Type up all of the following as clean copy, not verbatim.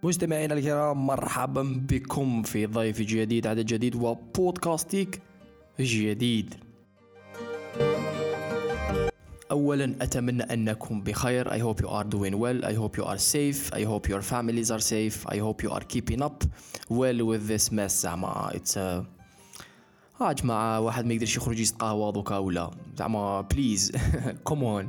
مستمعينا الكرام، مرحبا بكم في ضيف جديد، عدد جديد وبودكاستيك جديد. أولا أتمنى أنكم بخير. I hope you are doing well. I hope you are safe. I hope your families are safe. I hope you are keeping up well with this mess. زعما it's جماعة واحد ما يقدرش يخرج يستقهوى دوكا ولا زعما بليز come on.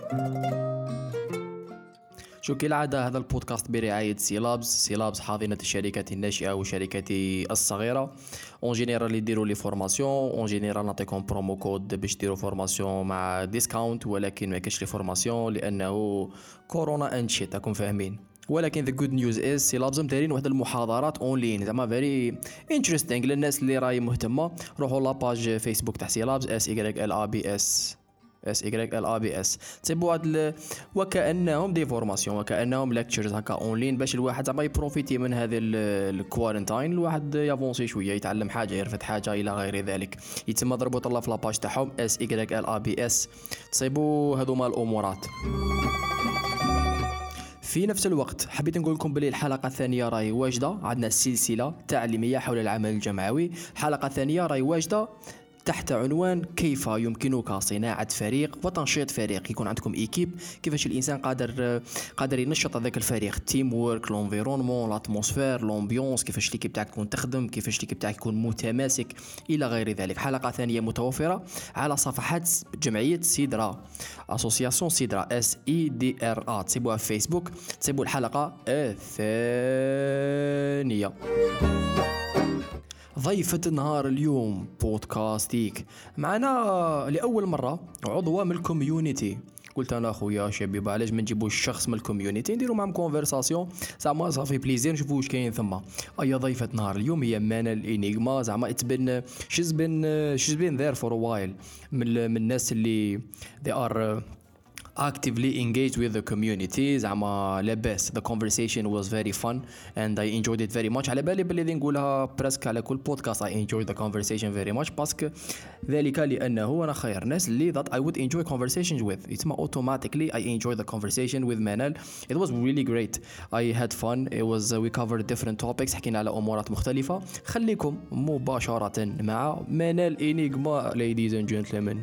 شو كالعادة هذا البودكاست برعاية سيلابز حاضنة الشركات الناشئة والشركات الصغيرة. اون جينيرال يديروا لي فورماسيون، اون جينيرال نعطيكم برومو كود باش ديروا فورماسيون مع ديسكاونت، ولكن ما كاش لي فورماسيون لانه كورونا اند شيت، راكم فاهمين. ولكن the good news is سيلابز دايرين واحد المحاضرات اونلاين زعما فيري انتريستينغ للناس اللي راهي مهتمة. روحوا لاباج فيسبوك تاع سيلابز SYLABS تسيبوا هاد وكأنهم دي فورماسيون، وكأنهم ليكتشرز هكا اونلاين باش الواحد زعما يبروفيتي من هذا الكوارنتاين، الواحد يافونسي شويه، يتعلم حاجه، يرفد حاجه الى غير ذلك. يتم ضربوا طلع في لاباج تاعهم SYLABS تصيبوا هذوما الامورات. في نفس الوقت حبيت نقول لكم بلي الحلقه الثانيه راهي واجده، عندنا سلسله تعليميه حول العمل الجماعي. الحلقه الثانيه راهي واجده تحت عنوان كيف يمكنك صناعة فريق وتنشيط فريق. يكون عندكم إيكيب، كيفاش الإنسان قادر ينشط هذاك الفريق، تيم وورك، لونفيرونمون، لاتموسفير، لومبيونس، كيفاش ليكيب تاعك تكون تخدم، كيفاش ليكيب تاعك يكون متماسك إلى غير ذلك. حلقة ثانية متوفرة على صفحات جمعية سيدرا، أسوسياسيون سيدرا SEDRA، تسيبوها في فيسبوك، تسيبوا الحلقة الثانية. ضيفة نهار اليوم بودكاستيك معنا لأول مرة عضوة من الكوميونيتي. قلت أنا أخويا شبيب علاش ما نجيبوش شخص من الكوميونيتي نديرو معهم كونفرساسيون، زعما صافي بليزير نشوفوا واش كاين ثم. أي ضيفة نهار اليوم هي منال إنيغما. زعما it's been she's been there for a while، من الناس اللي they are actively engaged with the community. زعما لاباس. The conversation was very fun and I enjoyed it very much. على بالي بلي نقولها برسك على كل بودكاست I enjoyed the conversation very much، باسكو ذلك لأنه أنا خير ناس اللي that I would enjoy conversations with. It's automatically I enjoyed the conversation with Manal. It was really great. I had fun. It was we covered different topics، حكينا على أمورات مختلفة. خليكم مباشرة مع منال إنيغما ladies and gentlemen.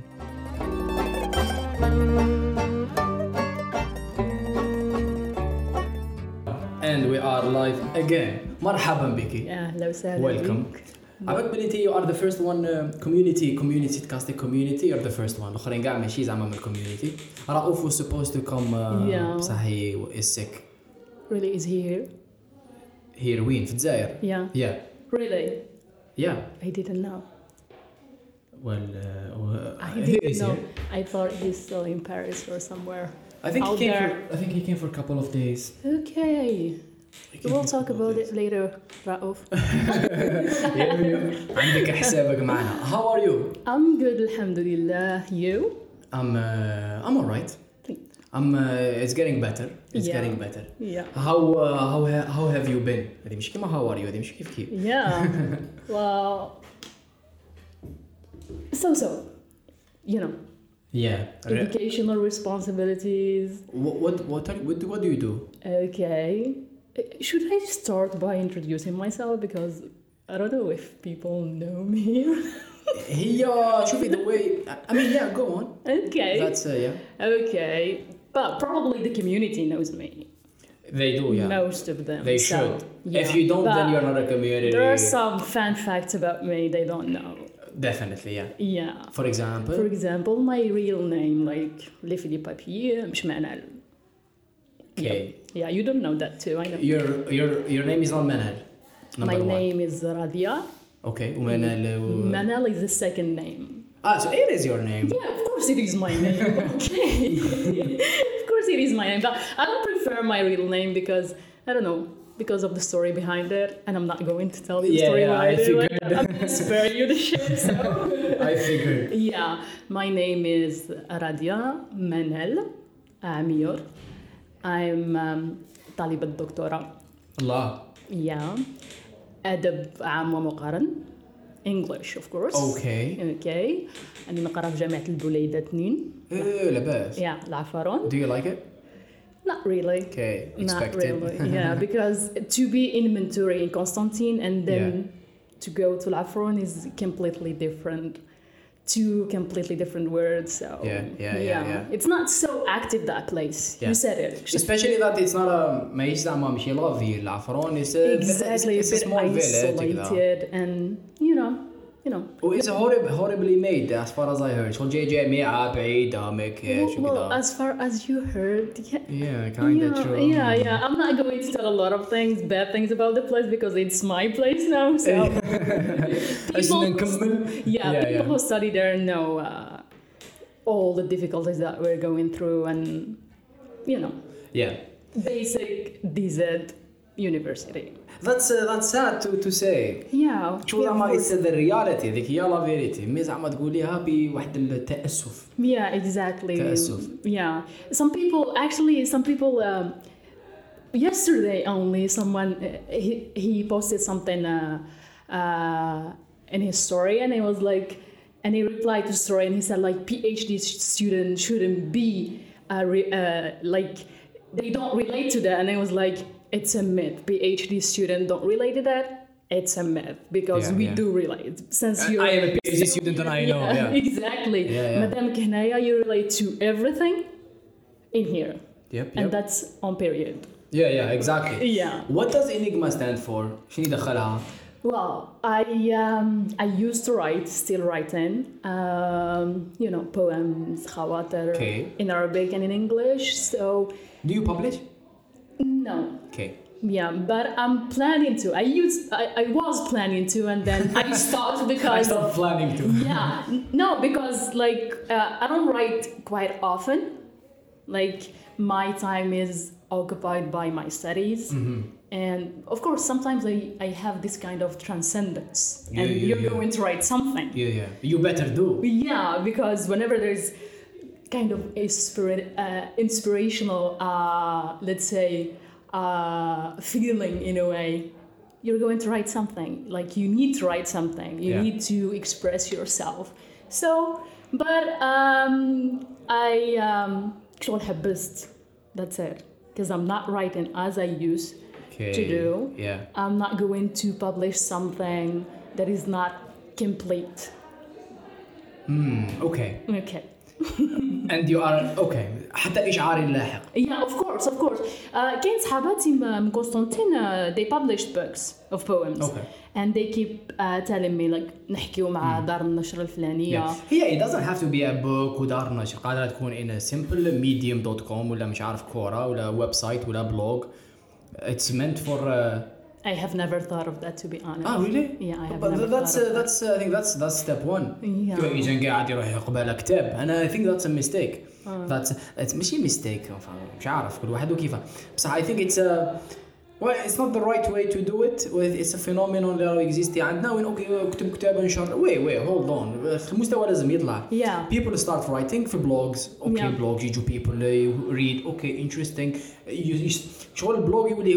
And we are live again. مرحبا بك. أهلا وسهلا. Welcome. عبد بلي you are the first one community casting community. You're the first one. الآخرين قاع ماشي زعما من community. رؤوف was supposed to come. بصح he is sick. Really is here. Here وين في الجزائر. Yeah. Really. Yeah. I didn't know. Well, I didn't know. I thought he's still in Paris or somewhere. I think he came for a couple of days. Okay. We'll talk about it later, Raouf. عندك حسابك معنا. How are you? I'm good, alhamdulillah. You? I'm alright. It's getting better. Getting better. Yeah. How have you been? هذه مش كيما how are you. هذه مش كيف. Yeah. Well. So. You know. Yeah. Educational responsibilities. What do you do? Okay. Should I start by introducing myself, because I don't know if people know me. شوفي the way. I mean, yeah, go on. Okay. That's yeah. Okay. But probably the community knows me. They do, yeah. Most of them. They should. Yeah. If you don't, But then you're not a community. there are some fun facts about me they don't know. Definitely, yeah. Yeah. For example, my real name, like Les Philippe Papier, مش Manal. Okay. Yeah, you don't know that too, I know. Your name is not Manal. My name is Radia. Okay. Manal is the second name. So it is your name. Yeah, of course it is my name. Okay. Of course it is my name. But I don't prefer my real name because, I don't know, because of the story behind it, and I'm not going to tell you the story I figured. I'm going to spare you the shit, so. I figured. Yeah, my name is Radia Manal Amir. I'm طالبة دكتوراه. الله. Yeah. أدب عام ومقارن. English of course. Okay. أنا نقرأ في جامعة البوليدة 2. لاباس. Yeah, العفارون. Do you like it? Not really. Okay, Not expected. really. Yeah, because to be in Montori in Constantine and then to go to La Fron is completely different. Two completely different words. So Yeah. It's not so active, that place. Yeah. You said it. Especially that it's not a ماهيش زعما ماشي لافي العفرون. Exactly, it's a a bit small village. isolated and you know. Oh, it's horribly made as far as I heard. شغل جاي ميعة بعيدة ما كاش Well, وكذا. as far as you heard, Yeah, kinda true. Yeah. I'm not going to tell a lot of things, bad things about the place because it's my place now. So people who study there know all the difficulties that we're going through, and Yeah. basic DZ university. That's sad to say. Yeah. شو زعما it's the reality ذيك هي la verity. مي زعما تقوليها بواحد التأسف. Yeah, exactly. تأسف. Yeah. Some people yesterday only someone he posted something in his story, and it was like, and he replied to the story and he said like PhD students shouldn't be like they don't relate to that, and it was like, it's a myth. PhD students don't relate to that. It's a myth because we do relate. Since you're I am a PhD student and I know. Yeah. Exactly. Yeah. Madam Kehnaya, you relate to everything in here. Yep. And that's on period. Yeah, exactly. Yeah. What does Enigma stand for? شنو يدخلها؟ Well, I used to write, still writing, poems, khawatir, in Arabic and in English. So. Do you publish? No. Okay. Yeah, but I'm planning to. I was planning to, and then I stopped because. I stopped planning to. Yeah, no, because like I don't write quite often. Like my time is occupied by my studies, and of course sometimes I have this kind of transcendence, and you're going to write something. Yeah. You better do. Yeah, because whenever there's kind of inspirational, let's say. Feeling in a way, you're going to write something. Like you need to write something. You need to express yourself. So, but I actually habist. That's it. Because I'm not writing as I used to do. Yeah. I'm not going to publish something that is not complete. Okay. Okay. And you are okay. حتى إشعاري اللاحق. Yeah, of course. كاين صحاباتي من قسطنطين they published books of poems. Okay. And they keep telling me like نحكيو مع دار النشر الفلانية. It doesn't have to be a book ودار نشر. قادرة تكون in a simple medium.com ولا مش عارف كورة ولا ويب سايت ولا blog. It's meant for. I have never thought of that, to be honest. Oh, really? Yeah, I have but never that's thought of that's I think that's step one. Yeah. يجي قاعد يروح يقبل كتاب. And I think that's a mistake. It's ماشي mistake. مش عارف كل واحد وكيفه. بس I think it's it's not the right way to do it. It's a phenomenon اللي exists عندنا وين كتب كتاب انشر. Wait, hold on. المستوى لازم يطلع. Yeah. People start writing for blogs. Blogs يجوا people read. interesting. شغل البلوج يولي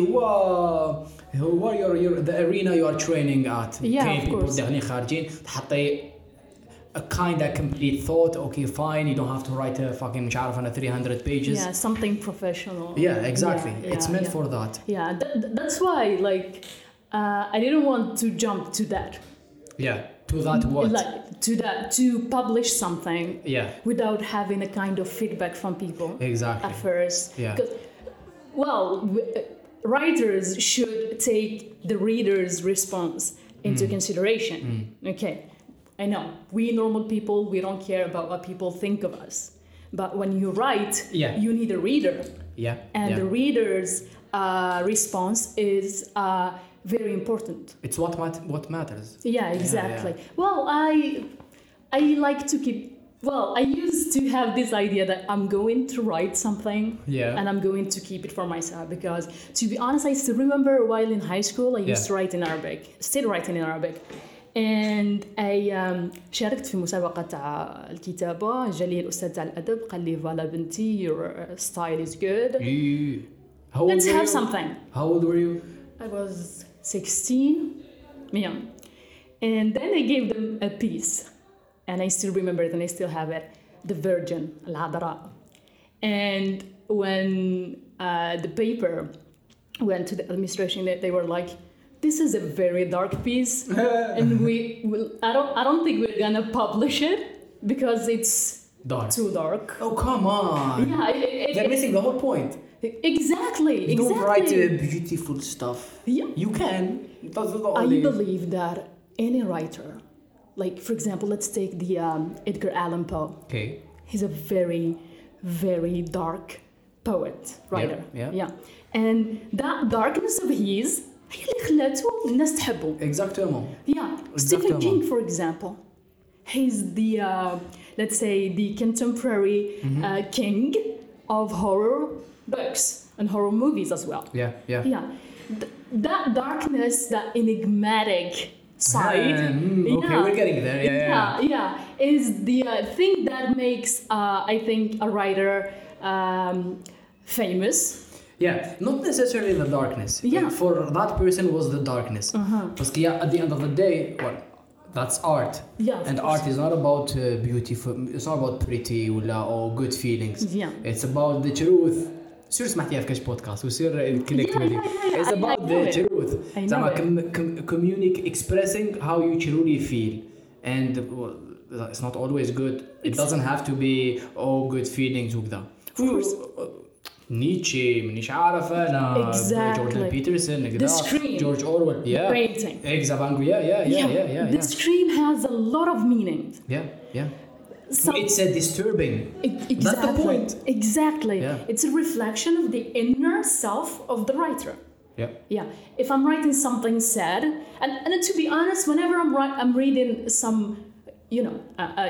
هو the arena you are training at. Yeah, of course. داخلين خارجين تحطي a kind of complete thought. Okay, fine. You don't have to write a fucking مش عارف أنا 300 pages. Yeah, something professional. Yeah, exactly. It's meant for that. Yeah, that's why like I didn't want to jump to that. Yeah, to that what? Like to publish something. Yeah. Without having a kind of feedback from people. Exactly. At first. Yeah. Well, writers should take the reader's response into consideration. Okay. I know, we normal people, we don't care about what people think of us. But when you write, you need a reader. Yeah. And the reader's response is very important. It's what matters. Yeah, exactly. Yeah. Well, I like to keep... Well, I used to have this idea that I'm going to write something and I'm going to keep it for myself because, to be honest, I still remember while in high school, I used to write in Arabic, still writing in Arabic. And I شاركت في مسابقة تاع الكتابة. جالي الأستاذ تاع الأدب قال لي فوالا بنتي your style is good. Let's have something. How old were you? I was 16. Yeah. And then I gave them a piece. And I still remember it and I still have it. The Virgin, العذراء. And when the paper went to the administration, they were like, this is a very dark piece, and I don't think we're gonna publish it because it's too dark. Oh, come on. Yeah, they're missing the whole point. Exactly. You don't write beautiful stuff. Yeah. You can. I believe that any writer, like for example, let's take the Edgar Allan Poe. Okay. He's a very, very dark poet, writer. Yeah. And that darkness of his هي اللي خلاته الناس تحبه. Exactement. Yeah. Stephen King, for example, he's the let's say the contemporary king of horror books and horror movies as well. Yeah. That darkness, that enigmatic side. Okay, we're getting there. Yeah. Is the thing that makes I think a writer famous. Yeah, not necessarily the darkness. Yeah. For that person was the darkness. Because at the end of the day, well, that's art. Yeah. And art is not about beautiful. It's not about pretty or good feelings. Yeah. It's about the truth. سير سمعتيها في كاش بودكاست وسير كونكت with you. It's about the truth. Expressing how you truly feel, and it's not always good. It doesn't have to be all good feelings وكذا. Of course. نيتشه مانيش عارف انا جوردن بيترسون The Scream, جورج اورويل painting. Exactly. Yeah. The Scream has a lot of meaning. Yeah. It's a disturbing. Exactly. That's the point. Exactly. Yeah. It's a reflection of the inner self of the writer. Yeah. If I'm writing something sad, and to be honest, whenever I'm reading some, you know,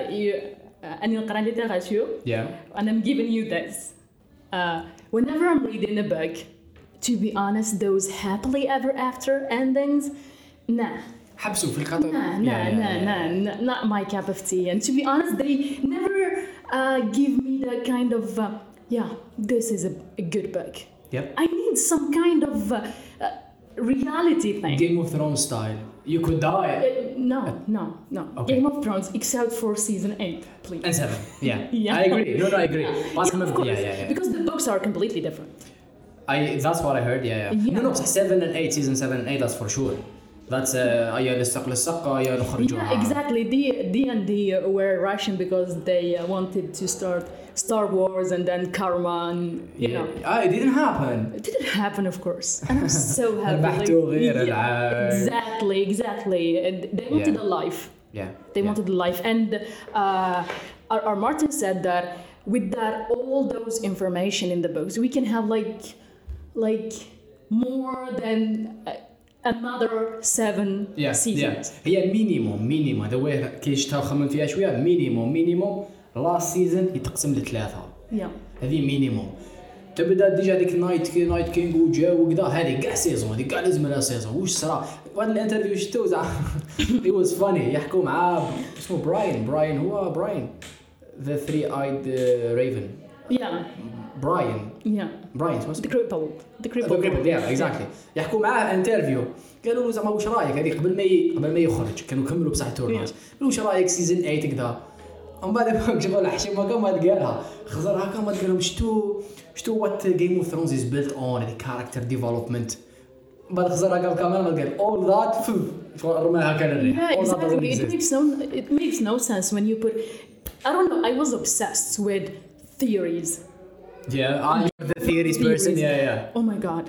and I'm giving you this. Whenever I'm reading a book, to be honest, those happily ever after endings, nah. حبسوا في الخطر. Nah, not my cup of tea. And to be honest, they never give me that kind of, this is a good book. Yep. I need some kind of reality thing. Game of Thrones style. You could die. No. Okay. Game of Thrones, except for season 8, please. And 7. Yeah. I agree. No, I agree. Of course. Yeah. Because the books are completely different. That's what I heard. Yeah. No, 7 and 8, season 7 and 8, that's for sure. That's يا للسق للسق يا نخرجوها. Yeah, exactly. D&D were Russian because they wanted to start Star Wars and then Karma and you know. It didn't happen. It didn't happen, of course. And I'm so happy. Exactly. They wanted a life. Yeah. They wanted a life, and R. Martin said that with that all those information in the books, we can have like more than. Another 7 seasons. هي مينيموم the way كي خمم فيها شويه مينيموم last season يتقسم لثلاثه. هذه مينيموم. تبدا ديجا ديك نايت كينغ وجا وكذا هذه كاع سيزون هذه كاع لازم لها سيزون واش صرا وهذا الانترفيو شفتو زعما it was funny يحكوا مع اسمه براين هو براين the three-eyed raven. براين اسمه The crippled. exactly. يحكوا معاه انترفيو قالوا له زعما واش رايك هذه قبل ما يخرج كانوا كملوا بصح التورناج قالوا واش رايك سيزون 8 كذا ومن بعد جابوا الحشيمه كما قالها خزرها كما قال لهم شتو وات جيم اوف ثرونز از بيلت اون ذا كاركتر ديفلوبمنت بعد خزرها قال كمان قال all that رماها كان الريح. It makes no sense when you put I don't know, I was obsessed with theories. I'm the theories person. Yeah. Oh my god.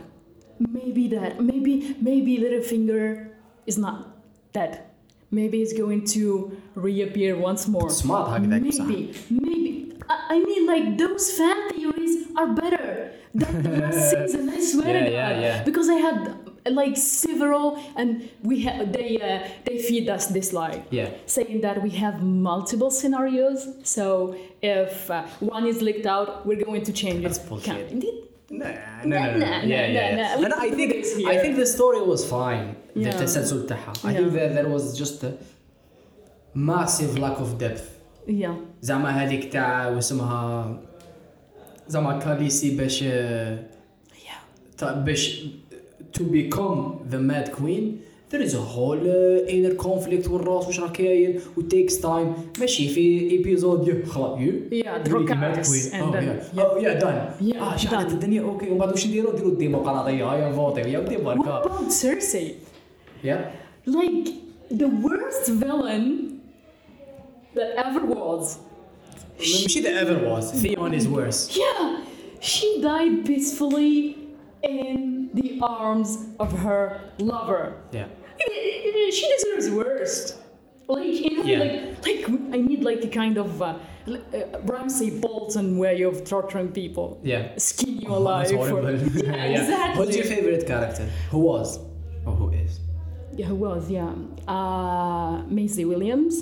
Maybe Littlefinger is not dead. Maybe he's going to reappear once more. Smart هكذاك بصح. Maybe. I mean like those fan theories are better than the last season. I swear to God. Because I had like several and they feed us this lie saying that we have multiple scenarios, so if one is leaked out we're going to change That's it. bullshit. No. And I think the story was fine. The تسلسل تاعها. I think that there was just a massive lack of depth. زعما هذيك تاع واسمها زعما كاليسي باش to become the Mad Queen there is a whole inner conflict والراس وش راه كاين و takes time ماشي في episode خلاص Dracarys and then done شعلت الدنيا اوكي ومن بعد واش نديروا الديمقراطيه هيا فوتي يا ودي بركه. What about Cersei? Yeah. Like the worst villain that ever was. ماشي that ever was. Theon is worse. Yeah, she died peacefully in the arms of her lover. Yeah. She deserves worst. Like like I need like a kind of Ramsay Bolton way of torturing people. Yeah. Skin you alive. That's horrible. Yeah, exactly. What's your favorite character? Who was? Or who is? Yeah, who was? Yeah. Maisie Williams.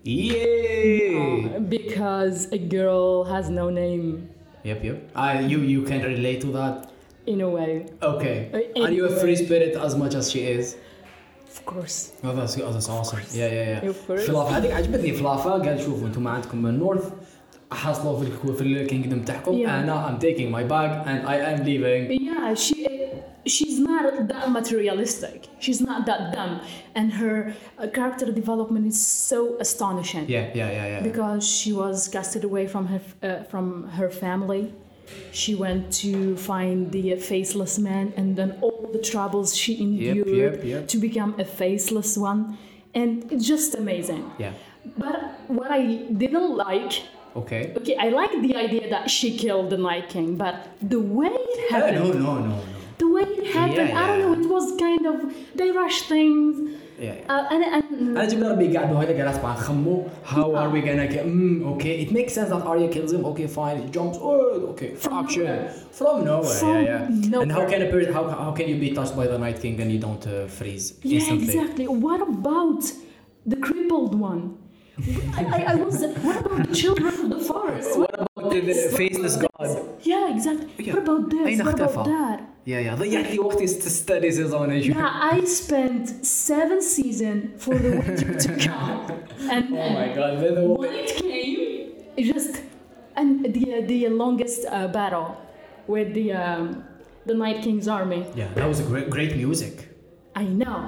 Yeah. Because a girl has no name. Yep. You can relate to that. In a way. Okay. Are you a free spirit as much as she is? Of course. Oh, that's awesome. Yeah. Of course. فلافا هذيك عجبتني فلافا قال شوفوا انتم عندكم من النورث حصلوا في الكينجدم تاعكم انا I'm taking my bag and I am leaving. Yeah, she's not that materialistic. She's not that dumb, and her character development is so astonishing. Yeah. Because she was casted away from her family. She went to find the faceless man, and then all the troubles she endured to become a faceless one, and it's just amazing. Yeah. But what I didn't like. Okay, I like the idea that she killed the Night King, but the way it happened. No. The way it happened, I don't know. It was kind of they rushed things. أنا جبنا ربي قاعدوا هيدا جالس مع خمو. How are we gonna get? Okay, it makes sense that Arya kills him. Okay, fine. It jumps. Okay. Action from nowhere. Yeah. And how can you be touched by the Night King and you don't freeze instantly? Yeah, exactly. What about the crippled one? What about the children of the forest? What about the faceless god? Yeah, exactly. What about this? What about that? Yeah. ضيعت لي وقتي study season. Yeah, I spent 7 seasons for the winter to come, and oh my god, when it came, it just and the longest battle with the Night King's army. Yeah, that was a great music. I know.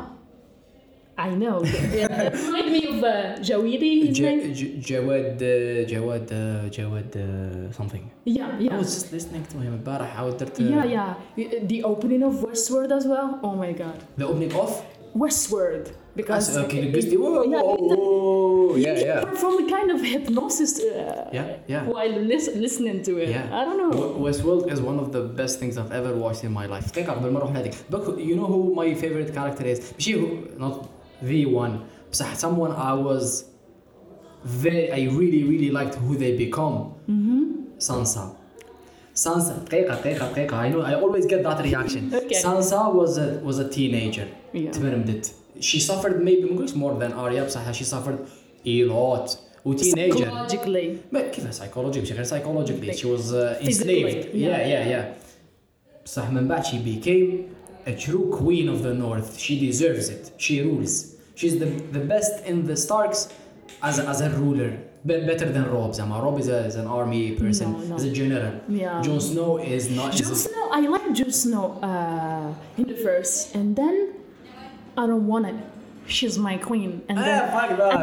Remind me of Jawidi, his name? Jawad something. Yeah. I was just listening to him البارح. Yeah. The opening of Westworld as well. Oh my god. The opening of Westworld. Because okay, you perform a kind of hypnosis while listening to it. Yeah. I don't know. Westworld is one of the best things I've ever watched in my life. Think قبل ما نروح هذيك. But you know who my favorite character is? ماشي not the one. بصح someone I really liked who they become. Sansa. دقيقة. I know I always get that reaction. Okay. Sansa was a teenager. تبرمدت. She suffered maybe more than Arya بصح she suffered a lot. Teenager. Psychologically. كيف psychologically؟ مش غير psychologically. She was enslaved. Yeah. بصح من بعد she became a true queen of the north. She deserves it. She rules. She's the best in the Starks as a ruler. Better than Robb. Robb is an army person. No. Is a general. Yeah. Jon Snow is not. Snow. I like Jon Snow in the first, and then I don't want it. She's my queen. And then, fuck that.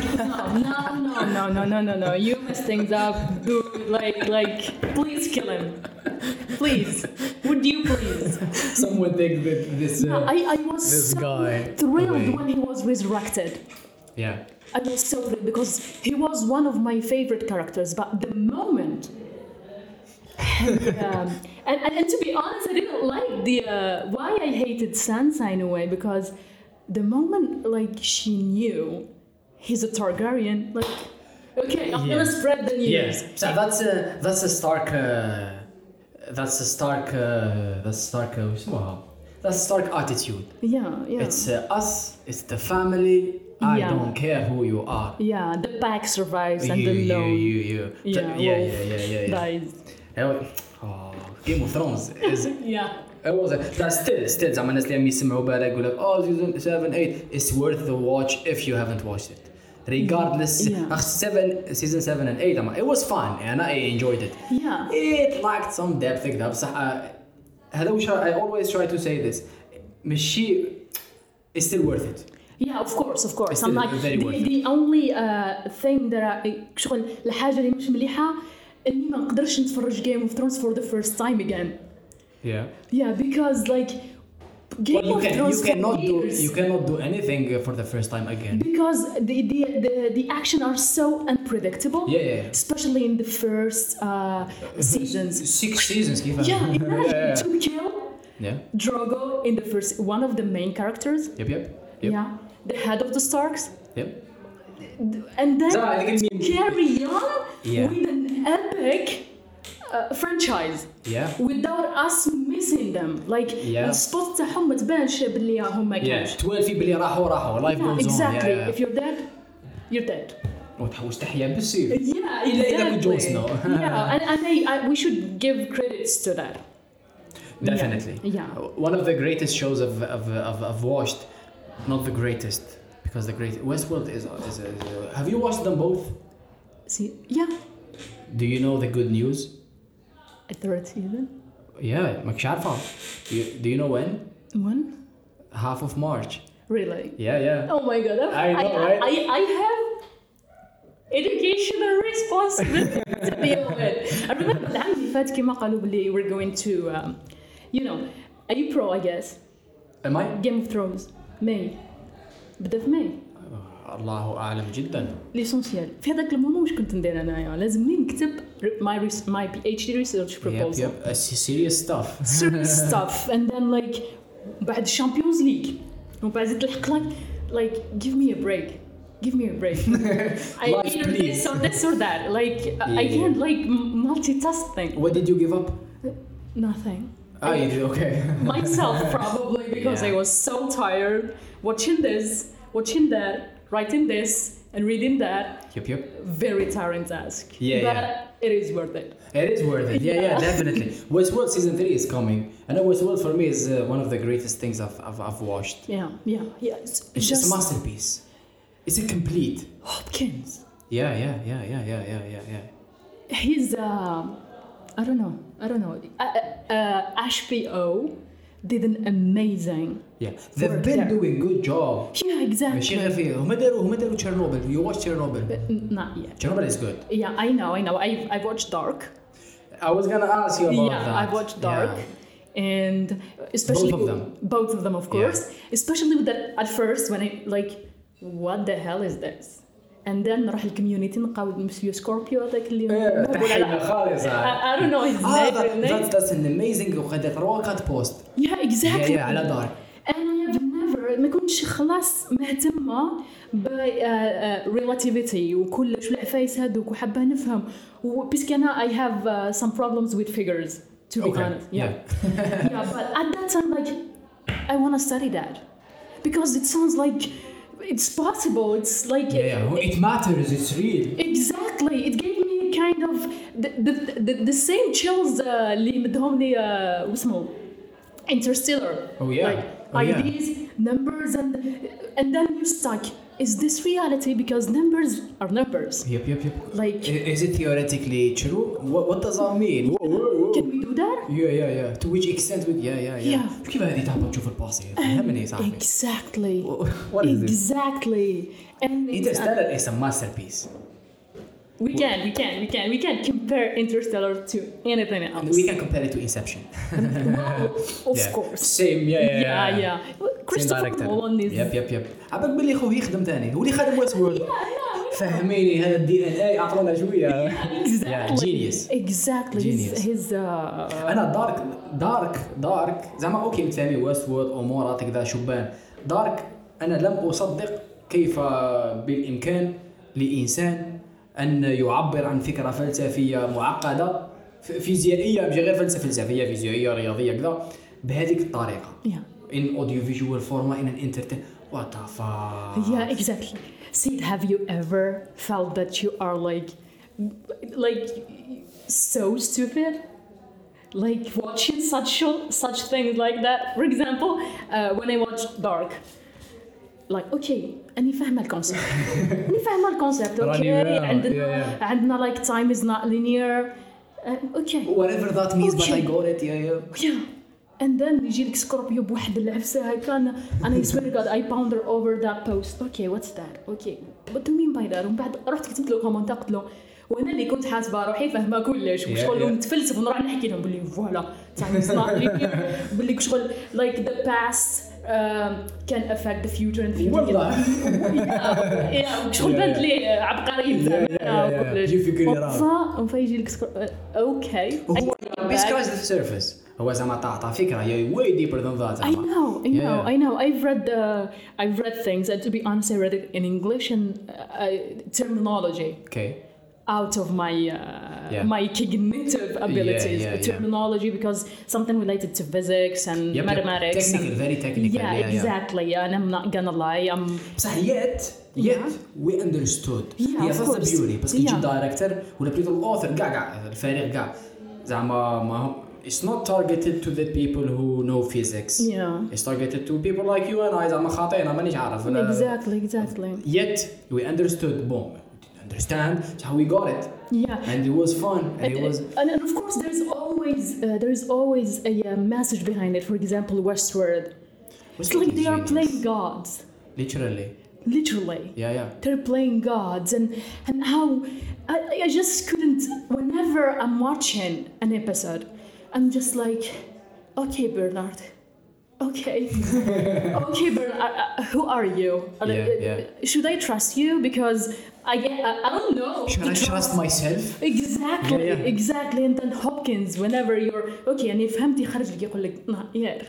No. You mess things up, dude. Like, please kill him. Please. Would you please? Someone take this. I was this so guy thrilled away. when he was resurrected. Yeah. I was so thrilled because he was one of my favorite characters. But the moment. And to be honest, I didn't like why I hated Sansa in a way, because the moment she knew he's a Targaryen, okay, I'm gonna spread the news. Yes, so that's a Stark. That's a Stark attitude. Yeah. It's us. It's the family. I don't care who you are. Yeah, the pack survives and the lone. Dies. Game of Thrones is. Yeah. It was still زعما الناس اللي عم يسمعوا بالك يقول لك season 7 8 it's worth the watch if you haven't watched it. Regardless, season 7 and 8 it was fun and I enjoyed it. Yeah. It lacked some depth كذا بصح هذا وش I always try to say this. ماشي it's still worth it. Yeah, of course. It's I'm like the only thing that شغل الحاجة اللي مش مليحة إني ما نقدرش نتفرج Game of Thrones for the first time again. Yeah, because like Game of Thrones you cannot do anything for the first time again. Because the action are so unpredictable. Yeah. Especially in the first seasons. 6 seasons. Yeah, imagine to kill Yeah. Drogo in the first, one of the main characters. Yep. Yeah, the head of the Starks. Yep. And then carry on Yeah. with an epic franchise. Yeah. Without us missing them. Like السبوت تاعهم ما تبانش باللي هما كاش. 12 بلي راحوا life goes on. Exactly. If you're dead, you're dead. وتحوش تحيا بالسيف. Yeah, إلا إذا كنت جون سنو. Yeah, and we should give credits to that. Definitely. Yeah. One of the greatest shows I've watched, not the greatest, because the great Westworld is have you watched them both? See, yeah. Do you know the good news? A third season. Yeah, ماكش عارفة. Do you know when? When? Half of March. Really? Yeah. Oh my god. I know, right? I have educational responsibility to deal with. I remember العام اللي فات كيما قالوا بلي we're going to you know, are you pro I guess? Am I? Game of Thrones. May. بدأ في May. الله أعلم جدا. ليسونسيال. في هذاك المومون واش كنت ندير أنايا؟ لازمني نكتب my PhD research proposal. Yep. Serious stuff. Serious stuff. And then like بعد Champions League. وبعد تلحق like give me a break. Give me a break. I either this or that. Like I can't like multitasking. What did you give up? Nothing. Oh, you did okay. Myself probably because I was so tired watching this, watching that, writing this, and reading that. Yep. Very tiring task. But it is worth it. It is worth it. Yeah, definitely. Westworld season 3 is coming. I know Westworld for me is one of the greatest things I've watched. Yeah. It's just a masterpiece. It's a complete. Hopkins. Yeah. He's I don't know. HBO did an amazing. Yeah, they've been doing good job. Yeah, exactly. ماشي غير فيه. هما داروا Chernobyl. You watched Chernobyl? Not yet. Chernobyl is good. Yeah, I know. I've watched Dark. I was gonna ask you about that. Yeah, I've watched Dark. And especially both of them of course. Especially with that at first when I like what the hell is this? And then نروح الكوميونيتي نلقاو مسيو سكوربيو هذاك اللي تحينا خالص. I don't know his name. That's an amazing وقد 3-4 بوست. Yeah, exactly. Yeah, على دار. And I have never ما كنتش خلاص مهتمة ب relativity وكلش والعفايس هذوك وحابة نفهم بس أنا I have some problems with figures to be honest. Yeah, but at that time like I want to study that because it sounds like it's possible. It's like it matters. It's real. Exactly. It gave me kind of the same chills اللي مدهم لي واسمه Interstellar. Oh yeah. Like ideas, numbers, and then you're stuck. Is this reality? Because numbers are numbers. Yep. Like, is it theoretically true? What does that mean? Whoa. Can we do that? Yeah. To which extent? Yeah. كيف هذه تعبت تشوف الباصي؟ فهمني صاحبي. Exactly. What is this? Exactly. And Interstellar is a masterpiece. We can compare Interstellar to anything else. We can compare it to Inception. Of course. Same. Yeah. Christopher Nolan is. Yep. عباك باللي خوه يخدم ثاني هو اللي خدم ويستورد. فهميني هذا DNA أعطونا شوية. Exactly. His أنا دارك زعما أوكي متسامي ويستورد أمورات كذا شبان. دارك أنا لم أصدق كيف بالإمكان لإنسان أن يعبر عن فكرة فلسفية معقدة فيزيائية مش غير فلسفية فيزيائية رياضية كذا بهذه الطريقة. In audiovisual format, in an entertainment. What the fuck? Yeah, exactly. Sid, have you ever felt that you are like so stupid? Like watching such things like that. For example, when I watched Dark, like okay, أني فاهمة الكونسبت. Okay, عندنا like time is not linear. Okay. Whatever that means, but I got it. Yeah. and then يجي لك سكوربيو بواحد العفسه هكا انا I swear to God I ponder over that post. Okay, what's that? Okay, what do you mean by that? ومن بعد رحت كتبت له كومنت قلت له وانا اللي كنت حاسبه روحي فاهمه كلش وشغل نتفلسف ونروح نحكي لهم بلي فوالا بلي شغل like the past can affect the future and the future. والله شغل بنت لي عبقري فيجي لك اوكي بس كراش ذا سيرفيس هو زعما تعطى فكره هي way deeper than that. I know I've read things and to be honest I read it in English and terminology out of my my cognitive abilities, terminology because something related to physics and mathematics. Technical, very technical. Yeah, exactly. And I'm not gonna lie. بصح yet we understood. Yes, that's the beauty. بس كي تجي director ولا بليتو الauthor كاع الفريق كاع زعما ما هو it's not targeted to the people who know physics. Yeah. It's targeted to people like you and I زعما خاطئنا مانيش عارف. Exactly. Yet we understood. Boom. Understand how we got it. Yeah. And it was fun. And of course there's always a message behind it. For example, Westworld. It's like they are playing gods. Literally. Yeah. They're playing gods and how I just couldn't. Whenever I'm watching an episode, I'm just like, okay, Bernard. Okay, Bernard. Who are you? Should I trust you? Because I don't know. Should I trust myself? Exactly. And then Hopkins, whenever you're okay, and if فهمتي خرج لك يقول لك not yet.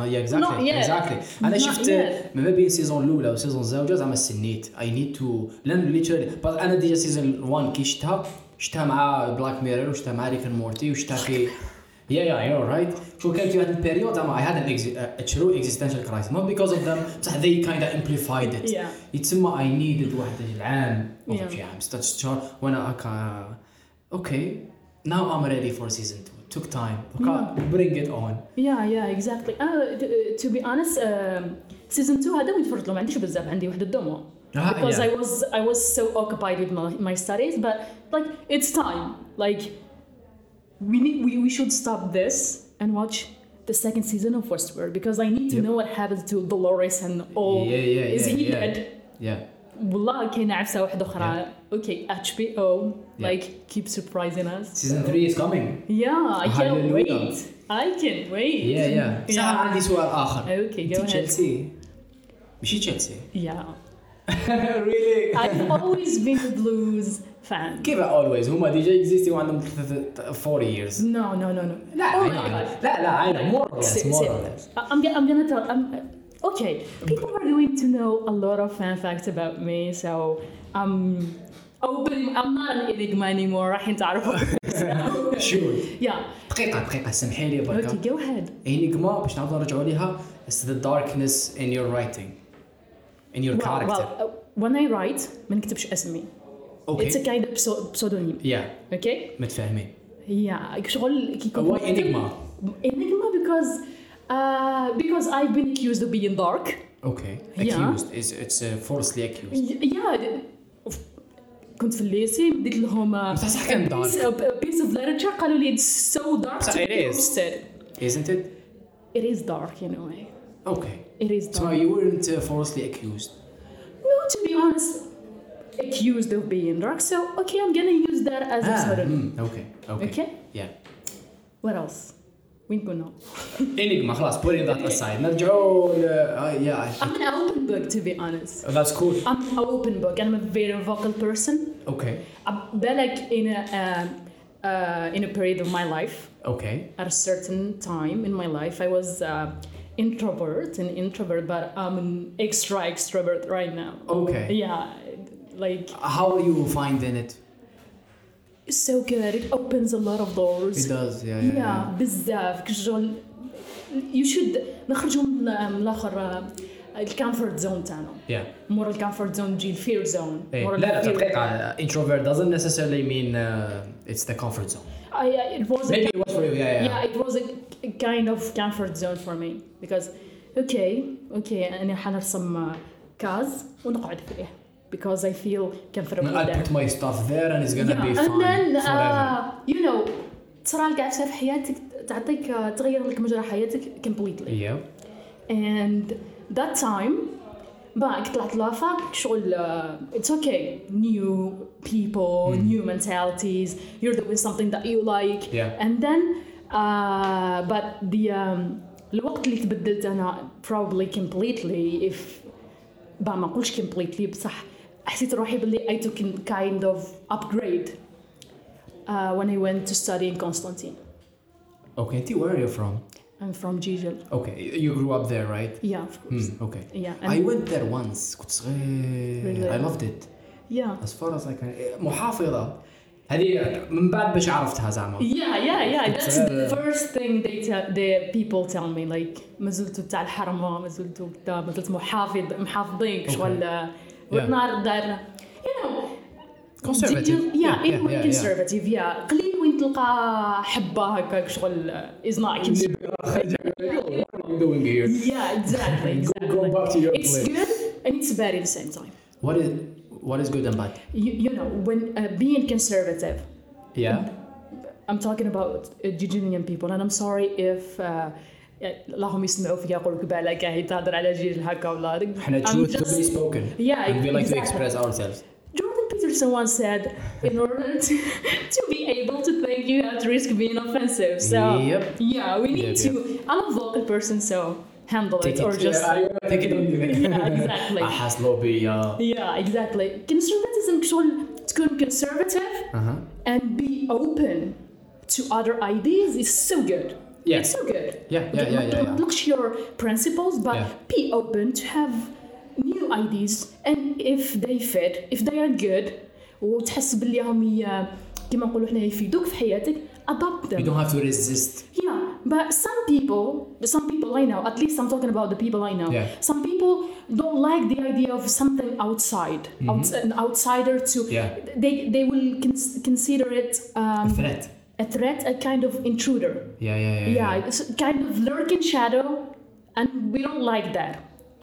Exactly. أنا شفت ما بين سيزون الأولى وسيزون الزوجة زعما استنيت. I need to لأن literally. بس أنا ديجا سيزون 1 كي شتها مع بلاك ميرور وشتها مع ريك مورتي وشتها في you're right. شو كان في هذا البيريود زعما I had a true existential crisis not because of them بصح they kind of amplified it. يتسمى I needed واحد العام أو شي عام 6 شهور وأنا أكا okay now I'm ready for season 2. Took time. Bring it on. Yeah, exactly. To be honest, season 2 هذا متفرج له ما عنديش بزاف عندي واحد الدمو because I was so occupied with my studies but like it's time like we should stop this and watch the second season of Westworld because I need to know what happens to Dolores and all. Is he dead? Yeah. والله كاينه عفسه واحده اخرى. Okay, HBO like keep surprising us. Season 3 is coming. I can't wait. Yeah. صح عندي سؤال آخر. Okay, go ahead. تشيلسي. مشي تشيلسي. Yeah. Really? I've always been a Blues fan. كيف always هما ديجا existing وعندهم 40 years. No. لا I know more or less. I'm gonna tell. Okay, people are going to know a lot of fan facts about me, so I'm not an enigma anymore. راح تعرفوا. Sure. Yeah. دقيقة سمحي لي بركة. Okay, go ahead. enigma باش نعاودو نرجعوا ليها is the darkness in your writing, in your character. When I write ما نكتبش اسمي. Okay. It's a kind of pseudonym. Yeah. Okay. متفاهمين. Yeah. شغل كي يكون. Why enigma? Enigma because I've been accused of being dark. Okay. Accused. It's falsely accused. Yeah. كنت في الليسي بديت لهم صح كان dark. piece of literature قالوا لي it's so dark. It is. Isn't it? It is dark in a way. Okay. It is dark. So you weren't falsely accused? No, to be honest, accused of being dark. So okay, I'm gonna use that as a pseudonym. Okay. Yeah. What else? وين كنا؟ enigma خلاص putting that aside. نرجعوا I'm an open book to be honest. That's cool. I'm an open book and I'm a very vocal person. Okay. بالك in a period of my life. Okay. At a certain time in my life, I was introvert, but I'm an extrovert right now. Okay. Yeah, like. How are you finding it? It's so good. It opens a lot of doors. It does. Yeah. بزاف كشغل. You should نخرجوا من الآخر الكامفورت زون تاعنا. Yeah. مور الكامفورت زون تجي الفير زون. لا دقيقة. Introvert doesn't necessarily mean it's the comfort zone. It was. Maybe it was for you. Yeah. It was a kind of comfort zone for me because okay أنا حنرسم كاز ونقعد فيه. Because I feel comfortable I'll put my stuff there and it's gonna be fine and then forever. you know صرا لك عفسة في حياتك تعطيك تغير لك مجرى حياتك completely. And that time بعد طلعت لافاك شغل it's okay, new people, new mentalities, you're doing something that you like. And then but the الوقت اللي تبدلت أنا probably completely, if ما أقولش completely بصح حسيت روحي باللي I took a kind of upgrade when I went to study in Constantine. Okay, where are you from? I'm from Gijel. Okay, you grew up there, right? Yeah, of course. Okay. Yeah. I went there once. كنت صغير. Really? I loved it. Yeah. As far as I can. محافظة. هذه من بعد باش عرفتها زعما. Yeah. That's the first thing the people tell me, like مازلتوا تاع الحرمة، مازلتوا كذا، مازلتوا محافظين شغل وتنار دار. You know. Conservative. Yeah, conservative. Yeah. قليل وين تلقى حبة هكاك شغل is not conservative. What are you doing here? Yeah, exactly. Go back to your It's good and it's bad at the same time. What is good and bad? You know, when being conservative. Yeah. I'm talking about Gijinian people, and I'm sorry if اللهم يسمعوا فيا يقولوا بالك هي تهضر على جيل هكا ولا. احنا truth to be spoken. Yeah, and we like exactly. to express ourselves. Jordan Peterson once said, in order to be able to think, you have to risk being offensive. So yeah, we need to. I'm a vocal person, so handle it or just take it on you. Yeah, exactly. أحس lobby. Yeah, exactly. Conservatism شغل تكون conservative and be open to other ideas is so good. Yeah. It's so good. Yeah. Look your principles, but be open to have new ideas, and if they fit, if they are good, وتحس باللي هم كما نقولوا احنا يفيدوك في حياتك, adopt them. You don't have to resist. Yeah, but some people I know, at least I'm talking about the people I know. Yeah. Some people don't like the idea of something outside, an outsider to. Yeah. They will consider it a threat, a kind of intruder. Yeah. It's a kind of lurking shadow, and we don't like that.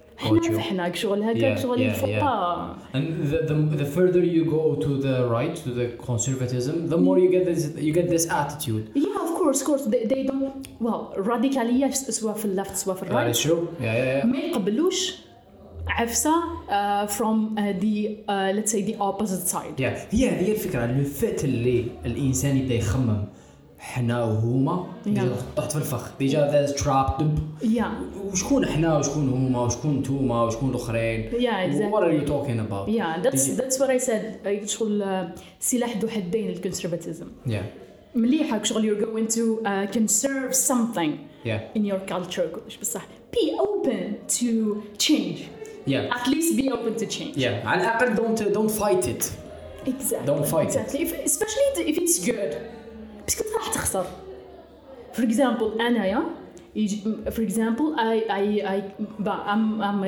احنا شغل هكاك شغل الفقهاء. And the further you go to the right, to the conservatism, the more you get this attitude. Yeah, of course. They don't. Well, radicalية سواء في اللفت سواء في الرايت. That's true. Yeah. ما يقبلوش عفسة from the let's say the opposite side. Yeah. هي الفكرة اللي فات اللي الإنسان يبدأ يخمم حنا وهما طحت في الفخ ديجا ذا تراب دب. وشكون حنا وشكون هما وشكون نتوما وشكون الاخرين. Exactly. What are you talking about? That's what I said. شغل سلاح ذو حدين الكونسرفاتيزم. مليحة شغل you're going to conserve something in your culture كلش بصح be open to change. At least be open to change. على الأقل don't fight it. Exactly. Don't fight it. Especially if it's good. بس كنت راح تخسر. For example أنا for example I'm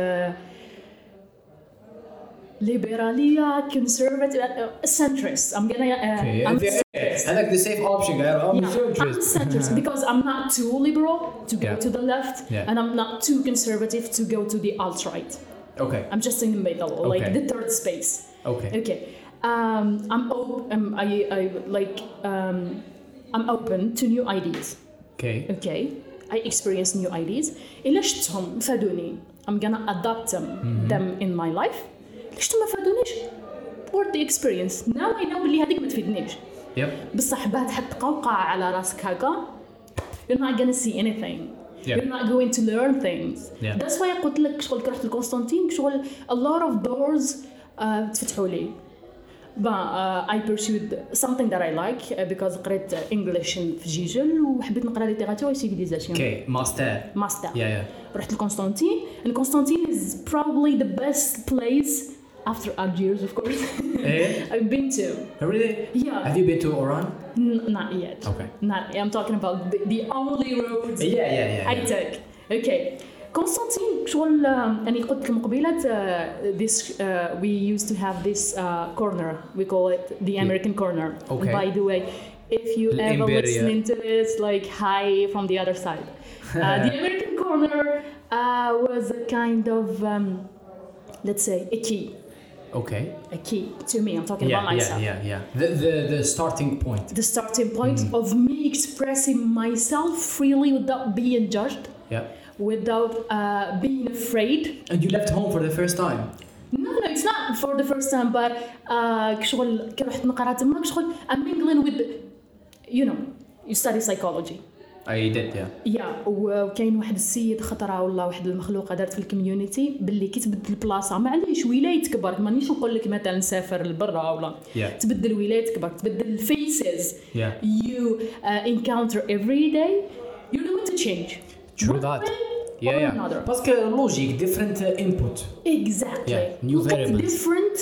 liberal, conservative, centrist. I'm centrist. I like the safe option. I'm centrist because I'm not too liberal to go to the left, and I'm not too conservative to go to the alt-right. Okay. I'm just in the middle, like the third space. Okay. I'm open. I'm open to new ideas. Okay. I experience new ideas. إلا شفتهم فادوني, I'm gonna adopt them in my life. إلا شفتهم ما فادونيش, worth the experience. Now I know بلي هذيك ما تفيدنيش. بصح بعد حط قوقعة على راسك هكا, you're not gonna see anything. You're not going to learn things. That's why قلت لك شغل رحت لقسطنطين شغل a lot of doors تفتحوا لي. But I pursued something that I like because قريت English في جيجل وحبيت نقرا littérature et civilisation. Okay, master. Yeah. رحت لقسطنطين, and Constantine is probably the best place after Algiers, of course. I've been to. Really? Yeah. Have you been to Oran? Not yet. Okay. I'm talking about the only roads I took. Okay. Constantine شغل يعني قلت لكم قبيلة this we used to have this corner, we call it the American corner. Okay. By the way, if you ever listening to this, like hi from the other side. The American corner was a kind of let's say a key Okay. A key to me. I'm talking about myself. The starting point. The starting point of me expressing myself freely without being judged. Yeah. Without being afraid. And you left home for the first time? No, it's not for the first time, but كشغل كي رحت نقرا تما كشغل I'm mingling with, you know, you study psychology. I did, yeah. Yeah, وكاين واحد السيد خطره والله واحد المخلوقه دارت في الكوميونيتي باللي كي تبدل البلاصه معليش ولايتك برك مانيش نقول لك مثلا سافر لبرا ولا تبدل ولايتك برك تبدل الفيسز you encounter every day you're going to change. True that. Parce que logique, different input. Exactly. New variables. Different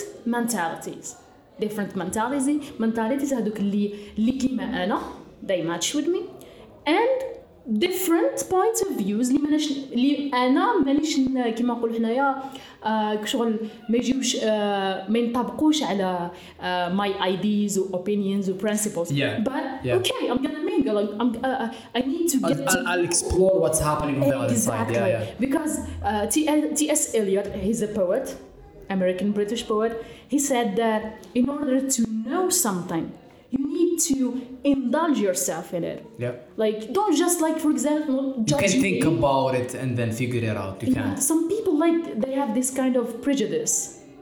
mentalities هذوك اللي كيما أنا they match with me and different points of views اللي أنا مانيش كيما نقول حنايا كشغل ما يجيوش ما ينطبقوش على my ideas or opinions or principles. But okay, I'm gonna mingle. I need to get. I'll explore what's happening on the other side. Because T.S. Eliot, he's a poet, American British poet. He said that in order to know something, you need to indulge yourself in it. Like don't just like, for example, judge. You can think about it and then figure it out. You can't. Some people like they have this kind of prejudice.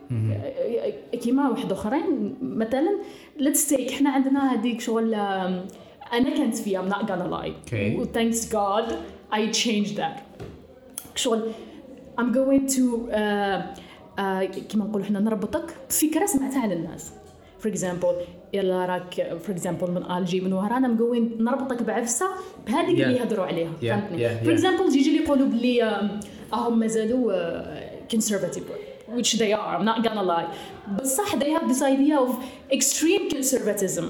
كيما واحد اخرين مثلا let's take احنا عندنا هذيك شغل انا كنت فيها I'm not gonna lie. Thanks God I changed that. شغل I'm going to كيما نقول احنا نربطك بفكره سمعتها على الناس. For example يلا راك for example من الجي من وهران I'm going نربطك بعفسه بهذيك اللي يهضروا عليها فهمتني. For example يجي اللي يقولوا بلي هم مازالوا conservative, which they are, I'm not gonna lie. بصح they have this idea of extreme conservatism.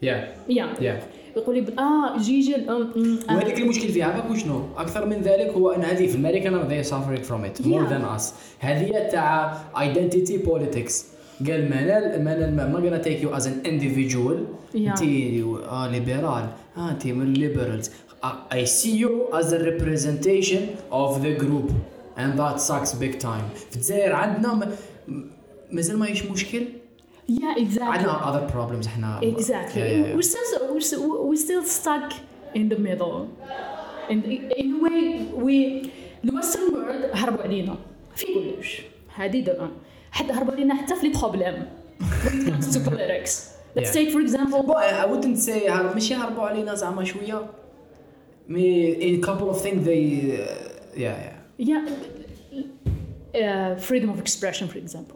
يقول لي جيجي وهذيك المشكل فيها عارف شنو اكثر من ذلك هو ان هذه في امريكا they suffering from it more than us. هذه تاع identity politics. قال ما gonna take you as an individual. انت ليبرال انت من liberals. I see you as a representation of the group and that sucks big time. في الجزائر عندنا مازال ما يش مشكل. Exactly. عندنا other problems احنا. Exactly. We're still stuck in the middle. In a way the Western world هربوا علينا في كلش. هذه ده. حتى هربوا علينا حتى في البروبلم. When it comes to politics. Let's take for example. Well, I wouldn't say ماشي هربوا علينا زعما شوية. In a couple of things they freedom of expression for example.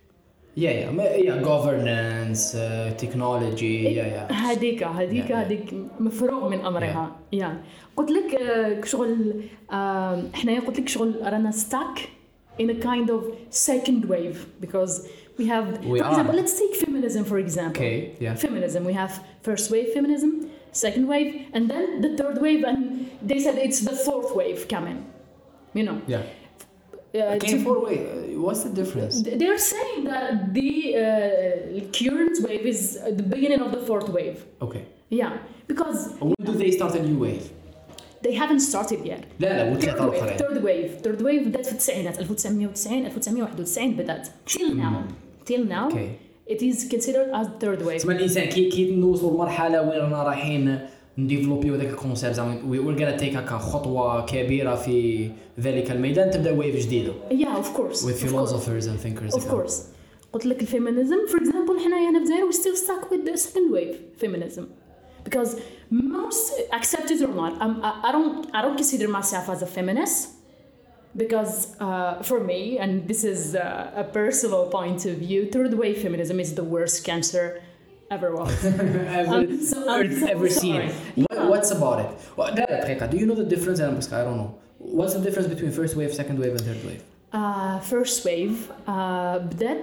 governance, technology. هذيك مفروغ من أمرها. قلت لك شغل إحنا قلت لك شغل رانا stuck in a kind of second wave because we have for example let's take feminism for example. Feminism, we have first wave feminism, second wave, and then the third wave, and they said it's the fourth wave coming. You know. Fourth wave. What's the difference? They're saying that the current wave is the beginning of the fourth wave. Okay. Because when do they start a new wave? They haven't started yet. لا third wave بدأت في التسعينات 1990 1991 بدأت till now it is considered as third wave. اسمع الإنسان كي نوصل لمرحلة وين رانا رايحين نديفلوبيو هذاك الكونسيبت زعما we're gonna take هكا خطوة كبيرة في ذلك الميدان تبدأ ويف جديدة. Of course. With philosophers and thinkers. Of course. قلت لك الفيمينيزم for example حنايا هنا في الجزائر we still stuck with the second wave feminism because most accept it or not I don't consider myself as a feminist because for me and this is a personal point of view third wave feminism is the worst cancer ever was. ever seen. What's about it? Do you know the difference? I don't know. What's the difference between first wave, second wave, and third wave? First wave بدأت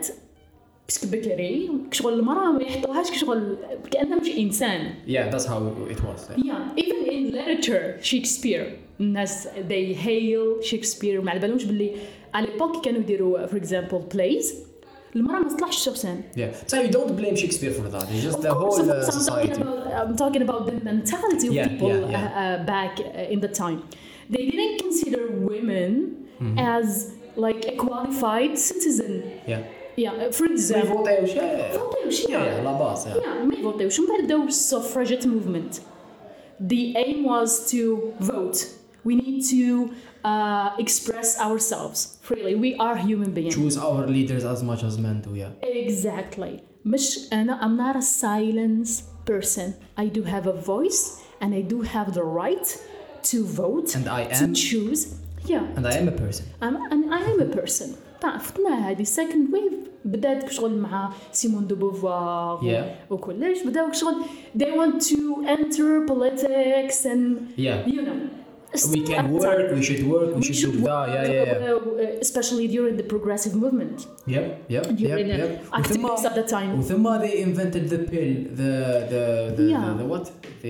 بكري كشغل المرأة ما يحطوهاش كشغل كأنها مش إنسان. That's how it was. Even in literature Shakespeare الناس they hail Shakespeare ما على بالهمش باللي على l'époque كانوا يديروا for example plays المرأة ما تصلحش شخصين. So you don't blame Shakespeare for that. It's just the whole society. I'm talking about the mentality of people back in the time. They didn't consider women as like a qualified citizen. yeah for example فوتيوش yeah لا باس ما يفوتيوش. من بعد بداو suffragette movement. The aim was to vote. We need to express ourselves freely. We are human beings. choose our leaders as much as men do. Exactly. مش أنا I'm not a silence person. I do have a voice and I do have the right to vote And I to am choose. Yeah. and I am a person. I am a person. فتنا هذه second wave بدأت شغل مع سيمون دو بوفوار وكلش بدأوا شغل they want to enter politics and you know we can work, we should work, we should do that. Especially during the progressive movement. During activists at the time. وثم they invented the pill, the what?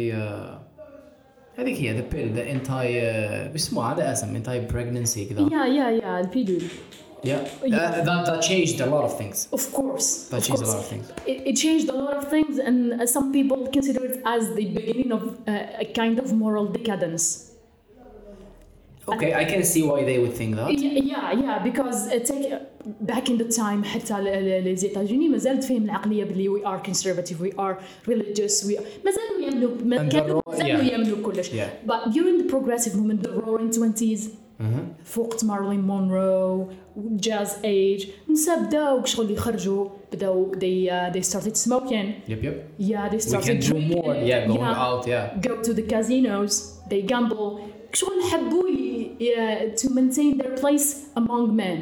هذيك هي the pill, the بيسموها هذا اسم anti pregnancy كذا. Yeah, البيلول. That changed a lot of things. Of course. That changed a lot of things. It changed a lot of things, and some people consider it as the beginning of a kind of moral decadence. Okay, I can see why they would think that. Yeah, because back in the time حتى les États-Unis مازالت فيهم العقلية بلي we are conservative, we are religious, مازالوا يمنوا كلش. But during the progressive movement, the Roaring 20s, فوقت مارلين مونرو, jazz age, النساء بداو شغل يخرجوا, بداو they started smoking. Yeah, they started we can do more. Going out. Go to the casinos, they gamble. شغل حبوا to maintain their place among men.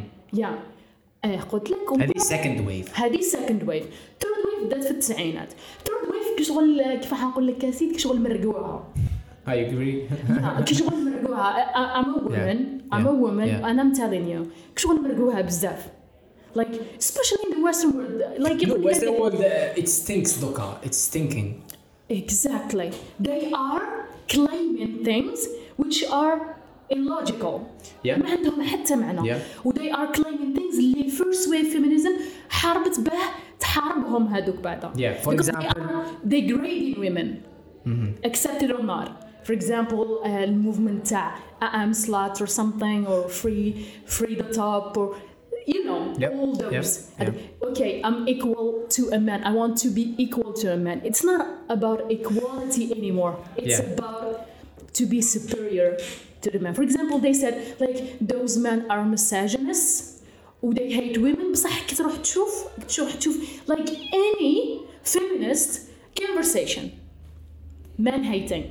قلت لكم هذه second wave. third wave بدات في التسعينات. third wave كشغل كيف حنقول لك كاسيد كشغل مرقوها. I agree. كشغل مرقوها. I'm a woman and I'm telling you كشغل مرقوها بزاف. Like especially in the Western world. Like the Western world, it stinks, Doka. It's stinking. Exactly. They are claiming things which are illogical. ما عندهم حتى معنى. they are claiming things اللي first wave feminism حاربت به تحاربهم هذوك بعدها. For example, they are degrading women. Accept it or not. For example, the movement تاع I am slut or something, or free the top, or you know, all those. Okay, I'm equal to a man. I want to be equal to a man. It's not about equality anymore. It's about to be superior to the man. For example, they said like those men are misogynists or they hate women. بصح كي تروح تشوف like any feminist conversation, men hating,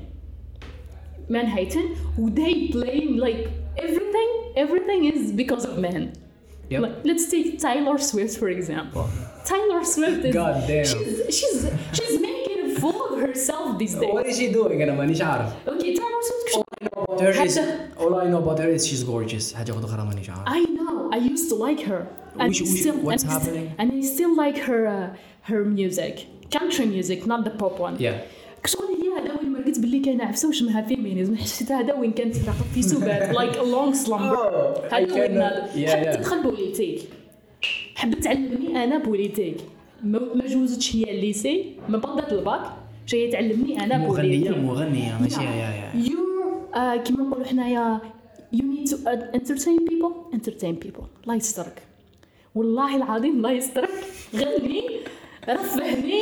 they blame like everything is because of men. Like, let's take Taylor Swift for example. Taylor Swift is God damn. She's making a fool of herself these days. What is she doing? أنا مانيش عارف. Okay, Taylor Swift. All I know about her is she's gorgeous. حاجة أخرى مانيش عارف. I know. I used to like her. What's happening? And I still like her music, country music, not the pop one. كشغل هي هذا وين مرقت باللي كان عفسه وشمها فيمينيزم. حسيت هذا وين كانت في سبات like a long slumber. هذا وين حبت تدخل بوليتيك. حبت تعلمني انا بوليتيك. ما جوزتش هي الليسي، ما بدات الباك، جايه تعلمني انا بوليتيك. مغنيه ماشي كيما نقولوا حنايا you need to entertain people. الله يسترك. والله العظيم الله يسترك. غني رفهني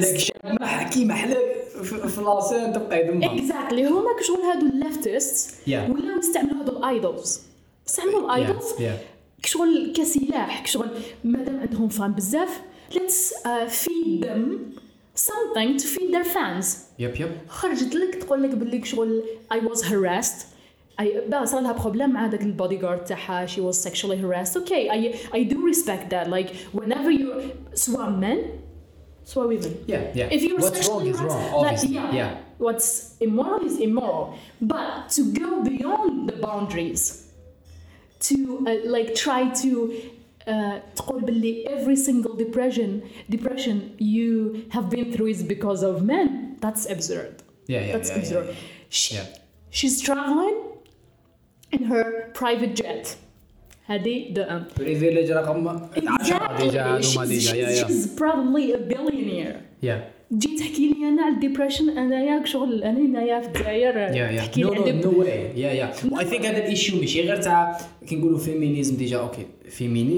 محلك في لاسين تبقى يدمها. Exactly. هما كشغل هادو الليفتست ولاو يستعملوا هادو الايدولز. استعملوا الايدولز كشغل كسلاح، كشغل مادام عندهم فان بزاف let's feed them something to feed their fans. خرجت لك تقول لك باللي كشغل I was harassed. صار لها بروبليم مع هذاك البودي جارد تاعها. She was sexually harassed. Okay, I do respect that. Like whenever you سواء men سواء women. If you're what's wrong is wrong. Obviously. What's immoral is immoral. But to go beyond the boundaries, to like try to تقول باللي every single depression you have been through is because of men. That's absurd. That's absurd. She's traveling in her private jet. هذه the privilege رقم 10 ديجا. She's probably a billionaire. جيت تحكي لي انا على الديبريشن انايا شغل انا هنايا في الجزائر تحكي لي على no way. I think هذا الايشيو ماشي غير تاع كي نقولوا فيمينيزم ديجا. اوكي فيمينيزم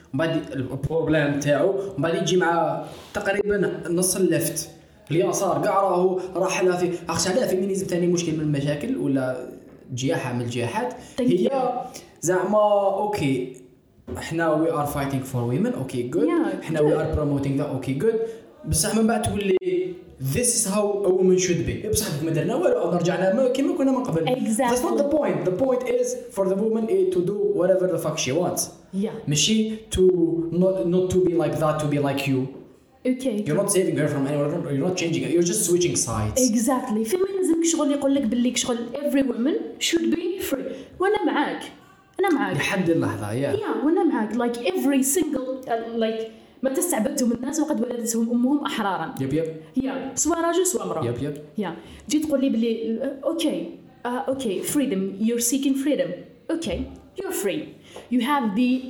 بعد البروبليم تاعو بعد يجي مع تقريبا نص اللفت اليسار كاع راح لها في اخش عليها فيمينيزم ثاني مشكل من المشاكل ولا جياحه من الجياحات هي زعما اوكي احنا وي ار فايتينغ فور ويمن اوكي جود احنا وي ار بروموتينغ ذا اوكي جود بصح من بعد تولي this is how a woman should be بصح ما درنا والو رجعنا كيما كنا من قبل that's not the point the point is for the woman to do whatever the fuck she wants ماشي to not to be like that to be like you okay you're not saving her from anyone you're not changing it you're just switching sides exactly feminism شغل يقول لك باللي شغل every woman should be free وانا معاك لحد اللحظه وانا معاك like every single like ما تستعبدتهم الناس وقد ولدتهم امهم احرارا يب سواء راجل سواء امراه يب جيت تقول لي بلي اوكي freedom you're seeking freedom okay you're free you have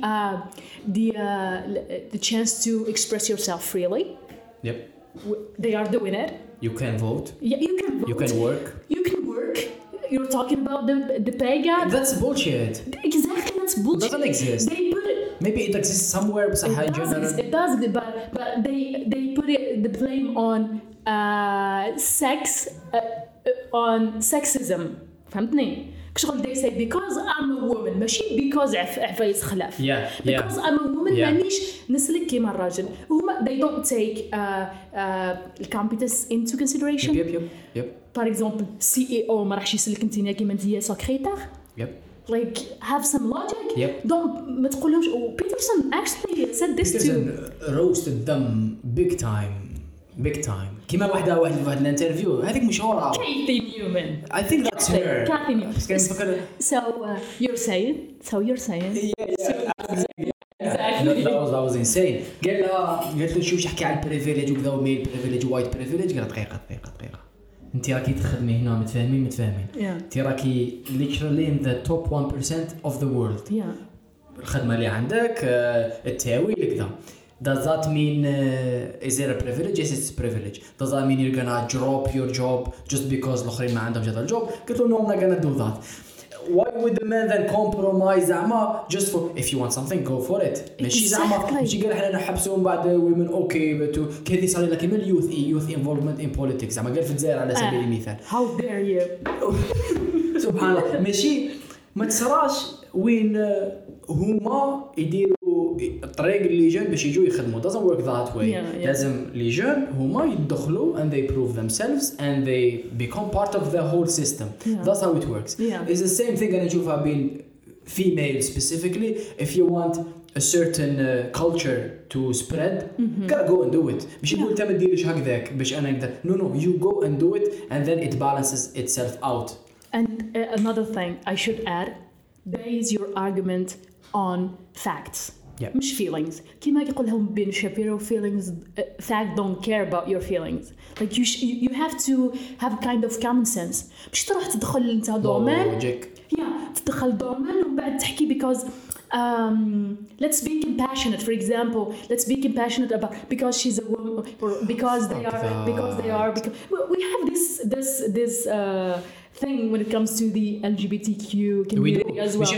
the chance to express yourself freely yep they are doing it you can vote you can vote you can work you're talking about the pay gap that's bullshit exactly that's bullshit it doesn't exist they put it maybe it exists somewhere but it does but they put the blame on on sexism فهمتني كشغل they say because I'm a woman ماشي because عفايس خلاف because I'm a woman مانيش نسلك كيما الراجل وهما they don't take competence into consideration yep par exemple CEO ما راحش يسلك انت كيما انت سكرتير like have some logic don't ما تقولهمش Peterson actually said this Peterson roasted them big time كيما واحد الانترفيو هذيك مشهوره Kathy Newman I think that's her Kathy Newman so you're saying exactly that was insane قالت له شوف احكي على البريفيليج وكذا وميل بريفيليج وايت بريفيليج قالت دقيقه انت راكي تخدمي هنا متفاهمين انت راكي literally in the top 1% of the world الخدمه اللي عندك التاويل كذا does that mean is there a privilege yes it's a privilege does that mean you're gonna drop your job just because الاخرين ما عندهم هذا الجوب قلت له no I'm not gonna do that why would the man then compromise زعما just for if you want something go for it ماشي زعما ماشي قال احنا نحبسهم بعد women okay but كذي صار لك كيما youth involvement in politics زعما قال في الجزائر على سبيل المثال how dare you سبحان الله ماشي ما تصراش وين هما يديروا الطريق اللي جن باش يجوا يخدموا doesn't work that way لازم لي جن هما يدخلوا and they prove themselves and they become part of the whole system that's how it works it's the same thing أنا نشوفها بين female specifically if you want a certain culture to spread gotta go and do it مش يقول انت ما تديرش هكذاك باش انا نقدر no you go and do it and then it balances itself out and another thing I should add base your argument on facts مش feelings كيما يقول لهم بين شابيرو feelings fact don't care about your feelings like you have to have kind of common sense مش تروح تدخل انت دومين تدخل دومين ومن بعد تحكي because let's be compassionate for example let's be compassionate about because she's a woman or because they are because we have this thing when it comes to the LGBTQ community as well.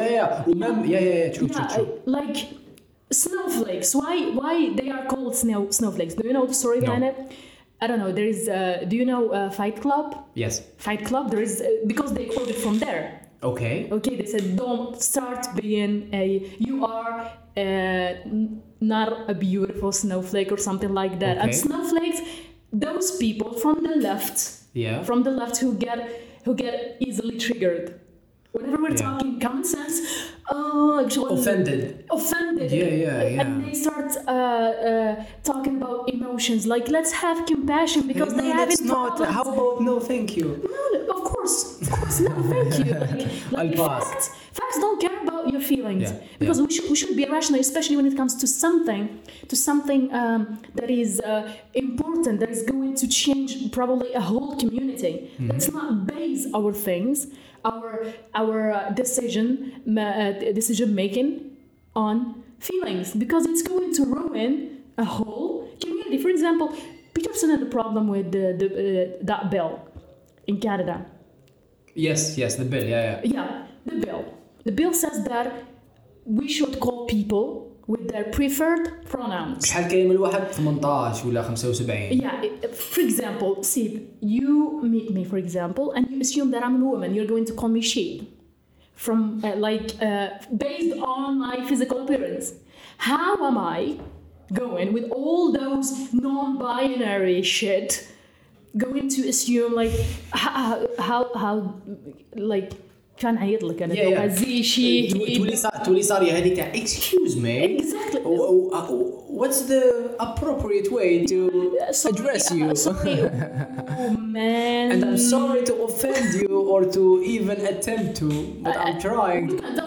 True. Like snowflakes. Why they are called snowflakes? Do you know the story behind it? I don't know. There is. Do you know Fight Club? Yes. Fight Club. There is because they quoted from there. Okay. They said don't start being you are not a beautiful snowflake or something like that. And snowflakes, those people from the left. From the left who get easily triggered. Whenever we're talking common sense, offended. Yeah. And they start talking about emotions. Like let's have compassion because they have it. How about no, thank you. No, of course, no, thank you. Like facts don't care about your feelings because we should be rational, especially when it comes to something that is important, that is going to change probably a whole community. Let's not base our things, our decision making on feelings because it's going to ruin a whole community. For example, Peterson had a problem with that bill in Canada. Yes, the bill, Yeah, the bill. The bill says that we should call people with their preferred pronouns. شحال كاين من الواحد 18 ولا 75. Yeah, for example, see, you meet me, for example, and you assume that I'm a woman. You're going to call me she, from based on my physical appearance. How am I going with all those non-binary shit going to assume like how like كان عيط لك انا زي شي تولي صار هذيك excuse me exactly what's the appropriate way to address you oh man and I'm sorry to offend you or to even attempt to but I'm trying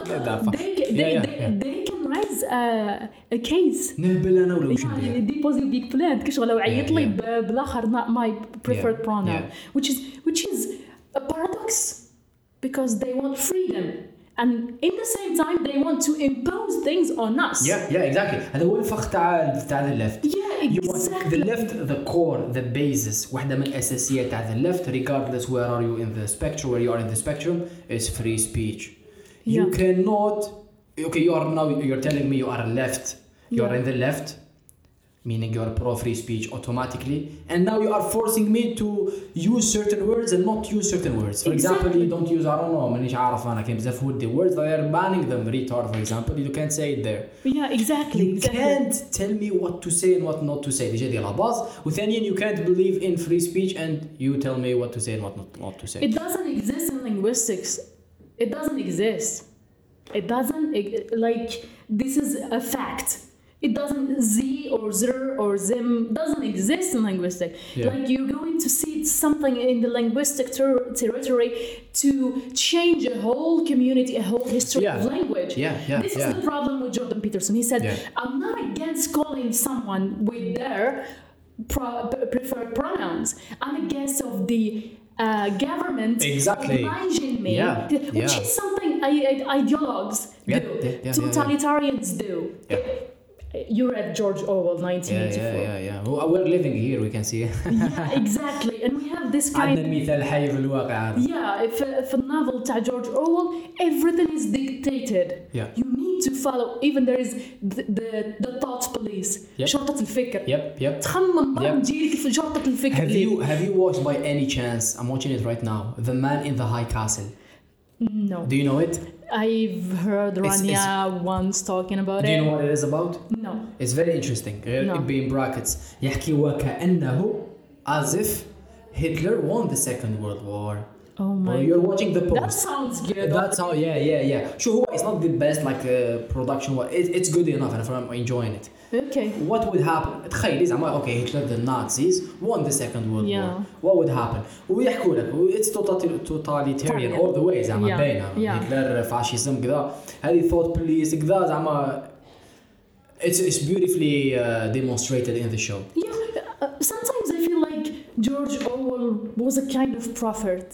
they can raise a case نهبل انا ولا وش ندير ديبوزي بيك بلان كشغل لو عيط لي بالاخر not my preferred pronoun which is a paradox because they want freedom and in the same time they want to impose things on us. Yeah, exactly. هذا هو الفخ تاع the left. Yeah, exactly. You want the left, the core, the basis. واحدة من الأساسيات تاع the left, regardless where are you in the spectrum, where you are in the spectrum, is free speech. You cannot. Okay, you're telling me you are left. You are in the left, meaning you are pro free speech automatically, and now you are forcing me to use certain words and not use certain words. For example, you don't use I don't know مانيش عارف أنا كيف بزاف ودي words they are banning them retard for example you can't say it there. Yeah, exactly. You can't tell me what to say and what not to say. ديجا دي لا باز وثانيا you can't believe in free speech and you tell me what to say and what not to say. It doesn't exist in linguistics. It doesn't exist. It doesn't like this is a fact. It doesn't z or zer or zim doesn't exist in linguistics. Like you're going to see something in the linguistic territory to change a whole community, a whole history of language. This is the problem with Jordan Peterson. He said, I'm not against calling someone with their preferred pronouns. I'm against of the government obliging me, which is something ideologues do, totalitarians do. You read George Orwell 1984. Yeah. We're living here, we can see. Yeah, exactly. And we have this kind عندنا مثال حي في الواقع. Yeah, في النوvel تاع George Orwell, everything is dictated. You need to follow. Even there is the thought police. شرطة الفكر. تخمم ما تجيلك في شرطة الفكر. Have you watched by any chance? I'm watching it right now. The Man in the High Castle. No. Do you know it? I've heard Rania once talking about it. Do you know what it is about? No. It's very interesting. It be in brackets. يحكي وكأنه as if Hitler won the Second World War. Oh my! You're watching the post. That sounds good. That's how. Yeah. Sure, it's not the best like production. It's good enough, and I'm enjoying it. Okay. What would happen? تخيل زعما okay Hitler the Nazis won the Second World War. What would happen? ويحكوا لك it's totalitarian all the way زعما باينة. Hitler فاشيزم كذا. هذه thought police كذا زعما. It's beautifully demonstrated in the show. Yeah. Sometimes I feel like George Orwell was a kind of prophet.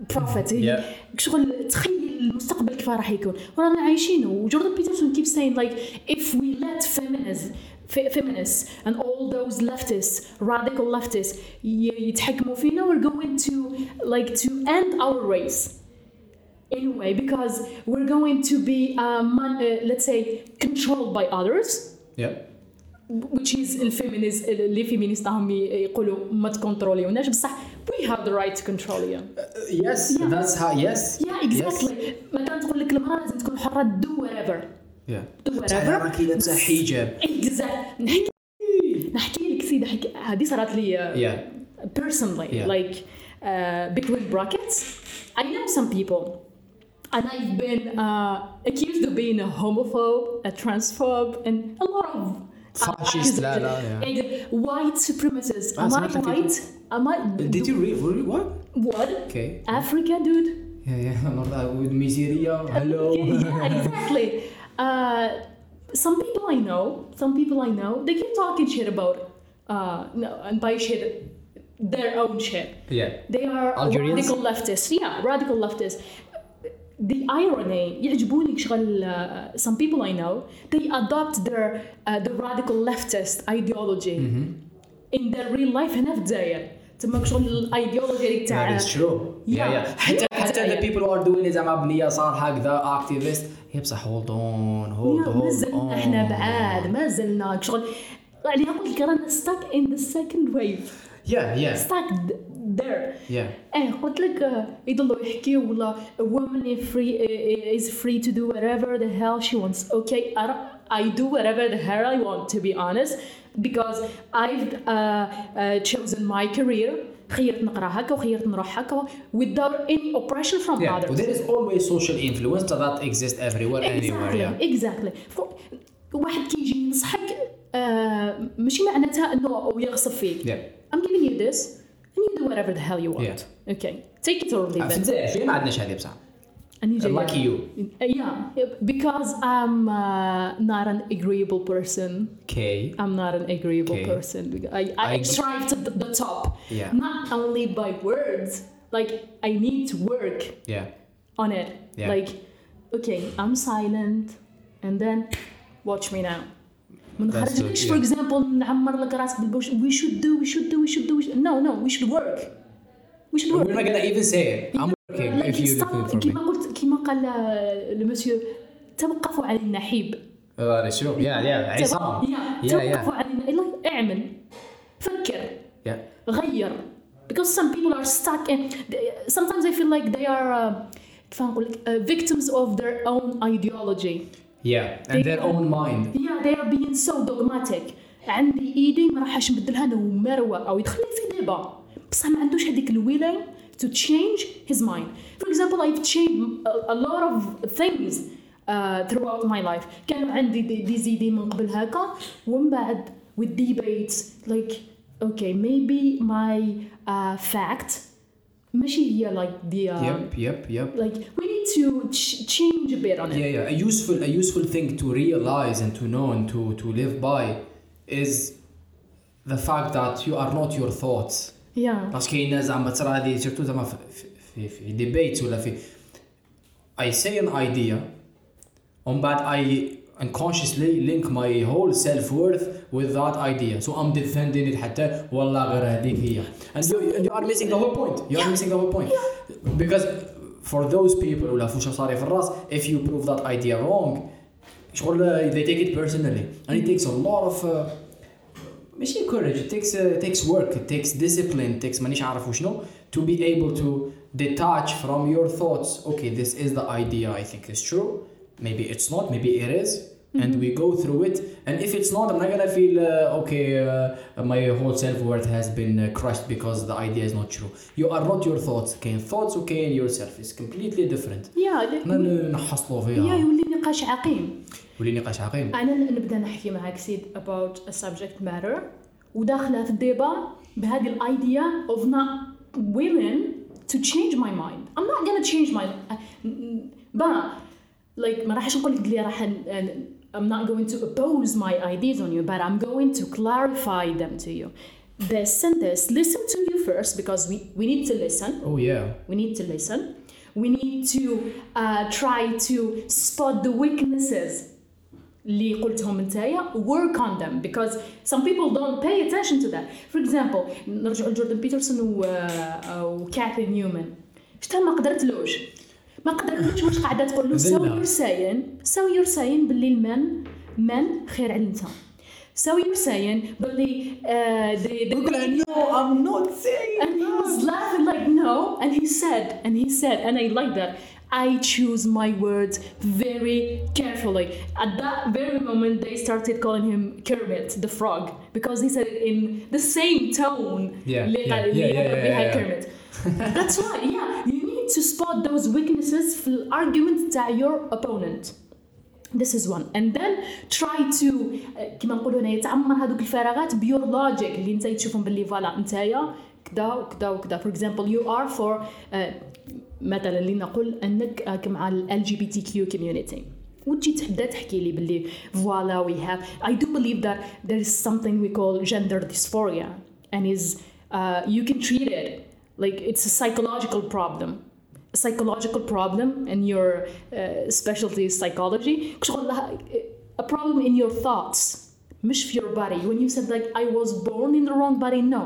شغل تخيل المستقبل كيف راح يكون ورانا عايشينه وجوردن بيترسون keeps saying like if we let feminists and all those leftists radical leftists يتحكموا فينا we're going to end our race in a way because we're going to be let's say controlled by others which is اللي فيمينيست يقولوا ما تكنتروليوناش بصح we have the right to control you. That's how. Yeah, exactly. مثلا تقول لك المرأة لازم تكون حرة do whatever. Do whatever. تحركي لابسة حجاب. Exactly. نحكي لك سيدي هذه صارت لي personally like between brackets. I know some people and I've been accused of being a homophobe, a transphobe, and a lot of fascist. White supremacists. Am I white? Did you read what? What? Okay. Africa, dude. Yeah. With miseria. Hello. Yeah, exactly. Some people I know, they keep talking shit about and by shit, their own shit. Yeah. They are Algerians? radical leftists. Yeah, radical leftists. The irony, يعجبوني شغل some people I know, they adopt the radical leftist ideology in their real life هنا في الجزائر. تما شغل الايديولوجي تاع That is true. Yeah. حتى the people who are doing it زعما بنية صار هكذا activist هي بصح hold on. مازلنا احنا بعاد مازلنا شغل يعني قلت لك رانا stuck in the second wave. Yeah. stuck there. Yeah. قلت لك يضلوا يحكيوا ولا a woman is free to do whatever the hell she wants. Okay, I do whatever the hell I want, to be honest, because I've chosen my career. خيرت نقرا هكا وخيرت نروح هكا without any oppression from others. Well, there is always social influence that exists everywhere, anywhere. Exactly. واحد كيجي ينصحك ماشي معناتها انه يغصب فيك. I'm giving you this and you do whatever the hell you want. Okay, take it or leave it. في ما عندناش هذه بصح. Like you. Yeah, because I'm not an agreeable person. Okay. I'm not an agreeable person. I strive to the top. Yeah. Not only by words. Like I need to work. On it. Yeah. Like, okay, I'm silent, and then watch me now. For example, نعمر لك راسك بالبوش. We should do. No, we should work. We're not gonna even say it. I'm working if you're looking for me. كما قال المسيو توقفوا على النحيب. شو عصام. توقفوا على اعمل فكر غير. Because some people are stuck and sometimes I feel like they are victims of their own ideology. And their own mind. They are being so dogmatic. عندي ايدي ما راحش نبدلها انا ومروه او يدخل في ديبا بصح ما عندوش هذيك الولايه to change his mind. For example, I've changed a lot of things throughout my life. كانوا عندي دي زيدي من قبل هكا ومن بعد with debates like okay maybe my fact ماشي هي like the yep. like we need to change a bit on it. A useful thing to realize and to know and to live by is the fact that you are not your thoughts. بس كاين زعما تصرا هذه سيرتو زعما في ديبيت ولا في I say an idea ومن بعد I unconsciously link my whole self-worth with that idea, so I'm defending it حتى والله غير هذيك هي and you are missing the whole point. Because for those people ولا فوش صاري في الراس if you prove that idea wrong شغل they take it personally and it takes a lot of ماشي courage, it takes work, it takes discipline, it takes مانيش عارف وشنو to be able to detach from your thoughts. Okay, this is the idea I think is true, maybe it's not, maybe it is, and we go through it, and if it's not I'm not gonna feel my whole self-worth has been crushed because the idea is not true. You are not your thoughts. كاين thoughts وكاين yourself is completely different. نحصلوا فيها يولي نقاش عقيم. أنا نبدأ نحكي معك سيد about a subject matter وداخلة في الديبا بهذه الأيديا of not willing to change my mind. I'm not gonna change my like ما راحش نقول لك اللي راح I'm not going to oppose my ideas on you, but I'm going to clarify them to you. Listen to you first because we need to listen. We need to listen. We need to try to spot the weaknesses اللي قلتهم نتايا, work on them because some people don't pay attention to that. For example, نرجع لجوردن بيترسون وكاثي نيومان. شتا ما قدرتلوش واش قاعده تقول له so you're saying باللي المن خير على الانسان. So you're saying باللي no I'm not saying and he was laughing like no and he said and I like that I choose my words very carefully. At that very moment they started calling him Kermit the Frog because he said it in the same tone. Kermit. That's why you need to spot those weaknesses في الارجيومنت تاع your opponent. This is one, and then try to كما نقولوا هنا يتعمر هذوك الفراغات بيور لوجيك اللي انت تشوفهم باللي فوالا نتايا كذا وكذا وكذا. For example, you are for مثلا اللي نقول انك مع ال LGBTQ community وتجي تبدا تحكي لي باللي فوالا we have. I do believe that there is something we call gender dysphoria and is you can treat it like it's a psychological problem and your specialty is psychology. A problem in your thoughts مش في your body. When you said like I was born in the wrong body, no,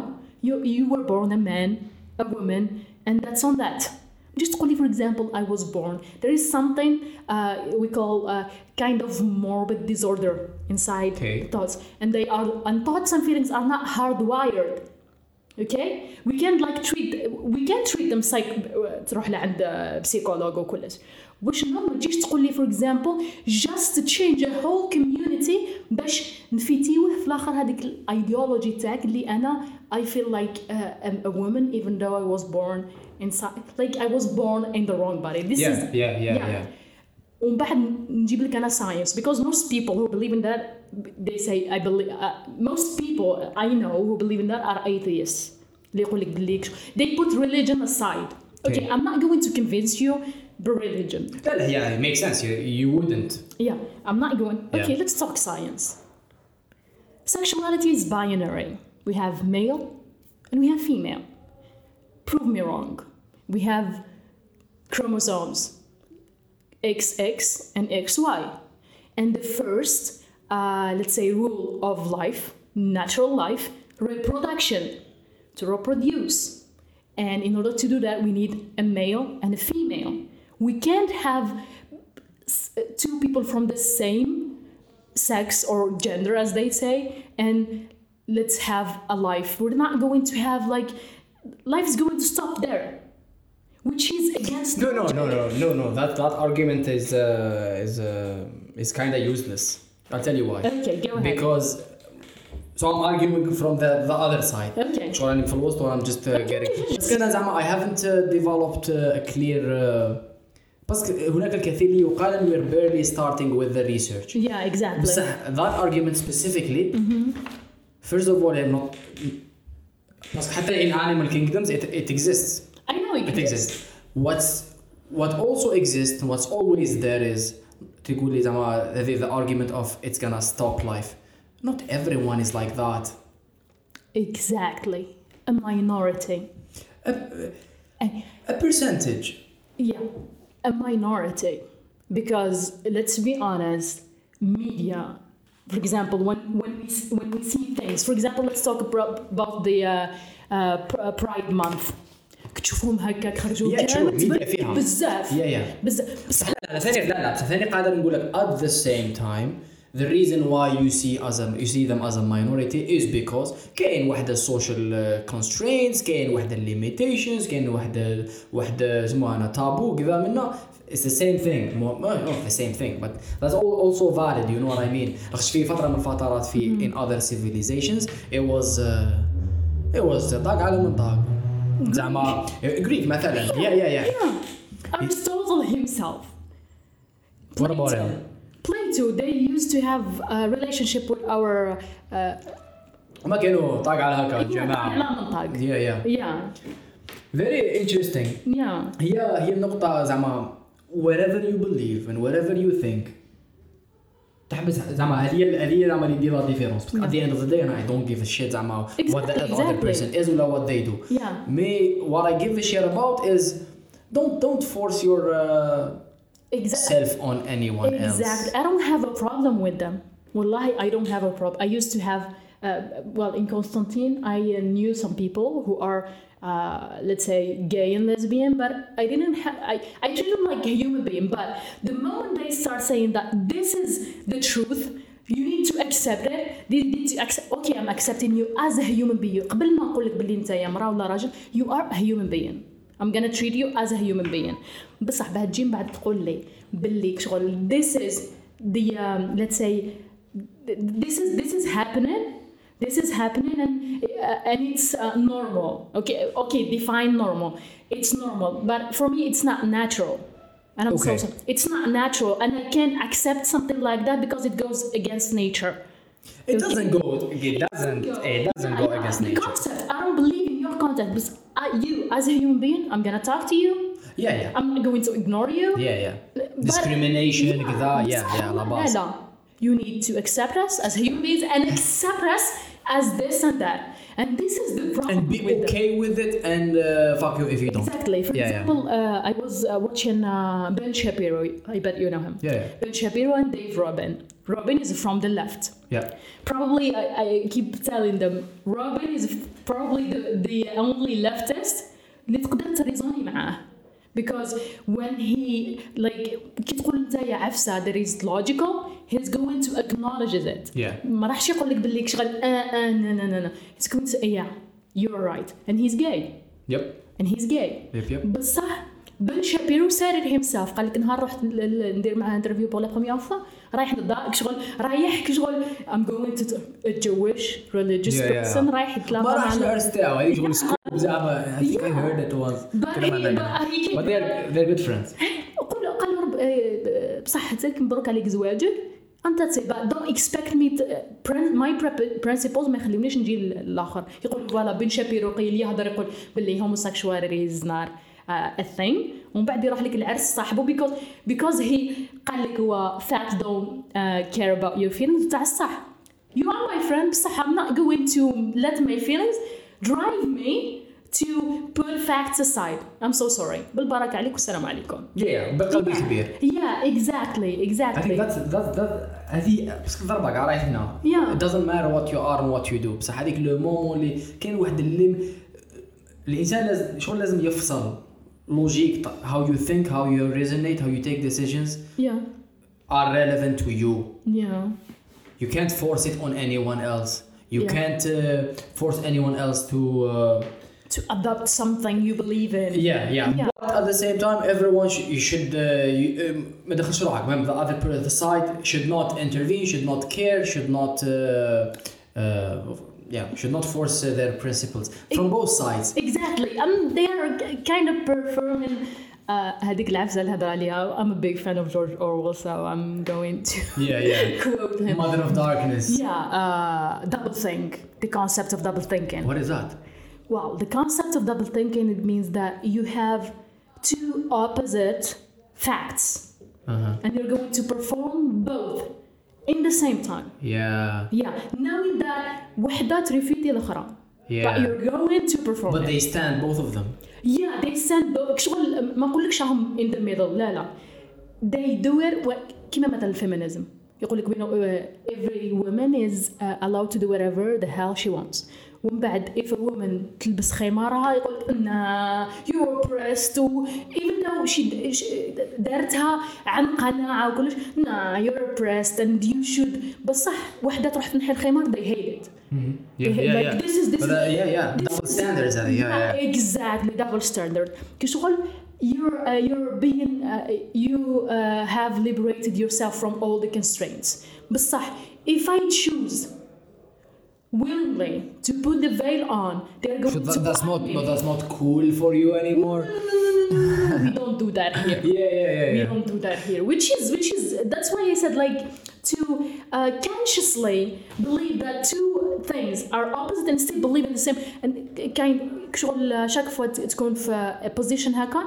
you were born a man, a woman, and that's on that. Just only, for example, I was born. There is something we call kind of morbid disorder inside thoughts, and thoughts and feelings are not hardwired. Okay, we can't treat them تروح لعند بسيكولوج وكلش. واش ما تجيش تقول لي for example just to change a whole community باش نفيتيوه في الاخر هذيك الايديولوجي تاعك اللي انا I feel like a woman even though I was born inside, like I was born in the wrong body. This is ومن بعد نجيب لك انا science, because most people who believe in that, they say I believe most people I know who believe in that are atheists. اللي يقول لك باللي they put religion aside. Okay, I'm not going to convince you religion. Yeah, it makes sense. You wouldn't. Yeah, I'm not going. Okay, let's talk science. Sexuality is binary. We have male and we have female. Prove me wrong. We have chromosomes XX and XY. And the first, let's say, rule of life, natural life, reproduction, to reproduce. And in order to do that, we need a male and a female. We can't have two people from the same sex or gender, as they say, and let's have a life. We're not going to have life is going to stop there, which is against. No. That argument is kind of useless. I'll tell you why. Okay, go ahead. Because. So I'm arguing from the other side. Okay. So I'm في الوسط I'm just getting. بس أنا زعما I haven't developed a clear. بس هناك الكثير اللي يقال and we're barely starting with the research. Yeah, exactly. بس that argument specifically. First of all, I'm not. بس حتى in animal kingdoms it exists. I know it exists. What also exists, what's always there is تقول لي زعما the argument of it's gonna stop life. Not everyone is like that. Exactly. A minority. A percentage. Yeah, a minority. Because let's be honest, media, for example, when we see things, for example, let's talk about the Pride Month. تشوفهم هكاك خرجوا كانت بزاف. بزاف. بس ثاني قادر نقول لك at the same time. The reason why you see them as a minority is because كاين واحدة social constraints, كاين واحدة limitations, كاين واحدة اسمها taboo كذا منا. It's the same thing. Not the same thing, but that's also valid. You know what I mean? لخش في فترة من الفترات في in other civilizations it was طاق على من طاق. زعما Greek مثلا. Yeah. Aristotle himself. What about him? Plato, they used to have a relationship with our ما كانوا طاق على هكا الجماعة. Yeah. Very interesting. Yeah. هي النقطة زعما whatever you believe and whatever you think. تحبس زعما هذه زعما اللي يدير لا ديفيرونس. At the end of the day, I don't give a shit زعما what the other person is ولا what they do. Yeah. Me, what I give a shit about is don't force your self on anyone else. Exactly. I don't have a problem with them. Wallahi, I don't have a problem. I used to have, in Constantine, I knew some people who are, let's say, gay and lesbian, but I treat them like a human being. But the moment they start saying that this is the truth, you need to accept it. They need to accept. Okay, I'm accepting you as a human being. قبل ما أقول لك باللي أنت يا مرأة ولا راجل, you are a human being. I'm gonna treat you as a human being. بصح بعد تجي بعد تقول لي باللي شغل this is the let's say this is happening and it's normal. Okay, define normal. It's normal, but for me it's not natural. And I'm so sorry. It's not natural, and I can't accept something like that because it goes against nature. It doesn't go against nature. Concept. I don't believe in your concept, but you as a human being, I'm gonna talk to you. Yeah. I'm not going to ignore you. Yeah. Discrimination, كذا. Yeah. You need to accept us as human beings and accept us as this and that. And this is the problem. And be okay with it and fuck you if you don't. Exactly. For example, I was watching Ben Shapiro. I bet you know him. Ben Shapiro and Dave Rubin. Robin is from the left. Probably, I keep telling them, Robin is probably the only leftist اللي تقدر تريزوني معاه. Because when he كي تقول انت يا عفسه there is logical, he's going to acknowledge it. ما راحش يقول لك باللي شغل no. He's going to say yeah, you're right, and he's gay. And he's gay. بصح بن شابيرو said it himself. قال لك نهار رحت ندير معاه انترفيو بور لا بروميير فوا رايح نضايق شغل I'm going to a Jewish religious person رايح يتلاقى ما راحش العرس تاعو هذيك شغل سكوب زعما I think I heard it once. But they're good friends. قال بصح تاك مبروك عليك زواجك انت تسيبا don't expect me to, my principles ما يخليونيش نجي للاخر. يقول فوالا بن شابيرو قيل يهضر يقول باللي homosexuality is not a thing ومن بعد يروح لك العرس صاحبه because he قال لك هو facts don't care about your feelings تاع الصح. You are my friend بصح I'm not going to let my feelings drive me to put facts aside. I'm so sorry. بالبركة عليك والسلام عليكم. بقلب كبير. Exactly. I think that's هذه بس ضربة قاع رايح هنا. It doesn't matter what you are and what you do. بصح هذيك لو مومون اللي كاين واحد اللي الإنسان لازم يفصل logic how you think, how you resonate, how you take decisions are relevant to you. You can't force it on anyone else. You can't force anyone else to adopt something you believe in. But at the same time, everyone should ما دخلش روحك. The side should not intervene, should not care, should not force their principles from both sides. Exactly. They are kind of performing هذيك العفسة اللي هضر عليها. I'm a big fan of George Orwell, so I'm going to quote him. Mother of Darkness. Double think. The concept of double thinking. What is that? Well, the concept of double thinking, it means that you have two opposite facts and you're going to perform both in the same time. Knowing that وحدة تريفيتي الأخرى. But you're going to perform But it. they stand both of them. They stand both. شغل ما أقولكش هم in the middle. لا. They do it كما مثلا الفيمينيزم. يقول لك every woman is allowed to do whatever the hell she wants. ومن بعد if a woman تلبس خمارها يقول إن you're oppressed even though she دارتها عن قناعة وكلش you're oppressed and you should بصح وحدة تروح تنحي الخمار they hate it. This is double standards. Exactly, double standard. كشغل you're being you have liberated yourself from all the constraints. بصح if I choose willingly to put the veil on, they're going to that's not cool for you anymore. No, we don't do that here. We don't do that here, which is that's why I said to consciously believe that two things are opposite and still believe in the same and kind شغل شاك فوا تكون في position هكا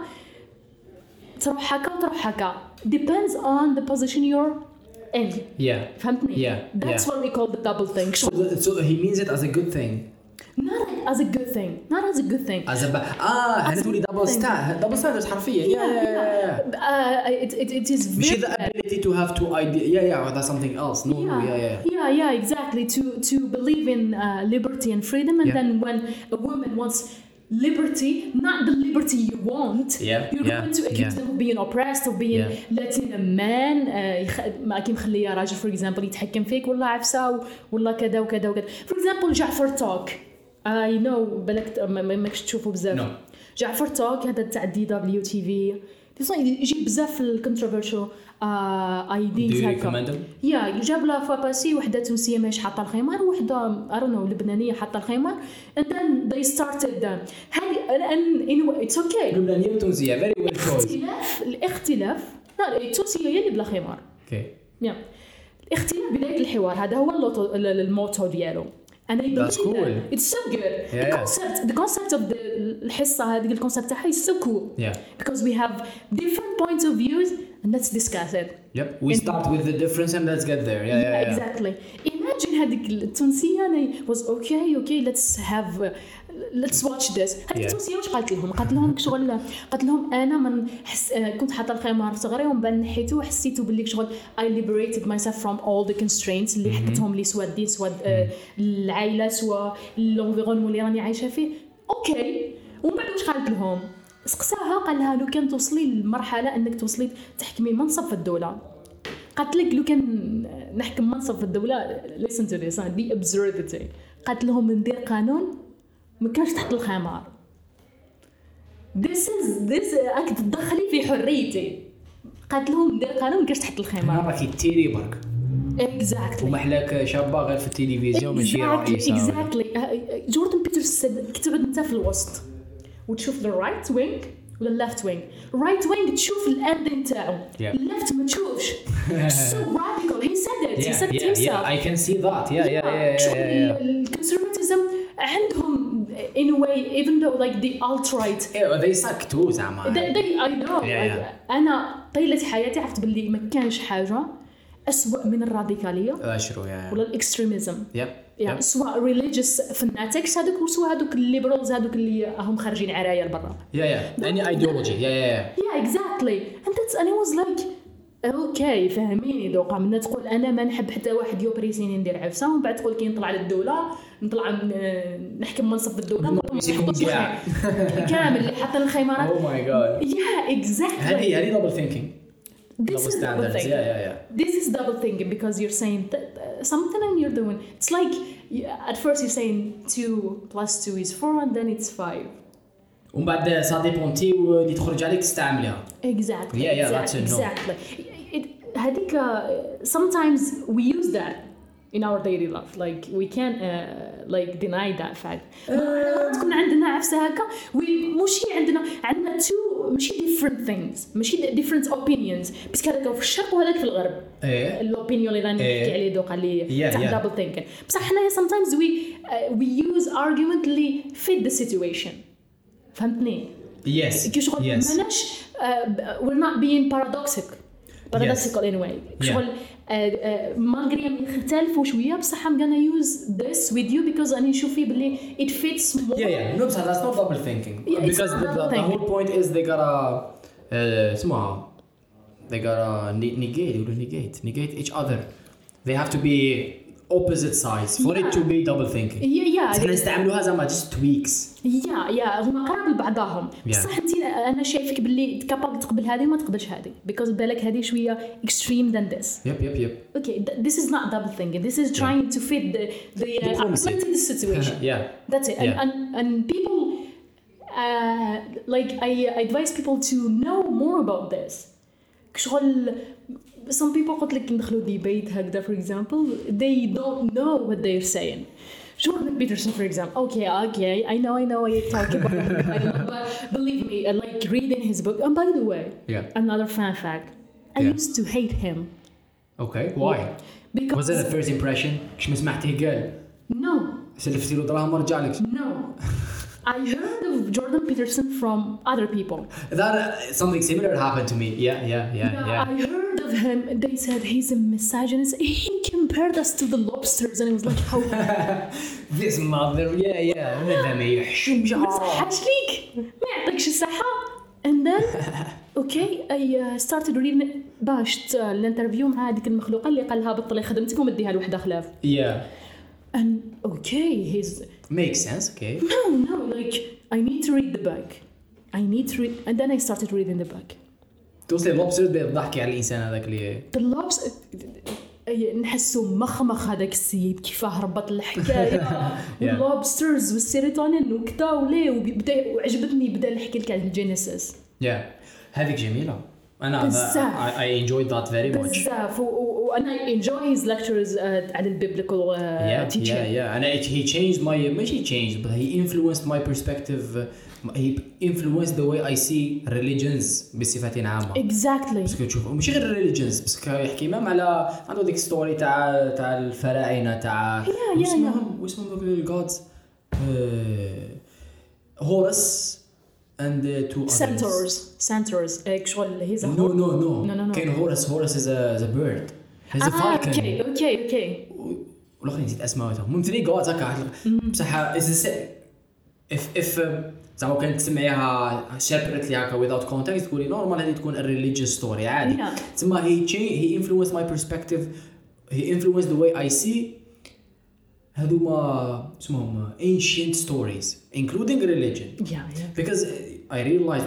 تروح هكا وتروح هكا depends on the position you're in. فهمتني? That's what we call the double thing. So he means it as a good thing. Not as a good thing. As a هذا تقولي double standards حرفيا. It is very the ability to have two ideas. That's something else. Exactly. To believe in liberty and freedom, and then when a woman wants liberty, not the liberty you want, you're going to accuse them of being oppressed, of being letting a man ما كي مخليه راجل for example يتحكم فيك ولا عفسة ولا كذا وكذا وكذا. For example جعفر توك. I know بالك ماكش تشوفوا بزاف. جعفر توك هذا تاع DWTV يجيب بزاف الكونتروفيرشال ايديز هكا. جاب لا فوا باسي وحده تونسيه ماهيش حاطه الخمار وحده I don't know لبنانيه حاطه الخمار and then they started and anyway it's okay. لبنانيه وتونسيه very well choice. الاختلاف لا التونسيه هي اللي بلا خمار. الاختلاف بدايه الحوار هذا هو الموتو ديالو. And I believe that it's so good. The concept of الحصة هذه الconcept تاعها is so cool. Because we have different points of views and let's discuss it. We start with the difference and let's get there. Exactly. Imagine imagine هذيك التونسيه انا was okay let's watch this. هذيك التونسيه واش قالت لهم شغل قالت لهم انا من كنت حاطه الخمار في صغري ومن بعد نحيته وحسيته باللي شغل I liberated myself from all the constraints اللي حطتهم لي سواء الدين سواء العائله سواء الانفيرونمون اللي راني عايشه فيه. اوكي ومن بعد واش قالت لهم؟ سقساها قال لها لو كان توصلي للمرحله انك توصلي تحكمي منصب في الدوله، قالت لك لو كان نحكم منصب في الدوله listen to this the absurdity. قالت لهم ندير قانون ما كانش تحت الخمار. this راك تدخلي في حريتي. قالت لهم ندير قانون ما كانش تحت الخمار. راكي تيري برك exactly ومحلاك شابه غير في التلفزيون ماشي رئيسه exactly. جوردن بيترسون كتبت انت في الوسط وتشوف الرايت وينج ولا الليفت وينج. رايت وينج تشوف الاند نتاعو الليفت ما تشوفش. so radical he said it himself. I can see that الكونسرفاتيزم عندهم in a way even though like the alt-right they suck too زعما I know أنا طيلة حياتي عرفت باللي ما كانش حاجة أسوأ من الراديكالية ولا الإكستريميزم سواء religious fanatics هذوك وسواء هذوك الليبرالز هذوك اللي هم خارجين عرايا لبرا any ideology exactly and that's and I was like اوكي فهميني دوقا من تقول انا ما نحب حتى واحد يوبريسيني ندير عفسه ومن بعد تقول كي نطلع للدوله نطلع نحكم منصب في الدوله كامل اللي حاطين الخيمارات oh my god exactly هذه double thinking this is double thinking this is double thinking because you're saying something and you're doing it's like at first you're saying 2 + 2 is 4 and then it's 5 ومن بعد سا ديبونتي اللي تخرج عليك تستعملها exactly that's it exactly هذيك sometimes we use that in our daily life like we can't like deny that fact تكون عندنا عفسه هكا ماشي عندنا two ماشي different things ماشي different opinions بس هذاك في الشرق وهذاك في الغرب الاوبينيون اللي راني نحكي عليه دوك اللي تاع double thinking بصح حنايا sometimes we use argument اللي fit the situation فهمتني yes ماناش we're not being paradoxical in a way شغل مالغري يختلفوا شويه بصح I'm gonna use this with you because أنا نشوف فيه باللي it fits more no بصح that's not double thinking because the whole point is they gotta اسمها they gotta negate each other they have to be opposite sides for it to be double thinking احنا نستعملوها زعما just tweaks هما قراب لبعضهم بصح انت انا شايفك باللي كابابل تقبل هذه وما تقبلش هذه because بالك هذه شويه extreme than this yep okay this is not double thinking this is trying to fit the situation that's it and people like I advise people to know more about this شغل some people قلت لك ندخلوا debate هكذا for example they don't know what they're saying. Jordan Peterson for example okay I know what you're talking about but believe me like reading his book and by the way another fun fact I used to hate him. Okay why? Because was it a first impression كش ما سمعتيه قال no سلفتي له دراهم ورجع لك no I heard of Jordan Peterson from other people. That something similar happened to me. Yeah. I heard of him. They said he's a misogynist. He compared us to the lobsters, and it was like, how? This mother, هذا ما يحشمش. حاش ليك ما يعطيكش الصحة. And then, okay, I started reading باش الانترفيو مع هذيك المخلوقة اللي قال لها بطلي خدمتك ومديها لوحدة خلاف. Yeah. And okay, he's makes sense. Okay. No, like I need to read the book. I need to read, and then I started reading the book. توصل لوبستر بضحكي على الإنسان هذاك اللي. The lobster. نحسه مخ هذاك السيد كيفاه ربط الحكاية واللوبسترز والسيروتونين وكذا وليه وعجبتني بدا نحكي لك على الجينيسيس. هذيك جميلة. أنا I enjoyed that very much. بزاف وأنا enjoy his lectures على البيبليكال teaching. And he changed my ماشي changed but he influenced my perspective. He influenced the way I see religions بصفة عامة. Exactly. بس كتشوف مش غير religions بس كيحكي مام على عنده ديك ستوري تاع الفراعنة تاع واسمهم الgods Horus and two others. Centaurs. Actually, he's a No. Ken Horus is a bird. He's a falcon. Okay. والاخرين نسيت اسمائهم ممثلين قوات هكا بصح if زعما كانت تسمعيها separately هكا without context تقولي نورمال هذه تكون a religious story عادي. تسمى he influenced my perspective, he influenced the way I see هذوما اسمهم ancient stories including religion. Because I realized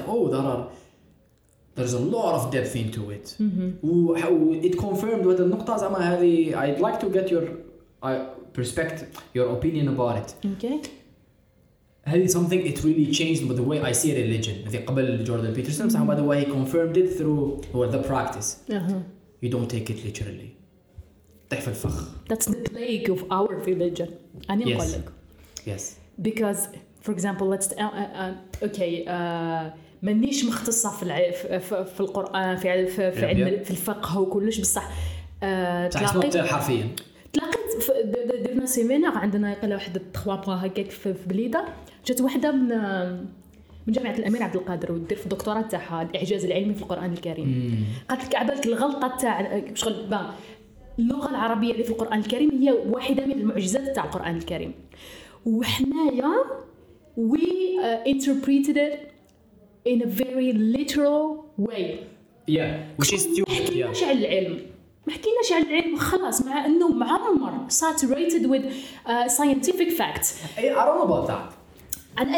there's a lot of depth into it. It confirmed هذه النقطة زعما هذه I'd like to get your perspective, your opinion about it. Okay. هذه something it really changed with the way I see religion. هذه قبل جوردن بيترسون صح by the way he confirmed it through the practice. You don't take it literally. طيح في الفخ. That's the plague of our religion. أنا أقول لك. Yes. Because for example let's okay مانيش مختصة في القرآن في علم في الفقه وكلش بصح تلاقيت حرفيا. تلاقيت درنا سيمينار عندنا يقال واحد التخوابغا هكاك في بليده جات وحده من جامعه الامير عبد القادر ودير في الدكتوراه تاعها الاعجاز العلمي في القران الكريم. قالت لك عبالك الغلطه تاع شغل اللغه العربيه اللي في القران الكريم هي واحده من المعجزات تاع القران الكريم وحنايا we interpreted it in a very literal way. Which is stupid. على العلم ما حكيناش على العلم خلاص مع انه معمر saturated with scientific facts. I don't know about that. أنا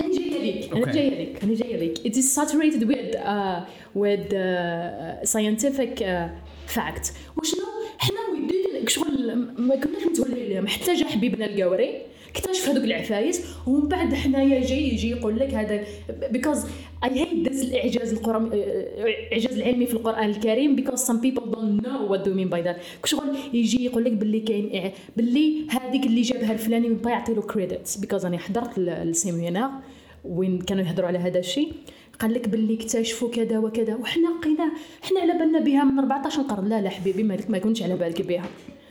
جاية لك. It is saturated with scientific facts. وشنو إحنا ودينا شغل ما كناش متولين لهم حتى جا حبيبنا القوري اكتشف هذوك العفايس ومن بعد حنايا يجي يقول لك هذا because I hate this الإعجاز العلمي في القرآن الكريم because some people don't know what do you mean by that. شغل يجي يقول لك باللي كاين باللي هذيك اللي جابها الفلاني من يعطي له credits because أنا حضرت السيمينار وين كانوا يهضروا على هذا الشيء قال لك باللي اكتشفوا كذا وكذا وحنا لقينا احنا على بالنا بها من 14 قرن. لا حبيبي ما كنتش على بالك بها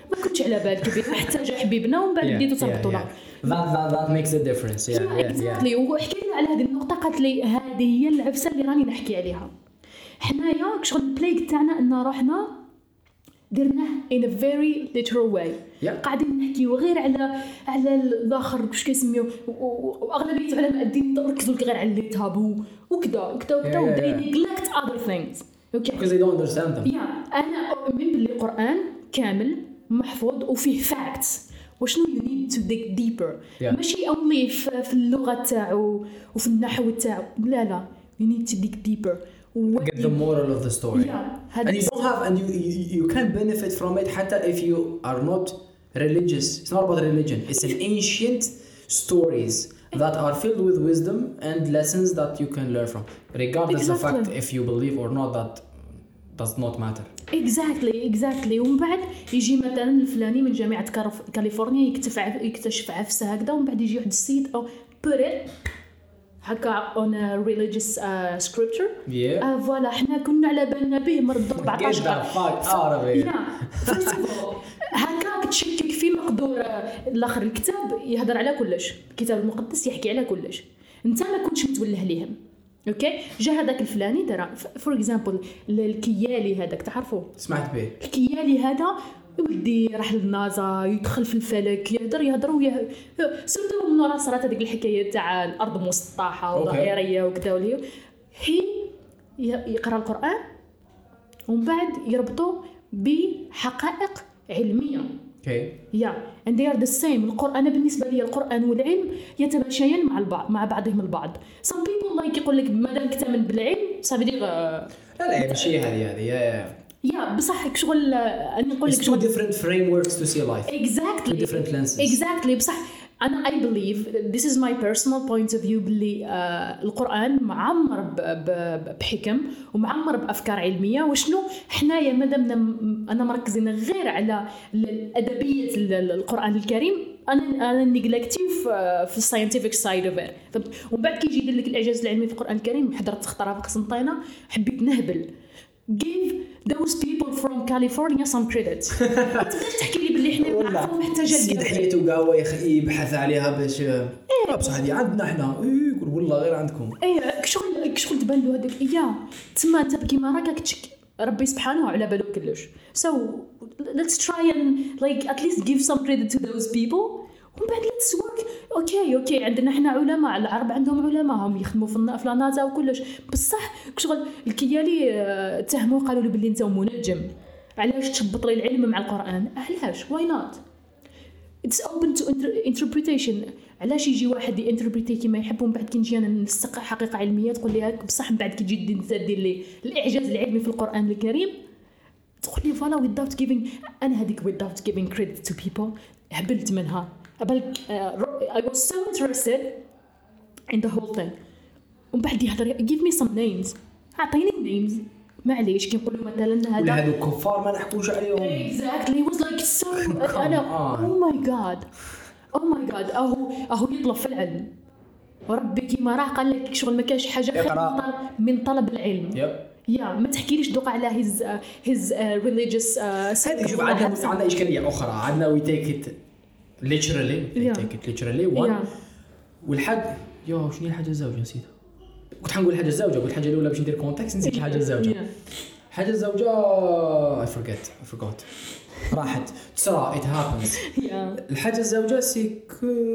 حتى جا حبيبنا ومن بعد بديتوا تربطونا. That makes a difference. exactly. وحكينا على هذه النقطة قالت لي هذه هي العفسة اللي راني نحكي عليها. حنايا شغل البلايك تاعنا أن رحنا درناه in a very literal way. قاعدين نحكيو غير على الآخر واش كيسميو وأغلبية علماء الدين ركزوا غير على اللي تابو وكذا they neglect other things. Okay. Because they don't understand them. أنا أؤمن باللي القرآن كامل محفوظ وفيه facts وشنو you need to dig deeper. ماشي only في اللغة تاعو وفي النحو تاعو لا you need to dig deeper. Get the moral of the story. And you don't have and you can benefit from it حتى if you are not religious. It's not about religion. It's an ancient stories that are filled with wisdom and lessons that you can learn from regardless of the fact if you believe or not. That does not matter. Exactly. ومن بعد يجي مثلا الفلاني من جامعة كاليفورنيا يكتشف عفسة هكذا ومن بعد يجي واحد السيد أو put it هكا on a religious scripture. فوالا احنا كنا على بالنا به مرض 14 هكا تشكك في مقدور الاخر. الكتاب يهضر على كلش، الكتاب المقدس يحكي على كلش، انت ما كنتش متوله ليهم. اوكي جا هذاك الفلاني دار فور اكزامبل الكيالي هذاك تعرفوه؟ سمعت به. الكيالي هذا ودي راح للنازا يدخل في الفلك يهضر ويا سورتو من راه صارت هذيك الحكايه تاع الارض مسطحه وظاهريه وكذا وليه هي يقرا القران ومن بعد يربطوا بحقائق علميه. and they are the same. القرآن بالنسبة لي القرآن والعلم يتماشيان مع بعضهم البعض. some people like يقول لك مادام كتامن بالعلم صافي دير لا ماشي هذه بصح شغل أنا نقول لك two different frameworks to see life. exactly two different lenses. بصح أنا I believe this is my personal point of view باللي القرآن معمر بحكم ومعمر بأفكار علمية. وشنو حنايا مادامنا أنا مركزين غير على الأدبية القرآن الكريم أنا نيجلكتيف في scientific side of it. ومن بعد كي يجي يدير لك الإعجاز العلمي في القرآن الكريم حضرت خطرة في قسنطينة حبيت نهبل. give those people from California some credit. تحكي لي باللي احنا نعرفوا حتى جا سيد حياته قاوه يبحث عليها باش بصح هذه عندنا احنا يقول والله غير عندكم. شغل تبان له هذاك تما انت كيما راك تشكي ربي سبحانه على باله كلش. So let's try and like at least give some credit to those people. ومن بعد let's work. اوكي عندنا احنا علماء، العرب عندهم علماء هم يخدموا في النازا وكلش، بصح شغل الكيالي اتهموا قالوا له باللي انت منجم، علاش تشبط لي العلم مع القرآن؟ علاش؟ why not? it's open to interpretation. علاش يجي واحد يانتربريتي كيما يحب ومن بعد كي نجي انا نستقع حقيقه علميه تقول لي هاك، بصح من بعد كي تجي انت دير لي الاعجاز العلمي في القرآن الكريم تقول لي فوالا without giving. انا هذيك without giving credit to people هبلت منها. بالك I was so interested in the whole thing. ومن بعد يهضر give me some names، اعطيني names معليش كي نقولوا مثلا هذا هذو الكفار ما نحكوش عليهم. exactly it was like so انا oh my god اهو يطلب في العلم، وربي كيما راه قال لك شغل ما كاش حاجه خير من طلب العلم. يا ما تحكيليش دوقا على his religious هذيك. شوف عندنا اشكاليه اخرى، عندنا we take it literally one. والحد شنو هي الحاجه الزوجه نسيتها. كنت حنقول الحاجه الزوجه، قلت الحاجه الاولى باش ندير كونتكست، نسيت الحاجه الزوجه. حاجه الزوجه I forgot راحت تصرى it happens. الحاجه الزوجه سيك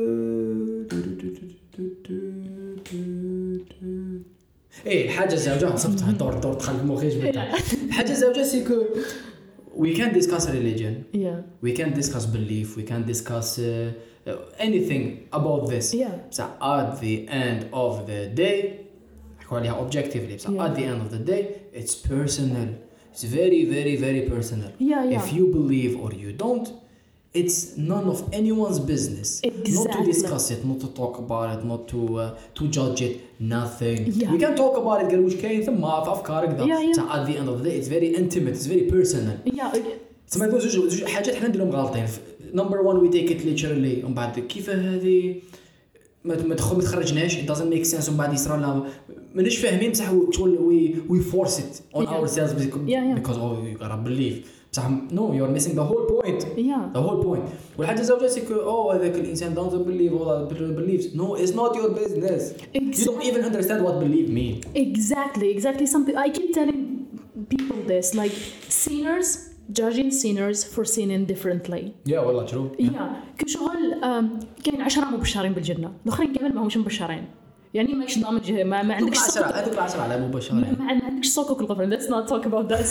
الحاجه الزوجه صفتها دور دخل مخي جبتها. الحاجه الزوجه سيك we can discuss religion, we can discuss belief, we can discuss anything about this. So at the end of the day objectively, at the end of the day it's personal. It's very very very personal. If you believe or you don't, it's none of anyone's business. Not to discuss it, not to talk about it, not to judge it, nothing. We can talk about it قال واش كاين ثم في افكارك ذا. So at the end of the day it's very intimate, it's very personal. تسمى زوج حاجات حنا نديرهم غلطين. Number one we take it literally، ومن بعد كيف هذه ما تخرجناش it doesn't make sense، ومن بعد يصرى لنا مانيش فاهمين بصح we force it on ourselves because you gotta believe. بصح no, you're missing the whole point. The whole point. والحاجة الزوجة سيك هذاك الإنسان doesn't believe all that believes. No, it's not your business. You don't even understand what believe mean. Exactly. Something I keep telling people this, like sinners judging sinners for sinning differently. والله true. كشغل كاين 10 مبشرين بالجنة، الآخرين كمان ما همش مبشرين. يعني ماكش ضامن ما عندكش هذوك العشرة على مباشرة ما عندكش صوكك الغفران. let's not talk about that.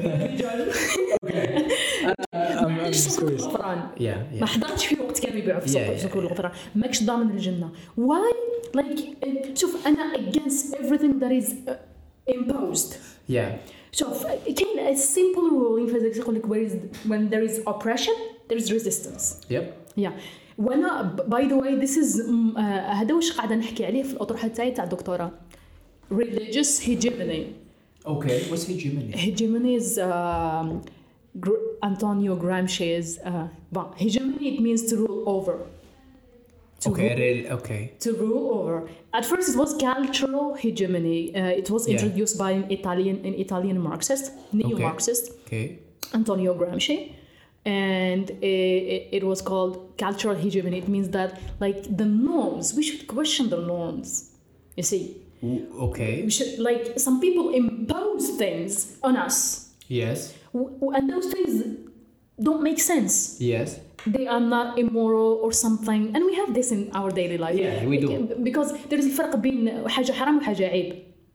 ما حضرتش في وقت كانوا يبيعوا في صوك الغفران، ماكش ضامن الجنة. why like شوف أنا against everything that is imposed. شوف كاين a simple rule in physics يقول لك when there is oppression there is resistance. وانا by the way this is هذا واش قاعده نحكي عليه في الاطروحه تاعي تاع الدكتوراه. religious hegemony. what's hegemony? Hegemony is Antonio Gramsci's hegemony. It means to rule over. To rule over. At first it was cultural hegemony. It was introduced by an Italian Marxist, neo-Marxist, Antonio Gramsci. And it was called cultural hegemony. It means that like the norms, we should question the norms. You see? We should, like, some people impose things on us. And those things don't make sense. They are not immoral or something. And we have this in our daily life. We do. Because there is a فرق بين حاجة حرام وحاجة عيب.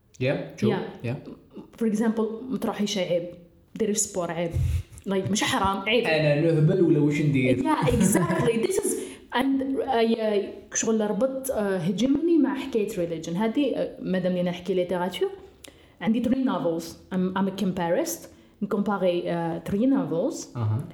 For example, ما تروحيش عيب. ديري سبور عيب. like مش حرام عيب. أنا نهبل ولا وش ندير؟ Exactly. This is and شغل ربط hegemony مع حكاية religion. هذه مادام لي نحكي ليتراتور عندي 3 novels. I'm a comparist. نcompare 3 novels.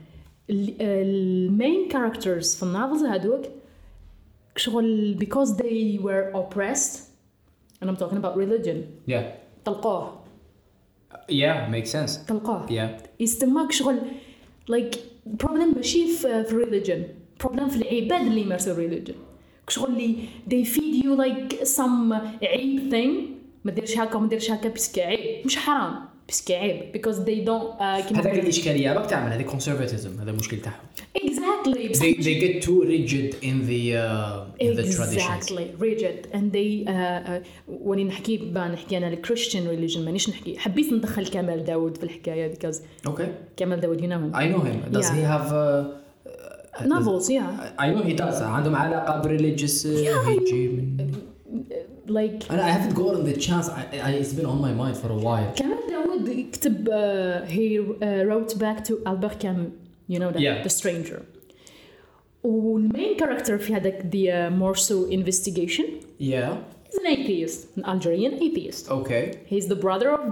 main characters في النوفلز هذوك شغل because they were oppressed and I'm talking about religion. تلقوه. makes sense. تلقوه. يستماك شغل like problem ماشي في religion. problem في العباد اللي يمارسوا religion. شغل اللي they feed you like some عيب thing. ما ديرش هكا وما ديرش هكا بس عيب مش حرام. بس عيب because they don't. هذاك الإشكالية راك تعمل هذا conservatism. هذا المشكل تاعهم. Exactly. exactly. They get too rigid in the traditions. Exactly rigid, and they واني نحكي انا الكريستيان ريليجن مانيش نحكي. حبيت ندخل كمال داود في الحكايه because كمال داود you know him. I know him. Does he have novels? Yeah, I know he does. عندهم علاقه بريليجيوس هيجي like I haven't gotten the chance. It's been on my mind for a while. كمال داود كتب he wrote back to Albert Camus, you know that, Yeah. The Stranger. والmain character في هذاك the Morceau investigation Yeah. is an atheist, an Algerian atheist. Okay. He's the brother of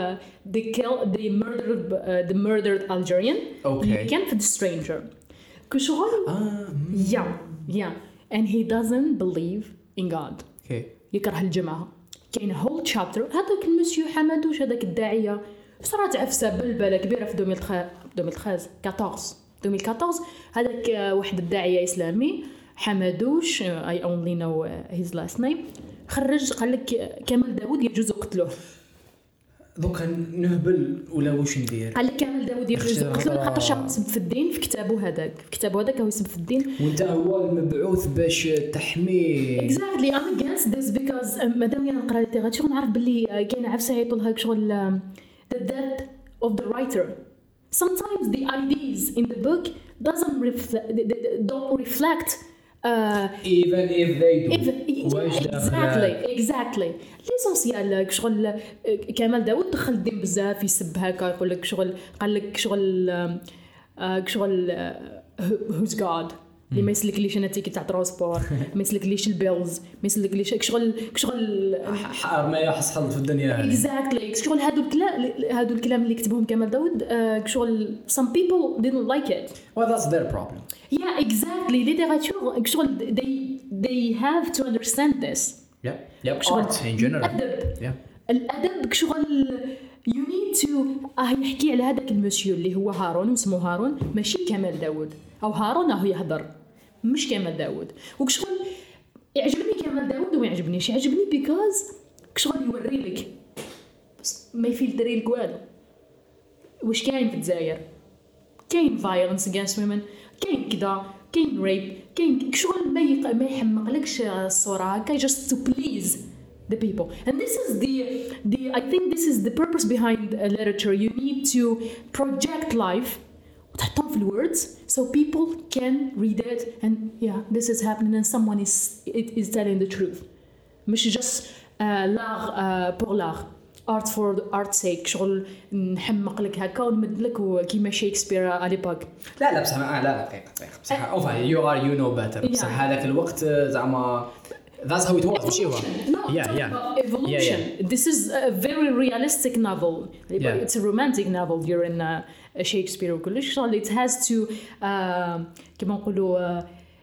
the murdered Algerian. Okay. اللي كان في The Stranger. كشغل yeah and he doesn't believe in God. Okay. يكره الجماعة. كاين whole chapter هذاك المسيو حمدوش هذاك الداعية صارت عفسة بلبلة كبيرة في 2014 هذاك واحد الداعية إسلامي حمدوش I only know his last name خرج قال لك كمال داود يجوز قتله. دوكا نهبل ولا واش ندير؟ قال لك كمال داود يجوز قتله خاطر شاب يسب في الدين في كتابه هذاك هو يسب في الدين. وانت هو المبعوث باش تحميه. Exactly I'm against this because مادام انا نقرا ليتيراتور نعرف باللي كاين عفسه يعيطوا شغل the death of the writer. Sometimes the ideas in the book don't reflect even if they do. exactly ليسونسيال شغل كمال داود دخل الدين بزاف يسب هكا يقول لك شغل قال لك شغل who's God اللي ما يسلكليش انا تيكي تاع ترونسبور ما يسلكليش البيلز ما يسلكليش شغل ما يحصل في الدنيا هذه. exactly شغل هادو الكلام اللي كتبهم كمال داود شغل some people didn't like it. Well, that's their problem. Yeah, exactly. literature شغل they have to understand this. Yeah. Art in general. الأدب شغل you need to يحكي على هذاك المسيو اللي هو هارون اسمه هارون ماشي كمال داود أو هارون هو يهضر مش كمال داود. وكشغل يعجبني كمال داود وما يعجبنيش. يعجبني because كشغل يوري لك بس ما يفلتري لك والو. واش كاين في الجزائر؟ كاين violence against women، كاين كذا، كاين rape، كاين شغل ما يحمقلكش الصورة هكا just to please the people. And this is I think this is the purpose behind literature. You need to project life وتحطهم في words so people can read it and yeah this is happening and someone is telling the truth. مش just l'art pour l'art. art for art's sake شغل نحمق لك هكا ونمد لك كيما شيكسبير على ليبوك. لا بصح لا دقيقه بصح اوفا you know better. بصح هذاك الوقت زعما that's how it was ماشي هو. Evolution. This is a very realistic novel. It's a romantic novel during Shakespeare وكلش شغل it has to كما نقولوا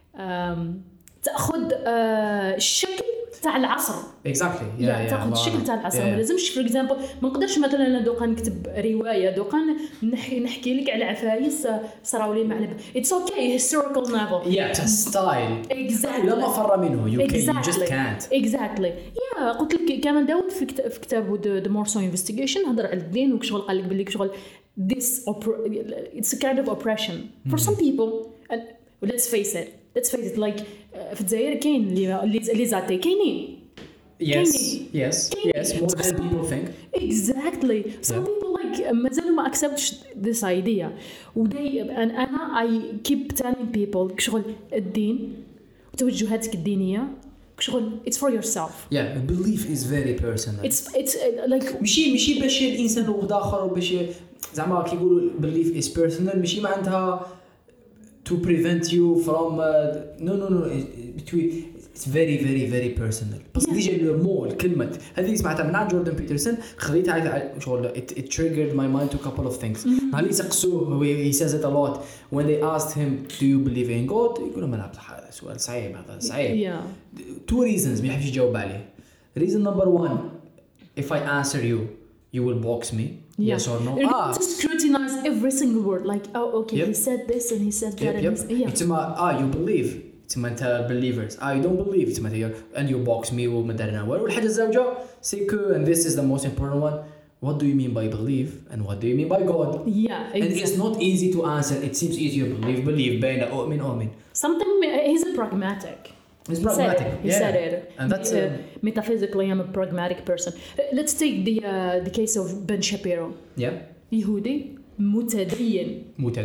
تاخذ الشكل تاع العصر. exactly تاخذ الشكل تاع العصر. ما لازمش for example ما نقدرش مثلا انا دوقا نكتب روايه دوقا نحكي لك على عفايس صراو لي معلب. it's okay historical novel. it's a style. exactly. لا مفر منه you just can't. exactly. قلت لك كمان داود في كتابه the Morceau investigation هضر على الدين وكشغل قال لك باللي كشغل it's a kind of oppression for some people and let's face it like في الجزائر كاين اللي زاتي كاينين. yes more than people think. exactly. some people like مازالوا ما accept this idea and I keep telling people كشغل الدين وتوجهاتك الدينية كشغل it's for yourself. belief is very personal. it's like ماشي باش الانسان واحد اخر باش زعما كيقولوا belief is personal ماشي معناتها to prevent you from no it's very personal. بس ديجا المو الكلمه هذه سمعتها من عند جوردن بيترسون خليتها شغل it triggered my mind to a couple of things. هل يسقسوه he says it a lot when they asked him do you believe in God يقولوا ما لا هذا سؤال صعيب هذا صعيب. two reasons ما يحبش يجاوب عليه. reason number one if I answer you will box me. Yes or no? To scrutinize every single word like okay he said this and he said that. It's you believe it's meant believers. You don't believe it's meant and you box me ومدرنا والحاجة الزوجة c'est que and this is the most important one what do you mean by believe and what do you mean by God? Yeah, exactly. And it's not easy to answer. It seems easier believe بين أؤمن. Something, he's a pragmatic. He's pragmatic. He said it. And that's metaphysically, I'm a pragmatic person. Let's take the case of Ben Shapiro. Yeah. يهودي متدين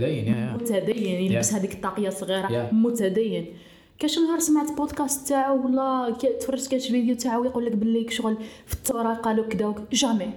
يلبس هذيك الطاقية صغيرة. متدين. كاش نهار سمعت بودكاست تاعو ولا تفرجت كاش فيديو تاعو يقول لك باللي شغل في التوراة قالوا كذا جامي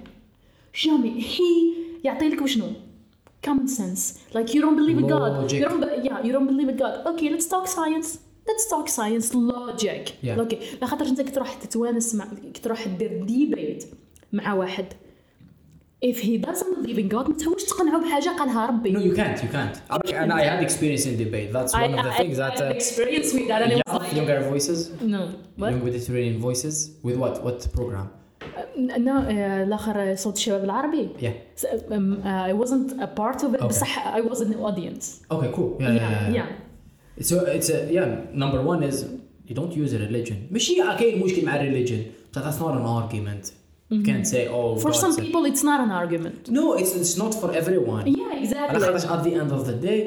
هي يعطي لك وشنو common sense, like you don't believe in God, you don't believe in God. Okay, let's talk science, logic. Okay, لا خاطر انت كتروح تتوانس مع كتروح دير ديبيت مع واحد if he doesn't believe in God ما تحاولش تقنعه بحاجه قالها ربي. No, you can't. And I had experience in debate. That's one of the things that I experience with that, and it was like Younger Voices. No, what? Young Mediterranean Voices with what program? No, الآخر صوت الشباب العربي. Yeah. I wasn't a part of it. بصح I was in the audience. Okay, cool. Yeah. So it's number one is you don't use a religion. ماشي كاين مشكل مع religion, but that's not an argument. You can't say, for some people it's not an argument. No, it's not for everyone. Yeah, exactly. At the end of the day,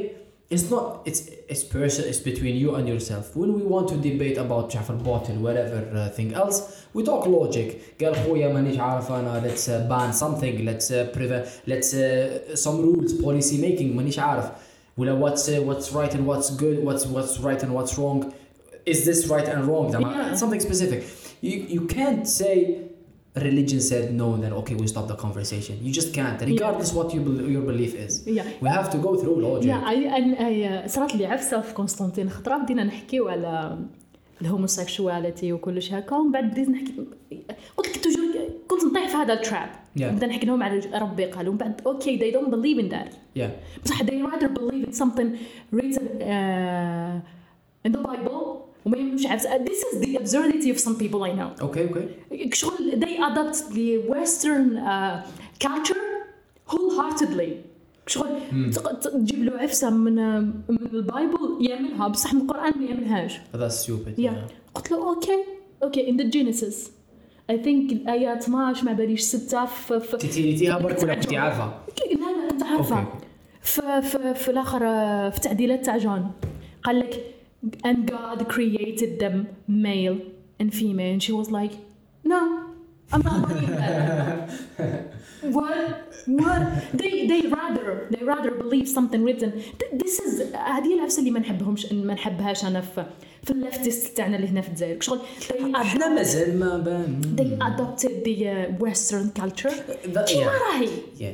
it's personal. It's between you and yourself. When we want to debate about Jafar Bottle, whatever thing else, we talk logic. قال خويا مانيش عارف أنا. Let's ban something. Let's prevent. Let's some rules, policy making. مانيش عارف. ولا what's right and what's good. What's right and what's wrong. Is this right and wrong? Yeah. Something specific. You can't say. Religion said no, then okay, we stop the conversation. You just can't, regardless what your belief is. We have to go through logic. I صارت لي عفسه في قسطنطين خطره بدينا نحكيو على الهوموسيكشواليتي وكلش هكا ومن بعد بديت نحكي قلت لك توجور كنت نطيح في هذا التراب. بدنا نحكي لهم على ربي قال ومن بعد okay they don't believe in that. بصح they rather believe in something written in the Bible. وما يمش عارف. This is the absurdity of some people I know. Okay. شغل they adopt the Western culture wholeheartedly. شغل تجيب له عفسة من البايبل يأمنها بصح من القرآن ما يأمنهاش. That's stupid. قلت له okay in the Genesis I think الآية 12 ما باليش 6 في تيتيها برك ولا كنتي عارفة؟ لا كنت عارفة. في الآخر في تعديلات تاع جون قال لك and God created them male and female and she was like no I'm not believing that. what they rather believe something written. This is هذه العفسه اللي ما نحبهاش انا في اللفتست تاعنا اللي هنا في الجزائر شغل احنا مازال ما بان they adopted the Western culture كيما راهي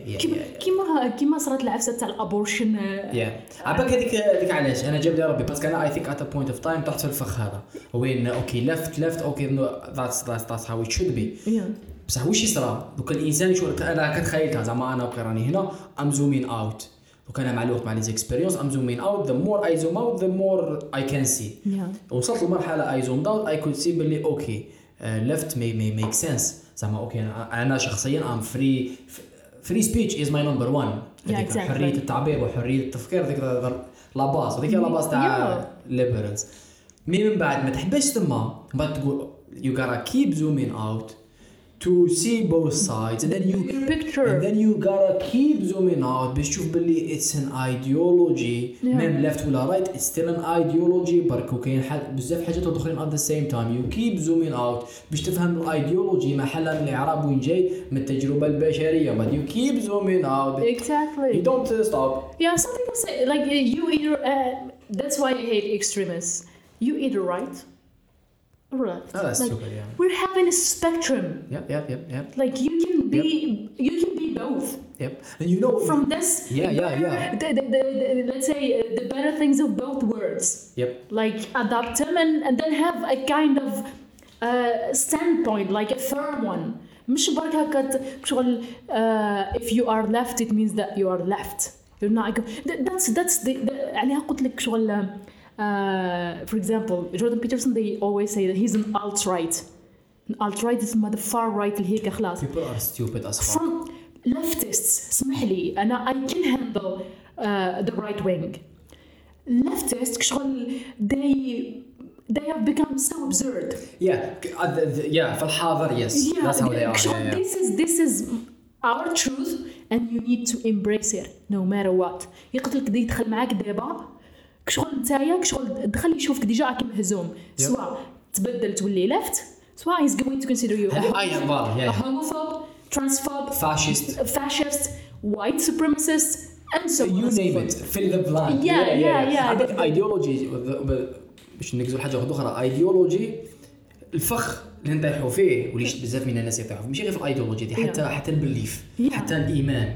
كيما صارت العفسه تاع الابورشن. عباك هذيك علاش انا جاب لي ربي باسكو انا I think at a point of time طحت في الفخ هذا وين اوكي left اوكي that's how it should be. بصح واش يصرى دوك الانسان يشوف انا كتخيل زعما انا راني هنا I'm zooming out وكان مع الوقت مع لي اكسبيريونس I'm zooming out the more I zoom out the more I can see. وصلت لمرحله I zoomed out I could see باللي اوكي left may make sense زعما اوكي انا شخصيا I'm free speech is my number one. حريه التعبير وحريه التفكير ذيك لا باس هذيك لا باس تاع liberals. من بعد ما تحبش تما ما تقول you gotta keep zooming out to see both sides and then you gotta keep zooming out باش تشوف باللي it's an ideology même left ولا right it's still an ideology بركو كاين بزاف حاجات اخرين at the same time you keep zooming out باش تفهم الايديولوجي محلها من الاعراب وين جاي من التجربه البشريه but you keep zooming out exactly you don't stop. Some people say like you either that's why I hate extremists. You either right Right. That's like, stupid, we're having a spectrum. Yep. Like you can be both. Yep. And you know from this. The let's say the better things of both worlds. Yep. Like adopt them and then have a kind of standpoint, like a third one. مش برك هكا شغل if you are left it means that you are left. You're not. That's the عليها قلت لك شغل. For example, Jordan Peterson, they always say that he's an alt-right. An alt-right is the far right اللي هيك خلاص. People are stupid as fuck. From leftists, اسمح لي أنا I can handle the right wing. Leftists شغل they have become so absurd. في الحاضر yes. That's how they are. This is our truth and you need to embrace it no matter what. يقتلك دي يدخل معاك دابا كشغل نتايا كشغل دخل يشوفك ديجا راك مهزوم سواء تبدل تولي left سواء he's going to consider you a homophobe, transphobe, fascist, white supremacist and so on. You name it, fill the blank. Yeah. عندك ideology باش نكزو حاجه اخرى ideology الفخ اللي نطيحوا فيه وليش بزاف من الناس يطيحوا فيه ماشي غير في الايديولوجي دي حتى البليف حتى الايمان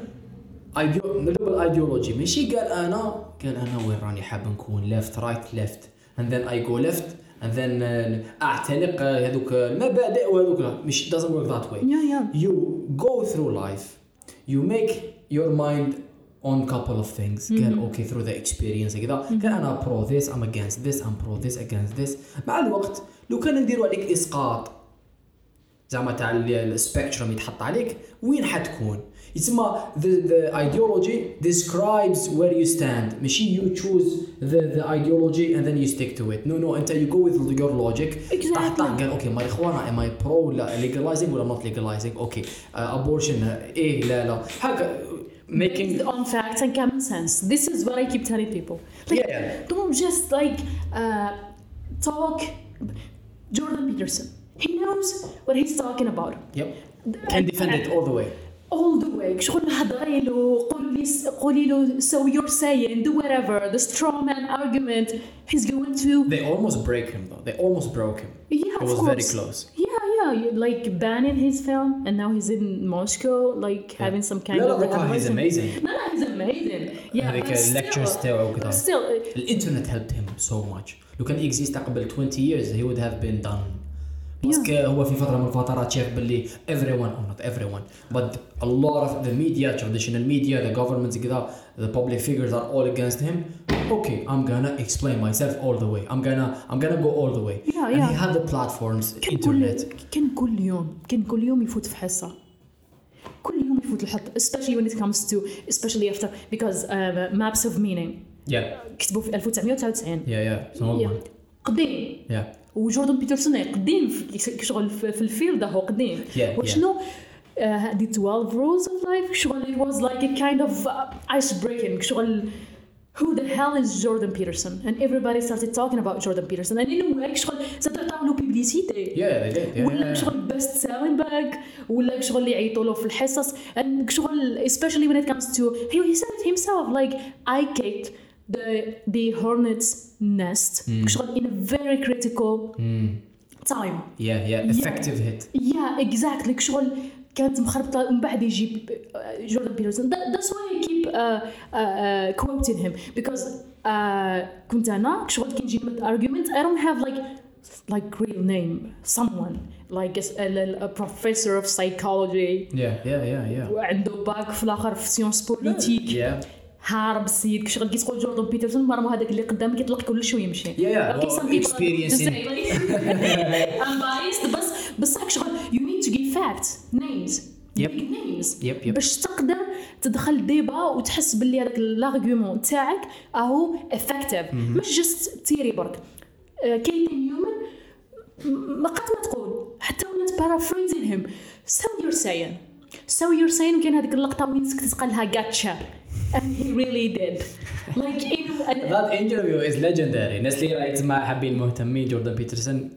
الايديولوجي ماشي قال انا وين راني حاب نكون left right left and then I go left and then اعتنق هذوك المبادئ وهذوك مش doesn't work that way. You go through life, you make your mind on couple of things. قال okay through the experience كذا قال أنا pro this I'm against this I'm pro this against this. مع الوقت لو كان نديروا عليك إسقاط زعما تاع السبيكتروم يتحط عليك وين حتكون؟ يسمى the ideology describes where you stand. ماشي you choose the ideology and then you stick to it. No أنت you go with your logic. Exactly. قال okay marijuana am I pro ولا legalizing ولا not legalizing? Okay abortion إيه لا هكا. Making on facts and common sense. This is what I keep telling people. Like, don't just like talk. Jordan Peterson, he knows what he's talking about. Yep. Can defend it all the way. All the way. شغل هضري له قولي له so you're saying do whatever the straw man argument he's going to. They almost break him though. They almost broke him. Yeah, it was very close. Yeah, like banning his film and now he's in Moscow like having some kind of he's amazing. No, he's amazing. Yeah, like lectures تاعو كذا. Still, the internet helped him so much. لو كان exist قبل 20 years he would have been done. بس هو في فترة من الفترات شاف باللي everyone or not everyone but a lot of the media traditional media the governments كذا the public figures are all against him. Okay, I'm gonna explain myself all the way. I'm gonna go all the way. And he had the platforms internet. كان كل يوم يفوت في حصة. كل يوم يفوت الحط especially when it comes to especially after because maps of meaning. كتبوا في 1999. قديم. وجوردن بيترسون قديم في شغل في الفيلد هو قديم. وشنو هذه 12 rules of life شغل it was like a kind of ice breaking شغل who the hell is Jordan Peterson and everybody started talking about Jordan Peterson and anyway شغل زاد عطاو له بيبليسيتي ولا شغل best selling bag ولا شغل اللي يعيطوا له في الحصص and شغل especially when it comes to he said it himself like I kicked the hornet's nest شغل in a very critical time. effective hit. Exactly شغل كانت مخربطة من بعد يجيب جوردن بيترسون. That's why I keep quoting him because كنت أنا شغل كي نجيب من argument I don't have like real name someone like a professor of psychology وعنده باك في الآخر في سيونس بوليتيك هارب السيد كشغل كي تقول جوردن بيترسون مرمو هذاك اللي قدامك يطلق كل شويه يمشي. Okay, some people experiencing. I'm biased بس شغل you need to give facts names. Yep. باش تقدر تدخل ديبا وتحس باللي هذاك الارغيومون تاعك اهو effective مش just تيري برك. كاين نيومن ما قد ما تقول حتى ولات paraphrasing him so you're saying كاين هذيك اللقطه وين سكتت قالها gotcha. And he really did. Like that interview is legendary. الناس اللي رايت ما حابين مهتمين جوردن بيترسون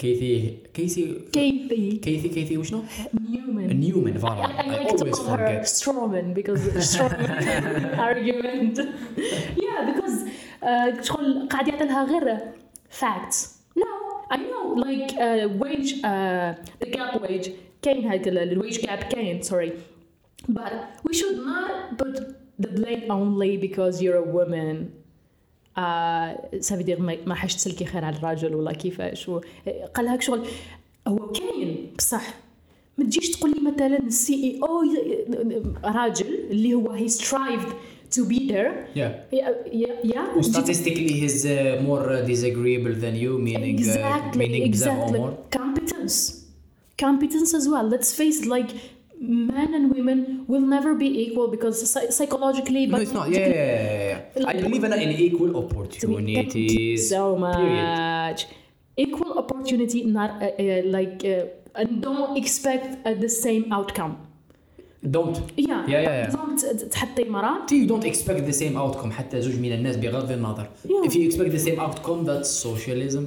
كيثي وشنو؟ Newman. I always forget. Strawman because Strawman argument. Because شغل قاعد يعطي لها غير facts. No, I know like wage the gap wage كاين هذا الwage gap كاين sorry. But we should not put the blame only because you're a woman. ça veut dire ما حاش تسلكي خير على الراجل ولا كيفاش قالها شغل هو كاين بصح ما تجيش تقول لي مثلا السي اي او راجل اللي هو he strived to be there. Statistically he's more disagreeable than you meaning exactly. Competence as well. Let's face it, like men and women will never be equal because psychologically no it's not I believe in equal opportunities so much equal opportunity not and don't expect the same outcome don't don't تحطي مرة you don't expect the same outcome حتى زوج من الناس بغض النظر. If you expect the same outcome, that's socialism.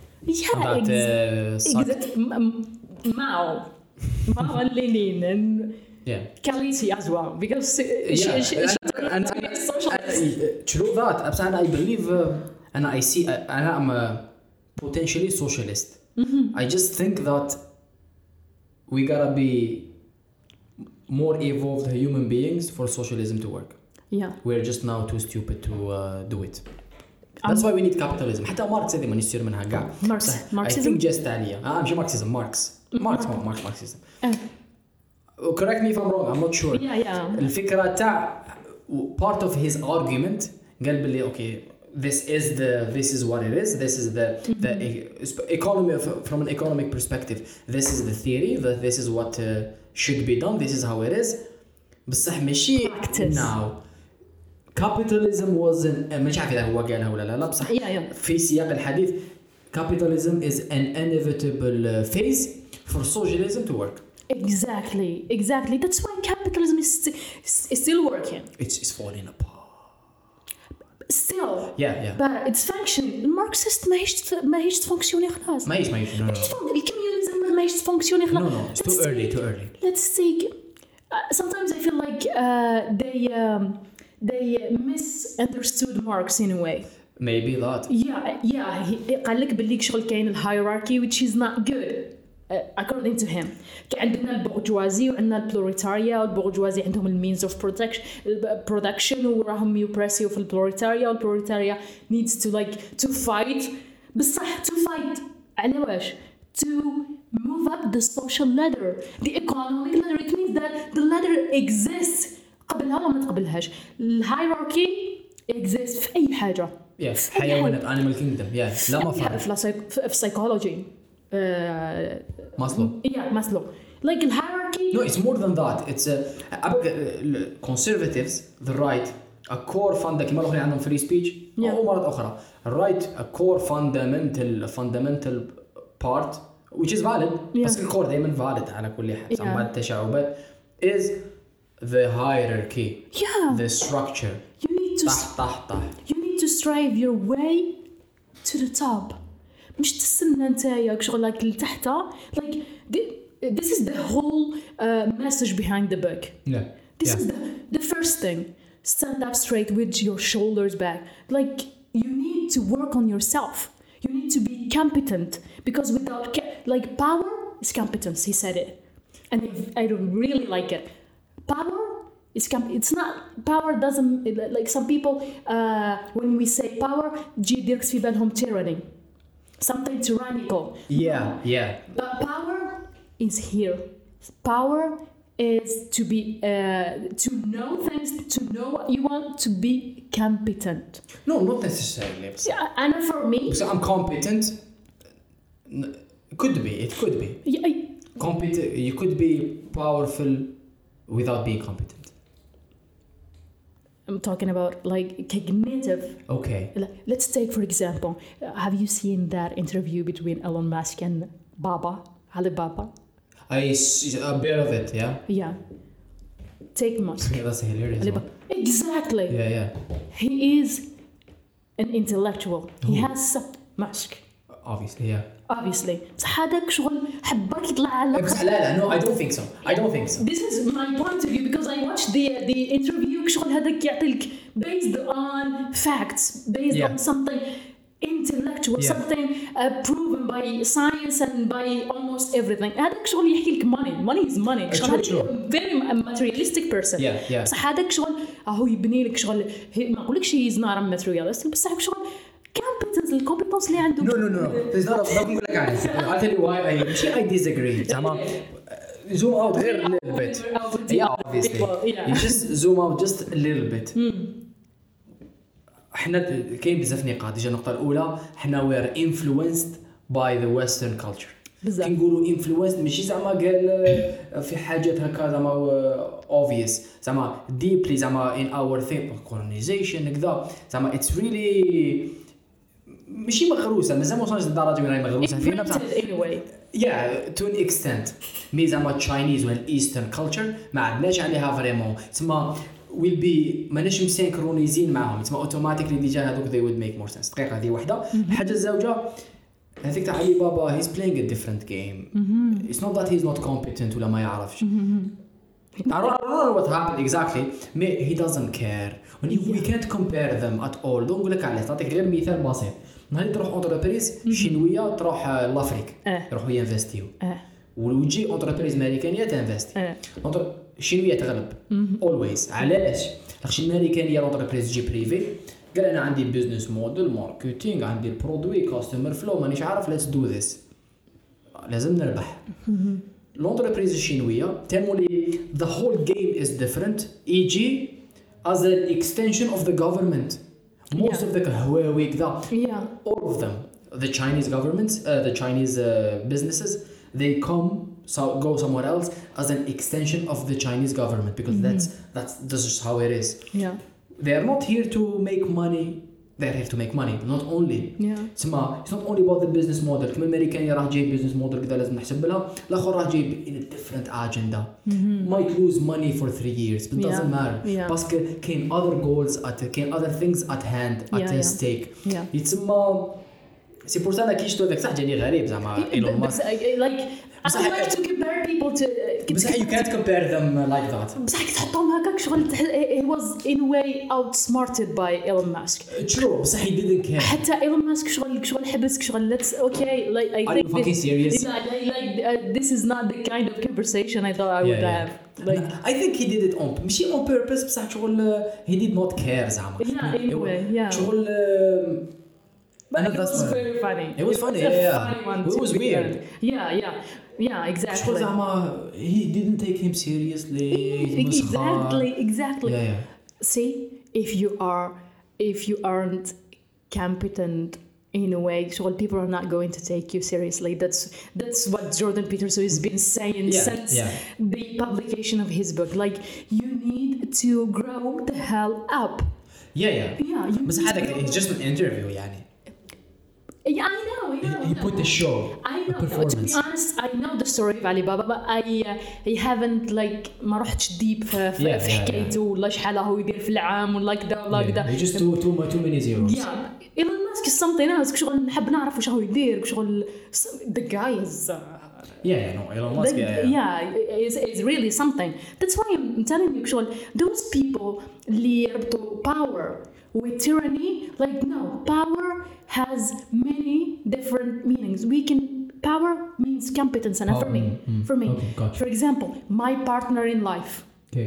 Mao and Lenin and Kalisi as well, because true that. I believe and I see and I'm potentially socialist. I just think that we gotta be more evolved human beings for socialism to work. We're just now too stupid to do it. That's why we need capitalism. حتى ماركس هذه ما نستير منها كاع. I think just تالية. مش ماركسيزم. ماركسيزم. Correct me if I'm wrong. I'm not sure. الفكرة تاع part of his argument قال باللي okay, this is what it is. This is the economy from an economic perspective. This is the theory. That this is what should be done. This is how it is. بصح ماشي now. Capitalism wasn't مش عارف إذا هو قالها ولا لا بصح في سياق الحديث capitalism is an inevitable phase for socialism to work. Exactly. That's why capitalism is still working. It's falling apart. Still. But it's functioning. Marxist ما هيش تفونكسيوني خلاص. ما هيش. الكميونيزم ما هيش تفونكسيوني خلاص. No. It's too early. Let's take. Sometimes I feel like they misunderstood Marx in a way. Maybe that. قال لك باللي شغل كاين الهيراركي which is not good according to him. عندنا البورجوازي وعندنا البلوريتاريا، والبورجوازي عندهم المينز اوف برودكشن وراهم يوبريسيو في البلوريتاريا، والبلوريتاريا needs to fight بصح to fight على واش to move up the social ladder, the economic ladder. It means that the ladder exists قبلها ولا ما تقبلهاش. الهيراركي exists في أي حاجة. حيوانات animal kingdom. لا ما فرق. في psychology. Maslow. Like the hierarchy. No, it's more than that. It's conservatives, the right, a core كما الأخرين عندهم free speech. أو مرات أخرى. Right, a core fundamental part, which is valid. بس الcore دائما valid على كل حال. سمعت التشعبات is the hierarchy. The structure. You need to. You need to strive your way to the top. مش تستنى نتايا شغل like لتحتها. Like this is the whole message behind the book. This is the first thing. Stand up straight with your shoulders back. Like you need to work on yourself. You need to be competent, because without power is competence. He said it, and I really like it. Power is it's not power. Doesn't like some people when we say power, جي ديرك في بالهم tyranny. Something tyrannical. But power is here. Power is to be to know things, to know what you want, to be competent. No, not necessarily. And for me, so I'm competent. It could be. Competent. You could be powerful without being competent. I'm talking about like cognitive. Okay. Let's take for example, have you seen that interview between Elon Musk and Alibaba? I see a bit of it, Yeah. Take Musk. That's hilarious. Exactly. Yeah. He is an intellectual. He has Musk. Obviously. بس هذاك شغل حبك يطلع على. لا. No, I don't think so. This is my point of view, because I watched the interview. شغل هذاك يعطيك based on facts, based on something intellectual, something proven by science and by almost everything. هذاك شغل يحكي لك money is money. شغل very materialistic person. بس هذاك شغل هو يبني لك شغل ما أقولكش he's not a materialist، بس هذاك شغل الكومبتنس اللي عنده. No. There's not a نقول لك عايز. I'll tell you why I disagree. زعما zoom out here a little bit. Obviously. You just zoom out just a little bit. احنا كاين بزاف نقاط. النقطة الأولى احنا we're influenced by the Western culture. كي نقولوا influenced ماشي زعما قال في حاجات هكا زعما obvious زعما deeply زعما in our thing colonization كذا زعما it's really ماشي مغروسه مازال ما وصلناش للدرجه وين راهي مغروسه فينا بصح anyway. yeah to an extent مي زعما Chinese ولا Eastern culture ما عندناش عليها فريمون تسمى will be ماناش مسينكرونيزين معاهم تسمى اوتوماتيكلي ديجا هذوك they would make more sense. دقيقه هذه وحده. الحاجه الزوجه هذيك تاع علي بابا he's playing a different game. It's not that he's not competent ولا ما يعرفش. I don't know what happened exactly. He doesn't care. We can't compare them at all. دون نقول لك عليه تعطيك غير مثال بسيط. نهار تروح اونتربريز شينويه تروح لافريك يروحوا ينفستيو وتجي اونتربريز امريكانيه تنفستي الشينويه تغلب always. علاش؟ لاخاطش الامريكانيه اونتربريز تجي بريفي قال انا عندي بيزنس موديل ماركتينغ عندي البرودوي كاستمر فلو مانيش عارف ليتس دو ذس لازم نربح. l'entreprise الشينويه تمولي the whole game is different e.g. as an extension of the government. Most of the Huawei, all of them, the Chinese governments, the Chinese businesses, they go somewhere else as an extension of the Chinese government because this is how it is. Yeah. They are not here to make money. They're here to make money, not only. It's not only about the business model. كم الأمريكاني راح جايب business model كذا لازم نحسب لها. الآخر راح جايب in a different agenda. Might lose money for 3 years, but doesn't matter. بس كاين other goals كاين other things at hand at stake. يتسمى سي بور سا كي شفتو ذاك صح جاني غريب زعما إيلون ماسك. I like to compare people to. بس you can't compare them like that. بس تحطهم هكاك شغل he was in a way outsmarted by Elon Musk. True. بس he didn't care. حتى Elon Musk شغل حبسك شغل let's okay like I think are you fucking serious? This is not the kind of conversation I thought I would have. Like I think he did it ماشي on purpose بس شغل he did not care زعما. Anyway, شغل But it was very funny. It was funny. It was weird. Yeah, exactly. He didn't take him seriously. Exactly. Yeah. See, if you aren't competent in a way, so people are not going to take you seriously. That's what Jordan Peterson has been saying since the publication of his book. Like, you need to grow the hell up. Yeah. بس هذا it's just an interview يعني. Yeah, I know. He put the show. I know. To be honest, I know the story of Alibaba, but I haven't like ما رحتش deep في حكايته ولا شحال هو يدير في العام ولا كذا ولا كذا. He just too many zeros. Yeah, Elon Musk is something else. شغل نحب نعرف وش هو يدير. شغل the guy is. Elon Musk. Is really something. That's why I'm telling you, شغل those people اللي يربطوا power with tyranny, like no, power has many different meanings. Power means competence, and for me, okay, gotcha. For example, my partner in life. Okay.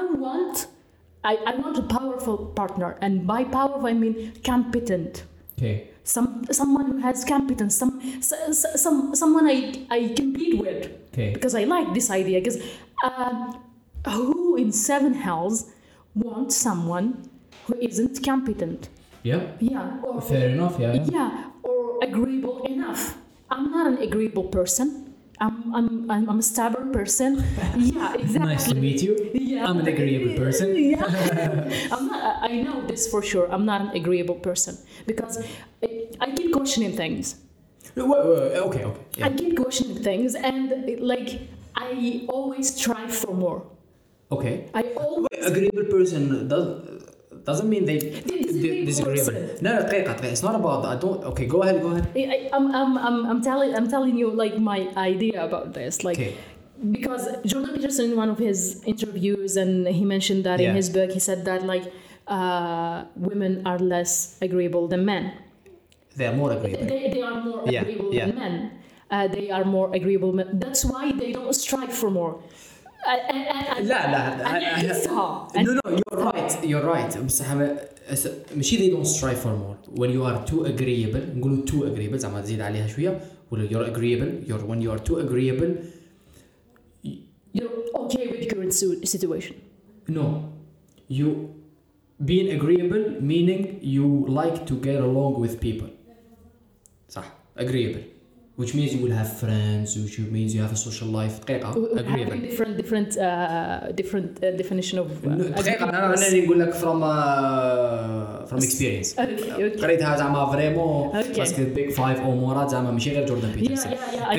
I want a powerful partner, and by powerful I mean competent. Okay. Someone who has competence, someone I compete with. Okay. Because I like this idea. Because who in 7 hells wants someone who isn't competent? Yeah. Fair enough. Yeah, or agreeable enough. I'm not an agreeable person. I'm a stubborn person. Yeah, exactly. Nice to meet you. Yeah. I'm an agreeable person. I know this for sure. I'm not an agreeable person because I keep questioning things. Okay. Yeah. I keep questioning things, and like I always strive for more. Okay. Agreeable person doesn't mean they disagreeable. No, it's not about that. Okay, go ahead. I'm telling you like my idea about this, like because Jordan Peterson in one of his interviews, and he mentioned that in his book, he said that like women are less agreeable than men. They are more agreeable. They are more agreeable than men. They are more agreeable. That's why they don't strive for more. You're right. بس ماشي they don't strive for more. When you are too agreeable نقولوا too agreeable زعما تزيد عليها شوية ولا you're agreeable. When you are too agreeable you're okay with the current situation. No, you being agreeable meaning you like to get along with people. صح agreeable. which means you will have friends, which means you have a social life. دقيقة agreeable. different definition of دقيقة أنا نقول لك from experience. قريتها زعما فريمون باسكو big five أو مرات زعما ماشي غير جوردن بيترسون.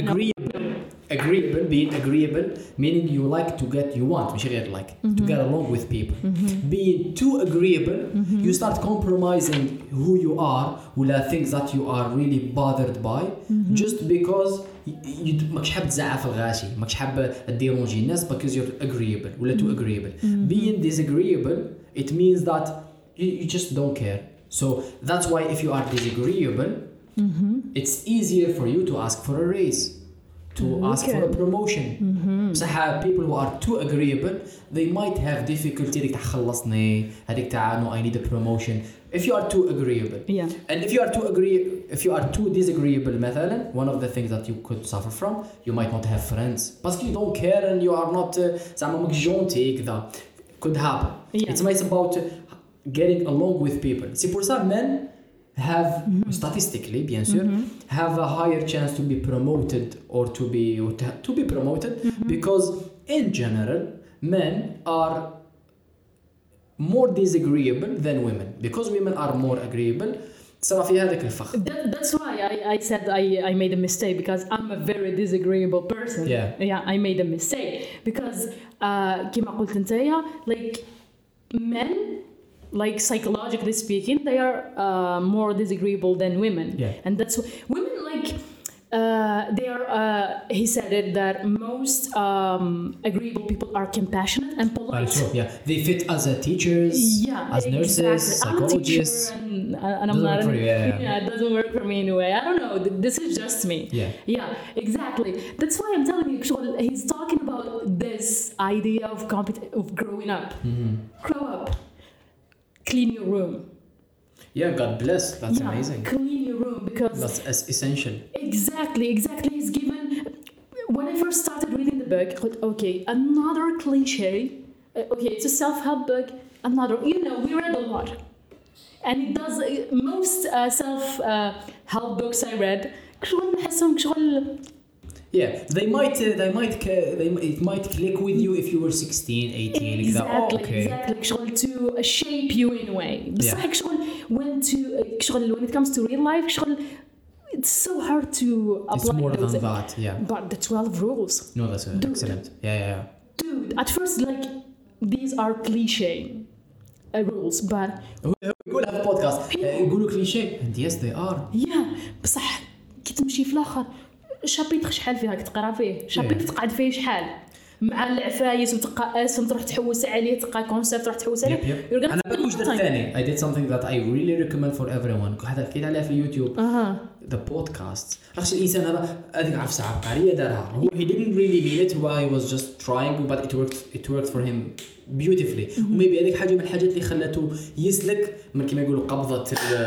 Agreeable, being agreeable, meaning you like to get, you want, مش غير like, to get along with people. Being too agreeable, you start compromising who you are, ولا things that you are really bothered by, just because ماكش حاب تزعف الغاشي، ماكش حاب تديرونجي الناس because you're agreeable ولا too agreeable. Being disagreeable, it means that you just don't care. So that's why if you are disagreeable, it's easier for you to ask for a raise. To ask for a promotion. بصح people who are too agreeable, they might have difficulty هذيك تاع خلصني، هذيك تاع no I need a promotion. If you are too agreeable, and if you are too disagreeable مثلا, one of the things that you could suffer from, you might not have friends because you don't care and you are not زعما ماك جونتي كذا. Could happen. It's about getting along with people. C'est pour ça men have statistically bien sûr have a higher chance to be promoted or to be promoted because in general men are more disagreeable than women because women are more agreeable. صار في هذاك الفخ. That's why I said I made a mistake because I'm a very disagreeable person. Yeah, I made a mistake because كما قلت نتايا like men, like psychologically speaking, they are more disagreeable than women. And that's women like they are he said it that most agreeable people are compassionate and polite. They fit as teachers, as nurses, psychologists. And I'm not it doesn't work for me anyway. I don't know, this is just me. Exactly. That's why I'm telling you, he's talking about this idea of growing up. Grow up. Clean your room. God bless. That's amazing. Clean your room because that's essential. Exactly. He's given. When I first started reading the book, I thought, okay, another cliche. Okay, it's a self-help book. Another, we read a lot, and it does most self-help books I read. It might click with you if you were 16, 18. Exactly. To shape you in a way. When it comes to real life, it's so hard to apply. It's more than that, But the 12 rules. No, that's excellent. Dude, at first, like, these are cliche rules, but يقول هذا البودكاست يقولوا كليشيه and yes they are. بصح كي تمشي في الآخر شابيتر شحال فيه راك تقرا فيه شابيتر تقعد فيه شحال مع العفايس وتلقى اسم تروح تحوس عليه تلقى كونسيبت تروح تحوس عليه. انا باش درت ثاني I did something that I really recommend for everyone. حكيت عليها في اليوتيوب. The podcast. عرفت الانسان هذيك عارف ساعه عبقريه دارها هو he didn't really mean it he was just trying but it worked for him beautifully. وميبي هذيك حاجه من الحاجات اللي خلته يسلك من كما يقولوا قبضه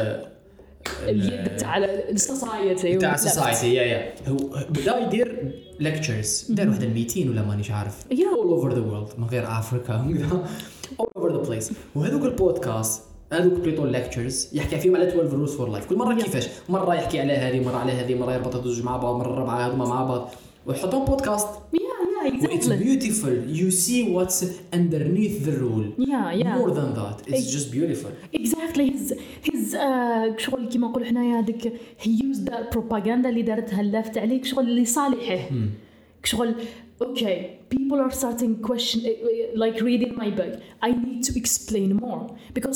اليد تاع السوسايتي هو بدا يدير lectures دار واحد 200 ولا مانيش عارف all over the world من غير افريكا all over the place. وهذوك البودكاست هذوك بليتو lectures يحكي فيهم على 12 rules for life كل مره كيفاش مره يحكي على هذه مره على هذه مره يربط الزوج مع بعض مره الرابعه هذوما مع بعض ويحطهم بودكاست. Exactly. It's beautiful. You see what's underneath the rule. More than that, it's just beautiful. Exactly. His شغل كيما نقول حنايا هذيك he used that propaganda اللي دارتها لافت عليك شغل اللي صالحه. شغل okay, people are starting question like reading my book. I need to explain more because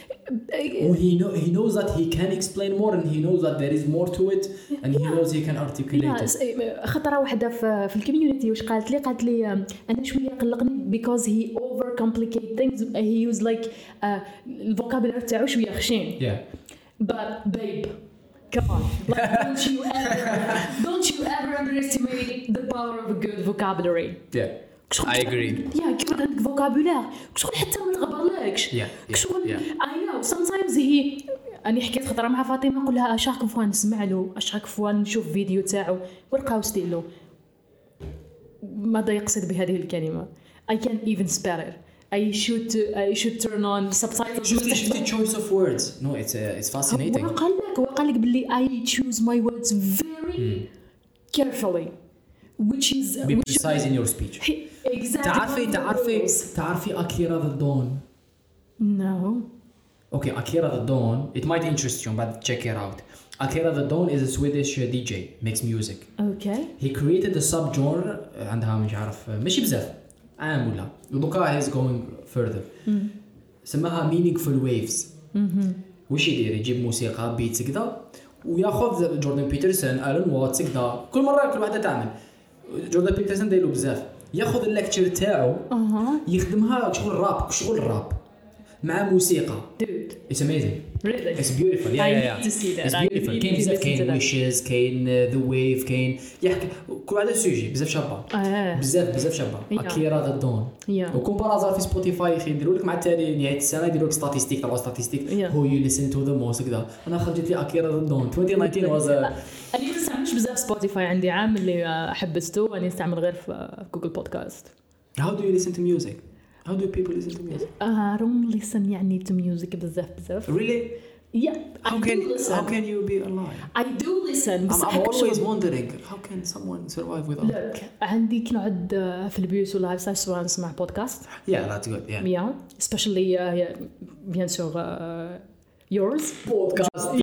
he knows that he can explain more and he knows that there is more to it and he knows he can articulate it. خطره واحده في الكوميونتي واش قالت لي انا شويه قلقني because he over complicate things. He use like الفوكابولار تاعو شويه خشين. But babe, come on, like, don't you ever underestimate the power of a good vocabulary. I agree. كيف عندك فوكابولار شغل حتى ما تغبرلكش. شغل I know sometimes أنا حكيت خطرة مع فاطمة نقول لها أشاك فوا نسمع له أشاك فوا نشوف فيديو تاعو ولقاو ستيلو ماذا يقصد بهذه الكلمة. I can't even spell it. I should turn on subtitles. Just the choice of words. No, it's fascinating. هو قال لك باللي I choose my words very carefully, which is be precise in your speech. Exactly. تعرفي أكيرا the Dawn. No. Okay, Akira the Dawn. It might interest you, but check it out. Akira the Dawn is a Swedish DJ, makes music. Okay. He created a subgenre عندها مش عارف ماشي بزاف عام ولا ودوكا he's going further. سماها meaningful waves. وش يدير؟ يجيب موسيقى بيتس كذا وياخذ جوردن بيترسون ألان واتس كذا كل مرة كل واحدة تعمل. جوردن بيترسون دايلو بزاف ياخذ اللكتشر تاعو يخدمها شغل راب مع موسيقى. Dude. It's amazing. Really? It's beautiful. Yeah, I yeah. need to see that. It's I beautiful. need كاين to بزاف listen to كاين that. wishes كاين the wave كاين يحكي كل هذا سوجي بزاف شابة. بزاف شابة. أكيرا ذا دون. وكم برازا في سبوتيفاي يخي يديروا لك مع التالي نهاية السنة يديروا لك ستاتيستيك تبع ستاتيستيك. Who you listen to the most كذا. أنا خرجت لي أكيرا ذا دون. 2019 was a. أنا ما استعملش بزاف سبوتيفاي عندي عام اللي حبسته أنا استعمل غير في جوجل بودكاست. How do you listen to music? How do people listen to music? I don't listen يعني to music بزاف. Really? Yeah. How can you be alive? I do listen. I'm always wondering how can someone survive without. Look, عندي كنقعد في البيوت ولا سواء نسمع بودكاست. Yeah, that's good. Yeah. Yeah, especially bien sûr yours. Podcast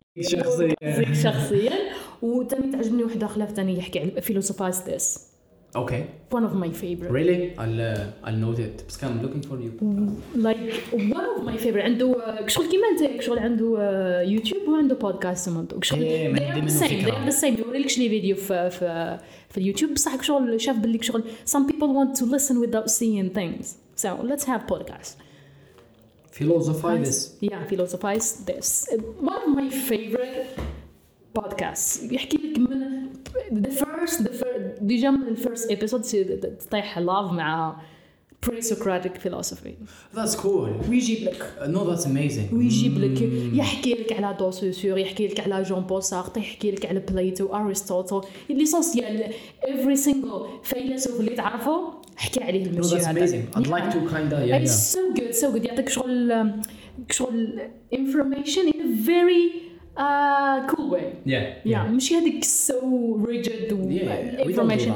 شخصيا وتاني تعجبني واحدة خلاف تاني يحكي على philosophize this. Okay. One of my favorite. Really? I'll note it. بس I'm looking for you. Like one of my favorite. عنده شغل كيما انت شغل عنده يوتيوب وعنده بودكاست كمان. شغل the same. يوريلكش لي فيديو في اليوتيوب بصح شغل شاف باللي شغل some people want to listen without seeing things. So let's have podcast. Philosophize this. Yeah, philosophize this. One of my favorite podcasts. يحكي لك من the first ديجا من الفيرست episode تطيح love مع pre-Socratic philosophy. That's cool. ويجيب لك. No, that's amazing. ويجيب لك يحكي لك على دوسوسور يحكي لك على جون بول سارتر يحكي لك على بليتو أرسطوطل ليسونسيال every single فيلسوف اللي تعرفه حكي عليه المشي هذا. No, that's amazing. I'd like to kinda It's so good يعطيك شغل information in a very cool way. Yeah. مش هذيك so rigid information.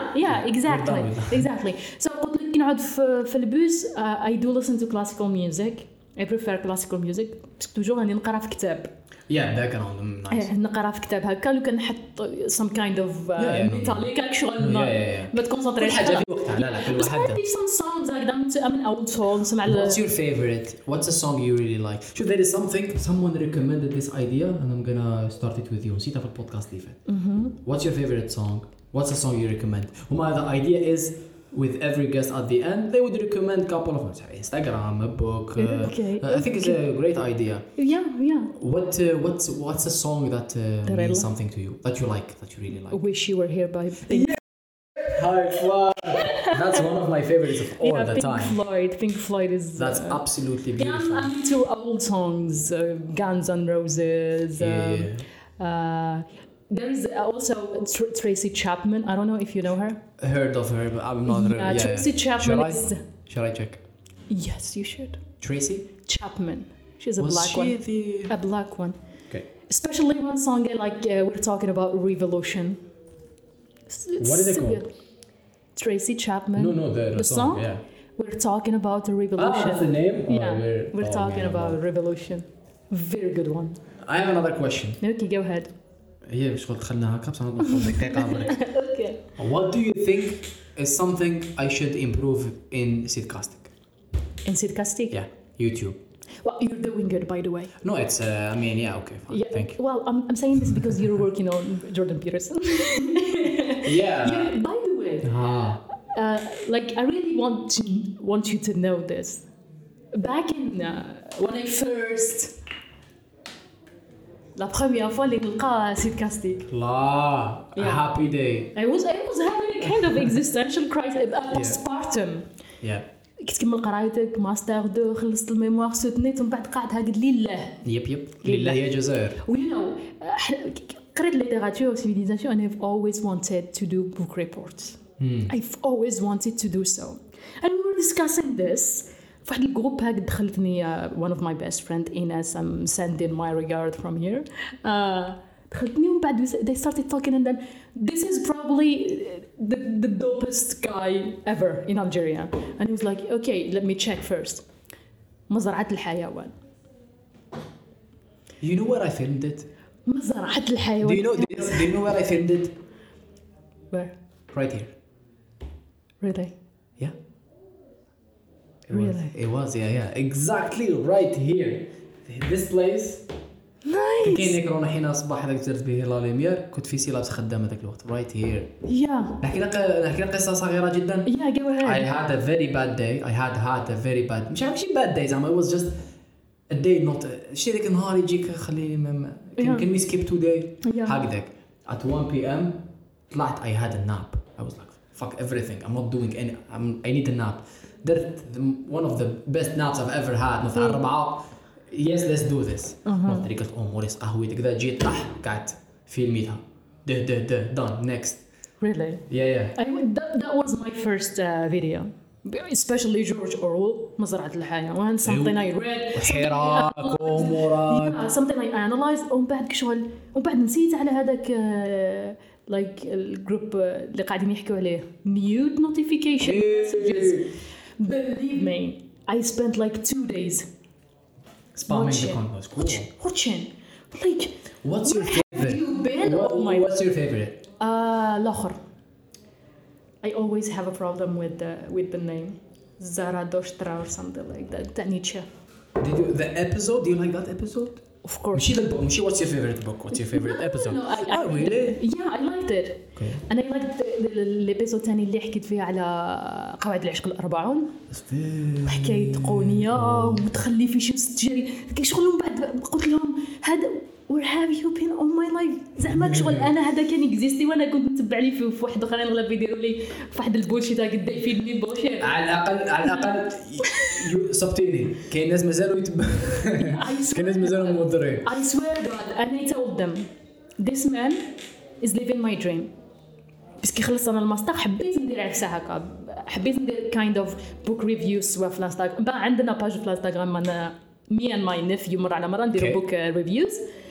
Exactly. So قلت لك نقعد في البوس. I do listen to classical music. I prefer classical music. بس توجور راني نقرا في كتاب. background nice. نقرا في كتاب هكا لو كان نحط some kind of metallic شغل ما تكونسنتريش حاجه في وقتها لا كل واحد. عندي some songs هكذا من old songs مع What's your favorite? What's a song you really like? Should there is something someone recommended this idea and I'm gonna start it with you. نسيتها في البودكاست اللي فات. What's your favorite song? What's a song you recommend? وما the idea is with every guest at the end they would recommend a couple of them. Instagram, a book. I think it's a great idea. Yeah. What's a song that means something to you that you like that you really like? Wish You Were Here by Pink. High five. That's one of my favorites of all the time. Pink Floyd is. That's absolutely beautiful. I'm into old songs, Guns N' Roses. There is also Tracy Chapman. I don't know if you know her. Heard of her, but I'm not. Tracy Chapman Shall I check? Yes, you should. Tracy Chapman. She's a black one. A black one. Okay. Especially one song like we're talking about revolution. What is it called? Good. Tracy Chapman. No, the song. Yeah. We're talking about the revolution. That's the name. We're talking about revolution. Very good one. I have another question. Okay, go ahead. هي شغل دخلنا هكا بس نطلع دقيقة برك. Okay. What do you think is something I should improve in Seedcasting? In Seedcasting? Yeah, YouTube. Well, you're doing good, by the way. No, it's. Okay, fine. Yeah, thank you. Well, I'm saying this because you're working on Jordan Peterson. Yeah. By the way, like I really want you to know this. Back in when I first. La première fois اللي نلقى Seedcasting. Happy day. I was having a kind of existential crisis, postpartum. Yeah. كنت كمل قرايتك ماستر 2 خلصت الميموار سوتنيت ومن بعد قاعد هاك لله. يب لله يا جزائر. You know قريت ليتراتور civilisation and I've always wanted to do book reports. I've always wanted to do so. And we were discussing this. في واحد الجروب هاك دخلتني one of my best friend Ines. I'm sending my regard from here. دخلتني ومن بعد they started talking and then this is probably the dopest guy ever in Algeria and he was like okay let me check first مزرعة الحيوان. You know where I filmed it? مزرعة الحيوان. Do you know where I filmed it? Where? Right here. Really? Yeah. It was exactly right here. This place. Nice. كاين ديك رونا حين الصباح هذاك درت به لا ليمير كنت في سي لابس خدامه ذاك الوقت right here. Yeah. نحكي لك قصه صغيره جدا. Yeah, go ahead. I had a very bad day. I had a very bad ماشي bad day زعما it was just a day not شي ذاك النهار يجيك خليني can we skip today هكذاك at 1 p.m. طلعت I had a nap. I was like fuck everything I'm not doing any I need a nap. درت one of the best naps I've ever had نطلع الربعة yes let's do this. نطلع قلت موريس قهوتك كذا جيت طح قعدت فيلميتها ده done next. Really? Yeah. That was my first video. Especially George Orwell مزرعة الحيوان something I read حراك ومراد something I analyzed ومن بعد نسيت على هذاك like الجروب اللي قاعدين يحكوا عليه mute notification messages. Believe me I spent like 2 days spamming the content. Cool. Watching like what's your favorite? Have you been? What's your favorite? الآخر I always have a problem with the name Zarathustra or something like that. Nietzsche. The episode? Do you like that episode? Of course. What's your favorite book? What's your favorite episode? No, really? Yeah, I liked it. Okay. And I liked الابيسود الثاني اللي حكيت فيه على قواعد العشق الأربعون. حكاية قونية وتخلي في شمس تجري. شغل من بعد قلت لهم هذا where have you been all my life زعما شغل انا هذا كان اكزيستي وانا كنت نتبع لي في واحد اخرين اغلب يديروا لي واحد البولشيت قد يفيدني بولشيت على الاقل صبتيني كاين ناس مازالوا كاين ناس مازالوا مضرين. I swear God and I told them this man is living my dream بس كي خلصنا الماستر حبيت ندير عكسها هكا حبيت ندير kind of book reviews سواء في الانستغرام بقى عندنا باج في الانستغرام انا me and my nephew مرة على مرة نديروا book reviews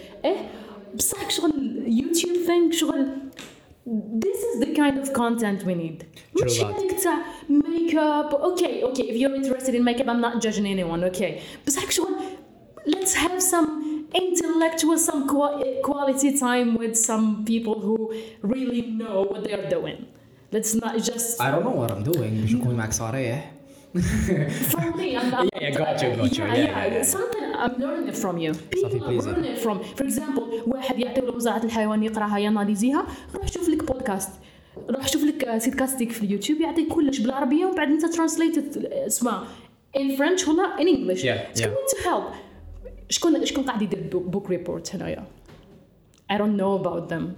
بصح شغل يوتيوب thing شغل this is the kind of content we need. مش هيك تاع makeup okay if you're interested in makeup I'm not judging anyone okay بصح شغل let's have some intellectual some quality time with some people who really know what they are doing. Let's not just I don't know what I'm doing باش نكون معك صريح. For me, got you. Yeah. Something I'm learning it from you. People are learning it from. For example, واحد يعطيه مزرعة الحيوان يقراها ياناليزيها روح شوف لك بودكاست روح شوف لك سيدكاستيك في اليوتيوب يعطيك كلش بالعربية ومن بعد أنت translate اسمه in French ولا in English. It's going to help. شكون قاعد يدير book report هنايا؟ I don't know about them.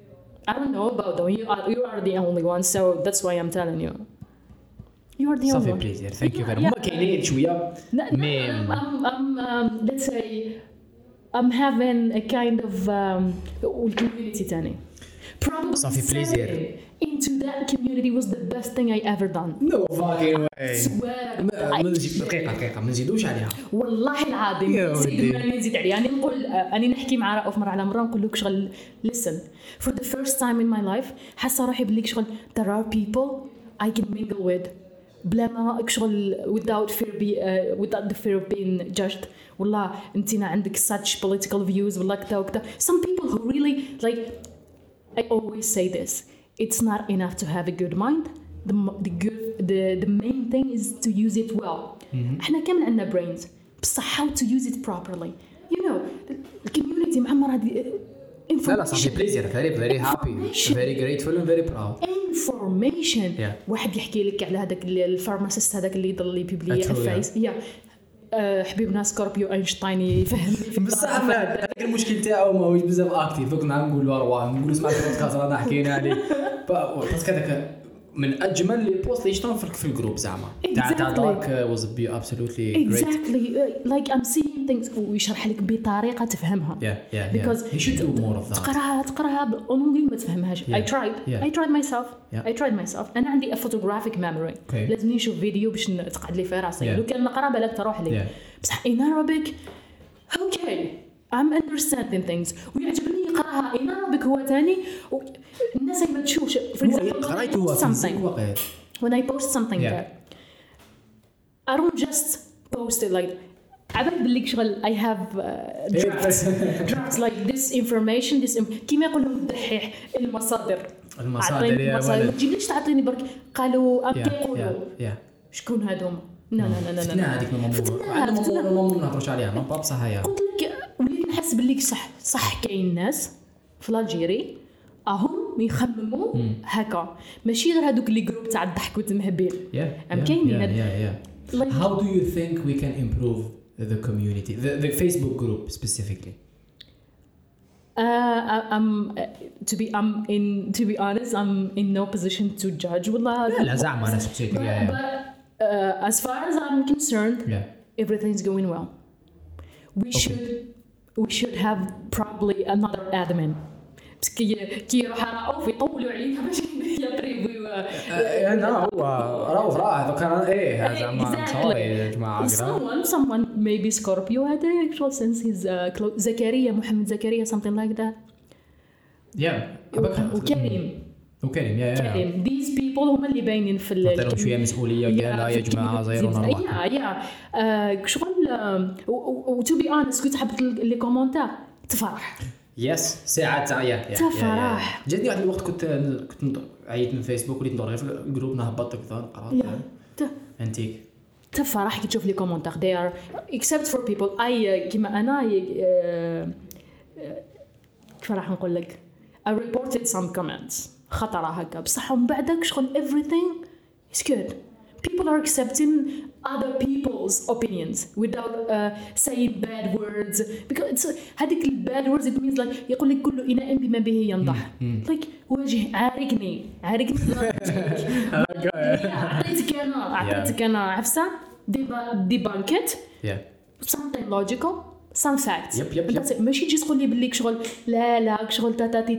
You are the only one, so that's why I'm telling you. You are the only one. Please, thank you very much. كاينين شوية. Let's say I'm having a kind of community تاني. Probably stepping into that community was the best thing I ever done. No fucking way. Swear. دقيقة ما نزيدوش عليها. والله العظيم نزيد عليها. أنا نقول أنا نحكي مع رأوف مرة على مرة نقول لك شغل listen. For the first time in my life حاسة روحي بليك شغل there are people I can mingle with. بلا ما شغل without the fear of being judged. والله انتينا عندك such political views والله كذا وكذا. Some people who really like I always say this. It's not enough to have a good mind. The main thing is to use it well. احنا كامل عندنا brains. بصح how to use it properly. You know, the community معمرة هذه لا صافي بليزير very happy very grateful and very proud. information. واحد يحكي لك على هذاك الفارماسيست هذاك اللي يضل يبيبلي فايس حبيبنا سكوربيو اينشتاين يفهم بصح هذاك المشكل تاعو ماهوش بزاف اكتيف كنا نقولوا راه نقولوا اسمع البودكاست رانا حكينا عليه باسكو هذاك من اجمل لي بوست اللي شفتهم في الجروب زعما تاع دارك was absolutely great. Exactly like I'm seeing things ويشرح لك بطريقه تفهمها. Because he should do more of that. تقراها بالانجليزي ما تفهمش. I tried myself انا عندي a photographic memory. لازم نشوف فيديو باش تقعد لي في راسي لو كان نقرا بالك تروح لي بصح in Arabic okay I'm understanding things ويعجبني يقراها in Arabic هو تاني الناس ما تشوفش. قريت هو something when I post something there I don't just post it like عبالي باللي شغل I have drafts like this information كيما يقولوا الدحيح المصادر يا ما تجيبليش تعطيني برك قالوا يقولوا شكون هذوما لا هذيك ما نهضروش عليها ما بصح هي قلت لك وليت نحس باللي صح كاين ناس في الجيري هم يخمموا هكا ماشي غير هذوك اللي جروب تاع الضحك والتمهبيل كاينين. How do you think we can improve the community, the Facebook group specifically? To be honest, I'm in no position to judge. لا زعما أنا specifically. But as far as I'm concerned, everything's going well. We should have probably another admin. كي يروح راهو يطولوا علينا باش يقريبوا انا هو راه هذا كان هذا زعما صاير يا جماعه someone maybe Scorpio had an actual sense his زكريا محمد زكريا something like that وكريم كريم these people هم اللي باينين في عطيهم شويه مسؤوليه قال يا جماعه زيرونا شغل to be honest كنت حبت لي كومونتير تفرح يس ساعات تفرح جاتني واحد الوقت كنت عيط من فيسبوك وليت ندور في الجروب نهبط كذا قرات انتيك تفرح كي تشوف لي كومونتير they are except for people كيما انا كيف راح نقول لك I reported some comments خطره هكا بصح من بعدك شغل everything is good people are accepting other people's opinions without saying bad words because it's هذيك bad words it means like يقول لك كل إناء بما به ينضح like وجه عارقني أعطيتك أنا عفسة debunk something logical some facts ماشي تجي تقول لي بالليك شغل لا شغل تاتاتي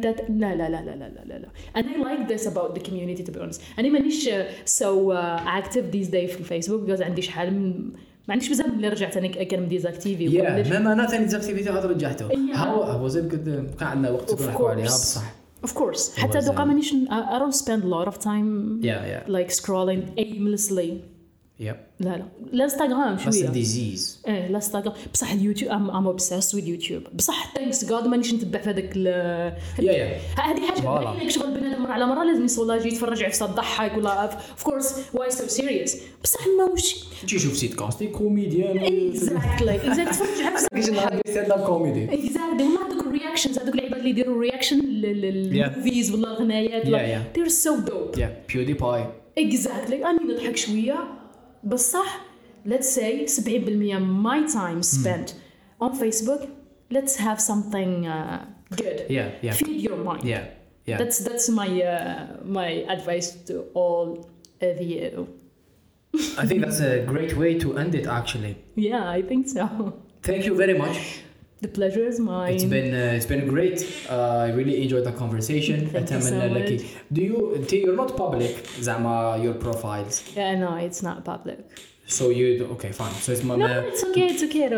لا and I like this about the community to be honest أنا مانيش so active these days في الفيسبوك because عندي شحال ما عنديش بزاف اللي رجعت أنا كان ديزاكتيفي ما أنا ثاني ديزاكتيفيتي هذا رجعته هو زين كان عندنا وقت نحكوا عليها بصح of course حتى دوقا مانيش I don't spend a lot of time like scrolling aimlessly لا انستغرام شويه ديزيز الانستغرام بصح اليوتيوب I'm obsessed with YouTube بصح thanks God مانيش نتبع في هذاك هذه حاجه باينه شغل بنادم مره على مره لازم يصولاجي يتفرج عفسه تضحك ولا of course why so serious بصح ماوش تجي شوف سيت كاستي كوميديان exactly تفرج عفسه كيش نهار ستاند اب كوميدي exactly وما هذوك الرياكشنز هذوك العباد اللي يديروا رياكشن للموفيز ولا الغنايات they're so dope PewDiePie exactly أنا نضحك شويه بصح let's say 70% my time spent on Facebook let's have something good feed your mind that's my advice to all of you. I think that's a great way to end it actually. I think so. Thank you very much. The pleasure is mine. It's been great. I really enjoyed the conversation. Thank you so much. You're not public زعما your profiles. No, it's not public. So you okay fine. So it's it's okay.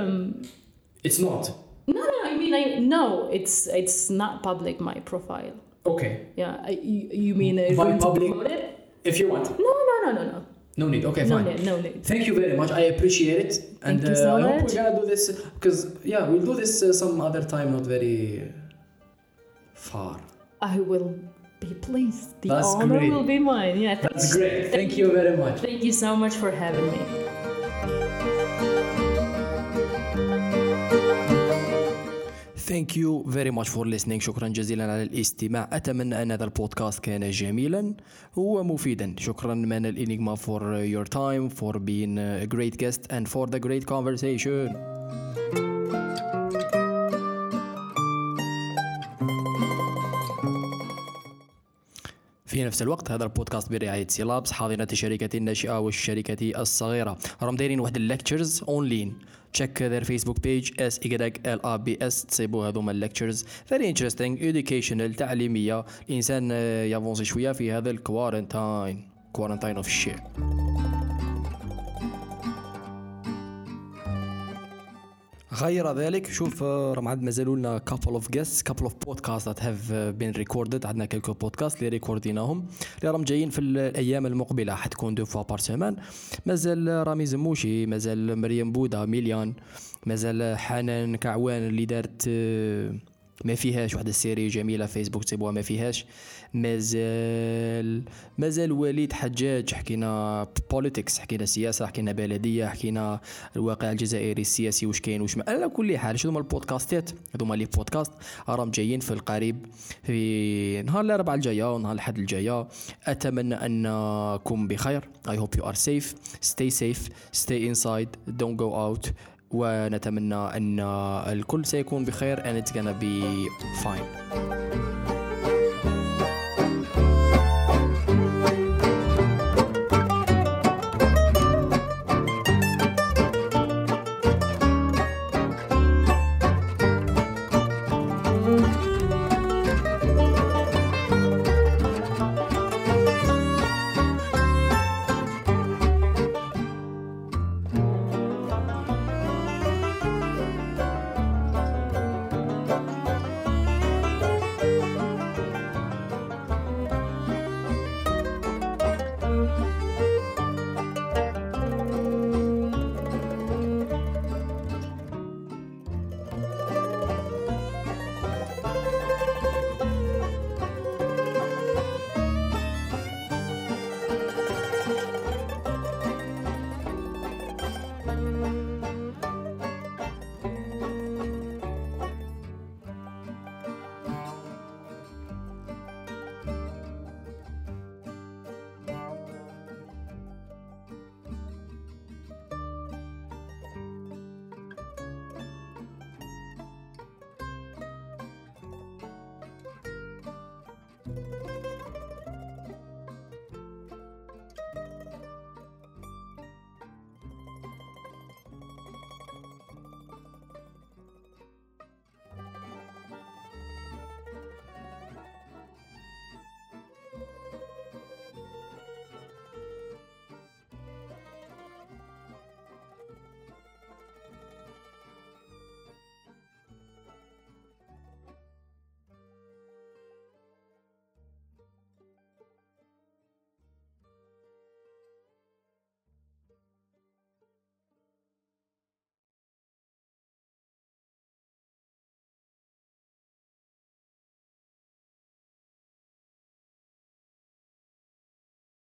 It's not. No, I mean no, it's not public my profile. Okay. You mean by public if you want. No. No need. Okay, fine. No need. Thank you very much. I appreciate it. Thank you so much. I hope we're gonna do this because we'll do this some other time, not very far. I will be pleased. The That's honor great. will be mine. That's great. Thank you very much. Thank you so much for having me. Thank you very much for listening. شكرا جزيلا على الاستماع. أتمنى أن هذا البودكاست كان جميلا ومفيدا. شكرا من الإنيغما for your time, for being a great guest and for the great conversation. في نفس الوقت هذا البودكاست برعاية سيلابس حاضنة الشركة الناشئة والشركة الصغيرة. راهم دايرين واحد الليكتشرز اونلاين. check their Facebook page SYLABS تصيبوا هذوما الليكتشرز very interesting educational تعليمية. الإنسان يافونسي شوية في هذا الكوارنتاين of shit. غير ذلك شوف راه عاد مازالوا لنا couple of guests couple of podcasts that have been recorded. عندنا كلكو بودكاست اللي ريكورديناهم اللي راهم جايين في الايام المقبله، حتكون 2 fois par semaine. مازال رامي زموشي، مازال مريم بودا، ميليان، مازال حنان كعوان اللي دارت ما فيهاش واحدة السيري جميلة فيسبوك تبوها ما فيهاش. مازال وليد حجاج، حكينا بوليتكس، حكينا سياسة، حكينا بلدية، حكينا الواقع الجزائري السياسي واش كاين واش ما. على كل حال شنو هما البودكاستات هذوما لي بودكاست راهم جايين في القريب في نهار الاربعاء الجايه ونهار الاحد الجايه. اتمنى انكم بخير. I hope you are safe. Stay safe, stay inside, don't go out. ونتمنى أن الكل سيكون بخير and it's gonna be fine.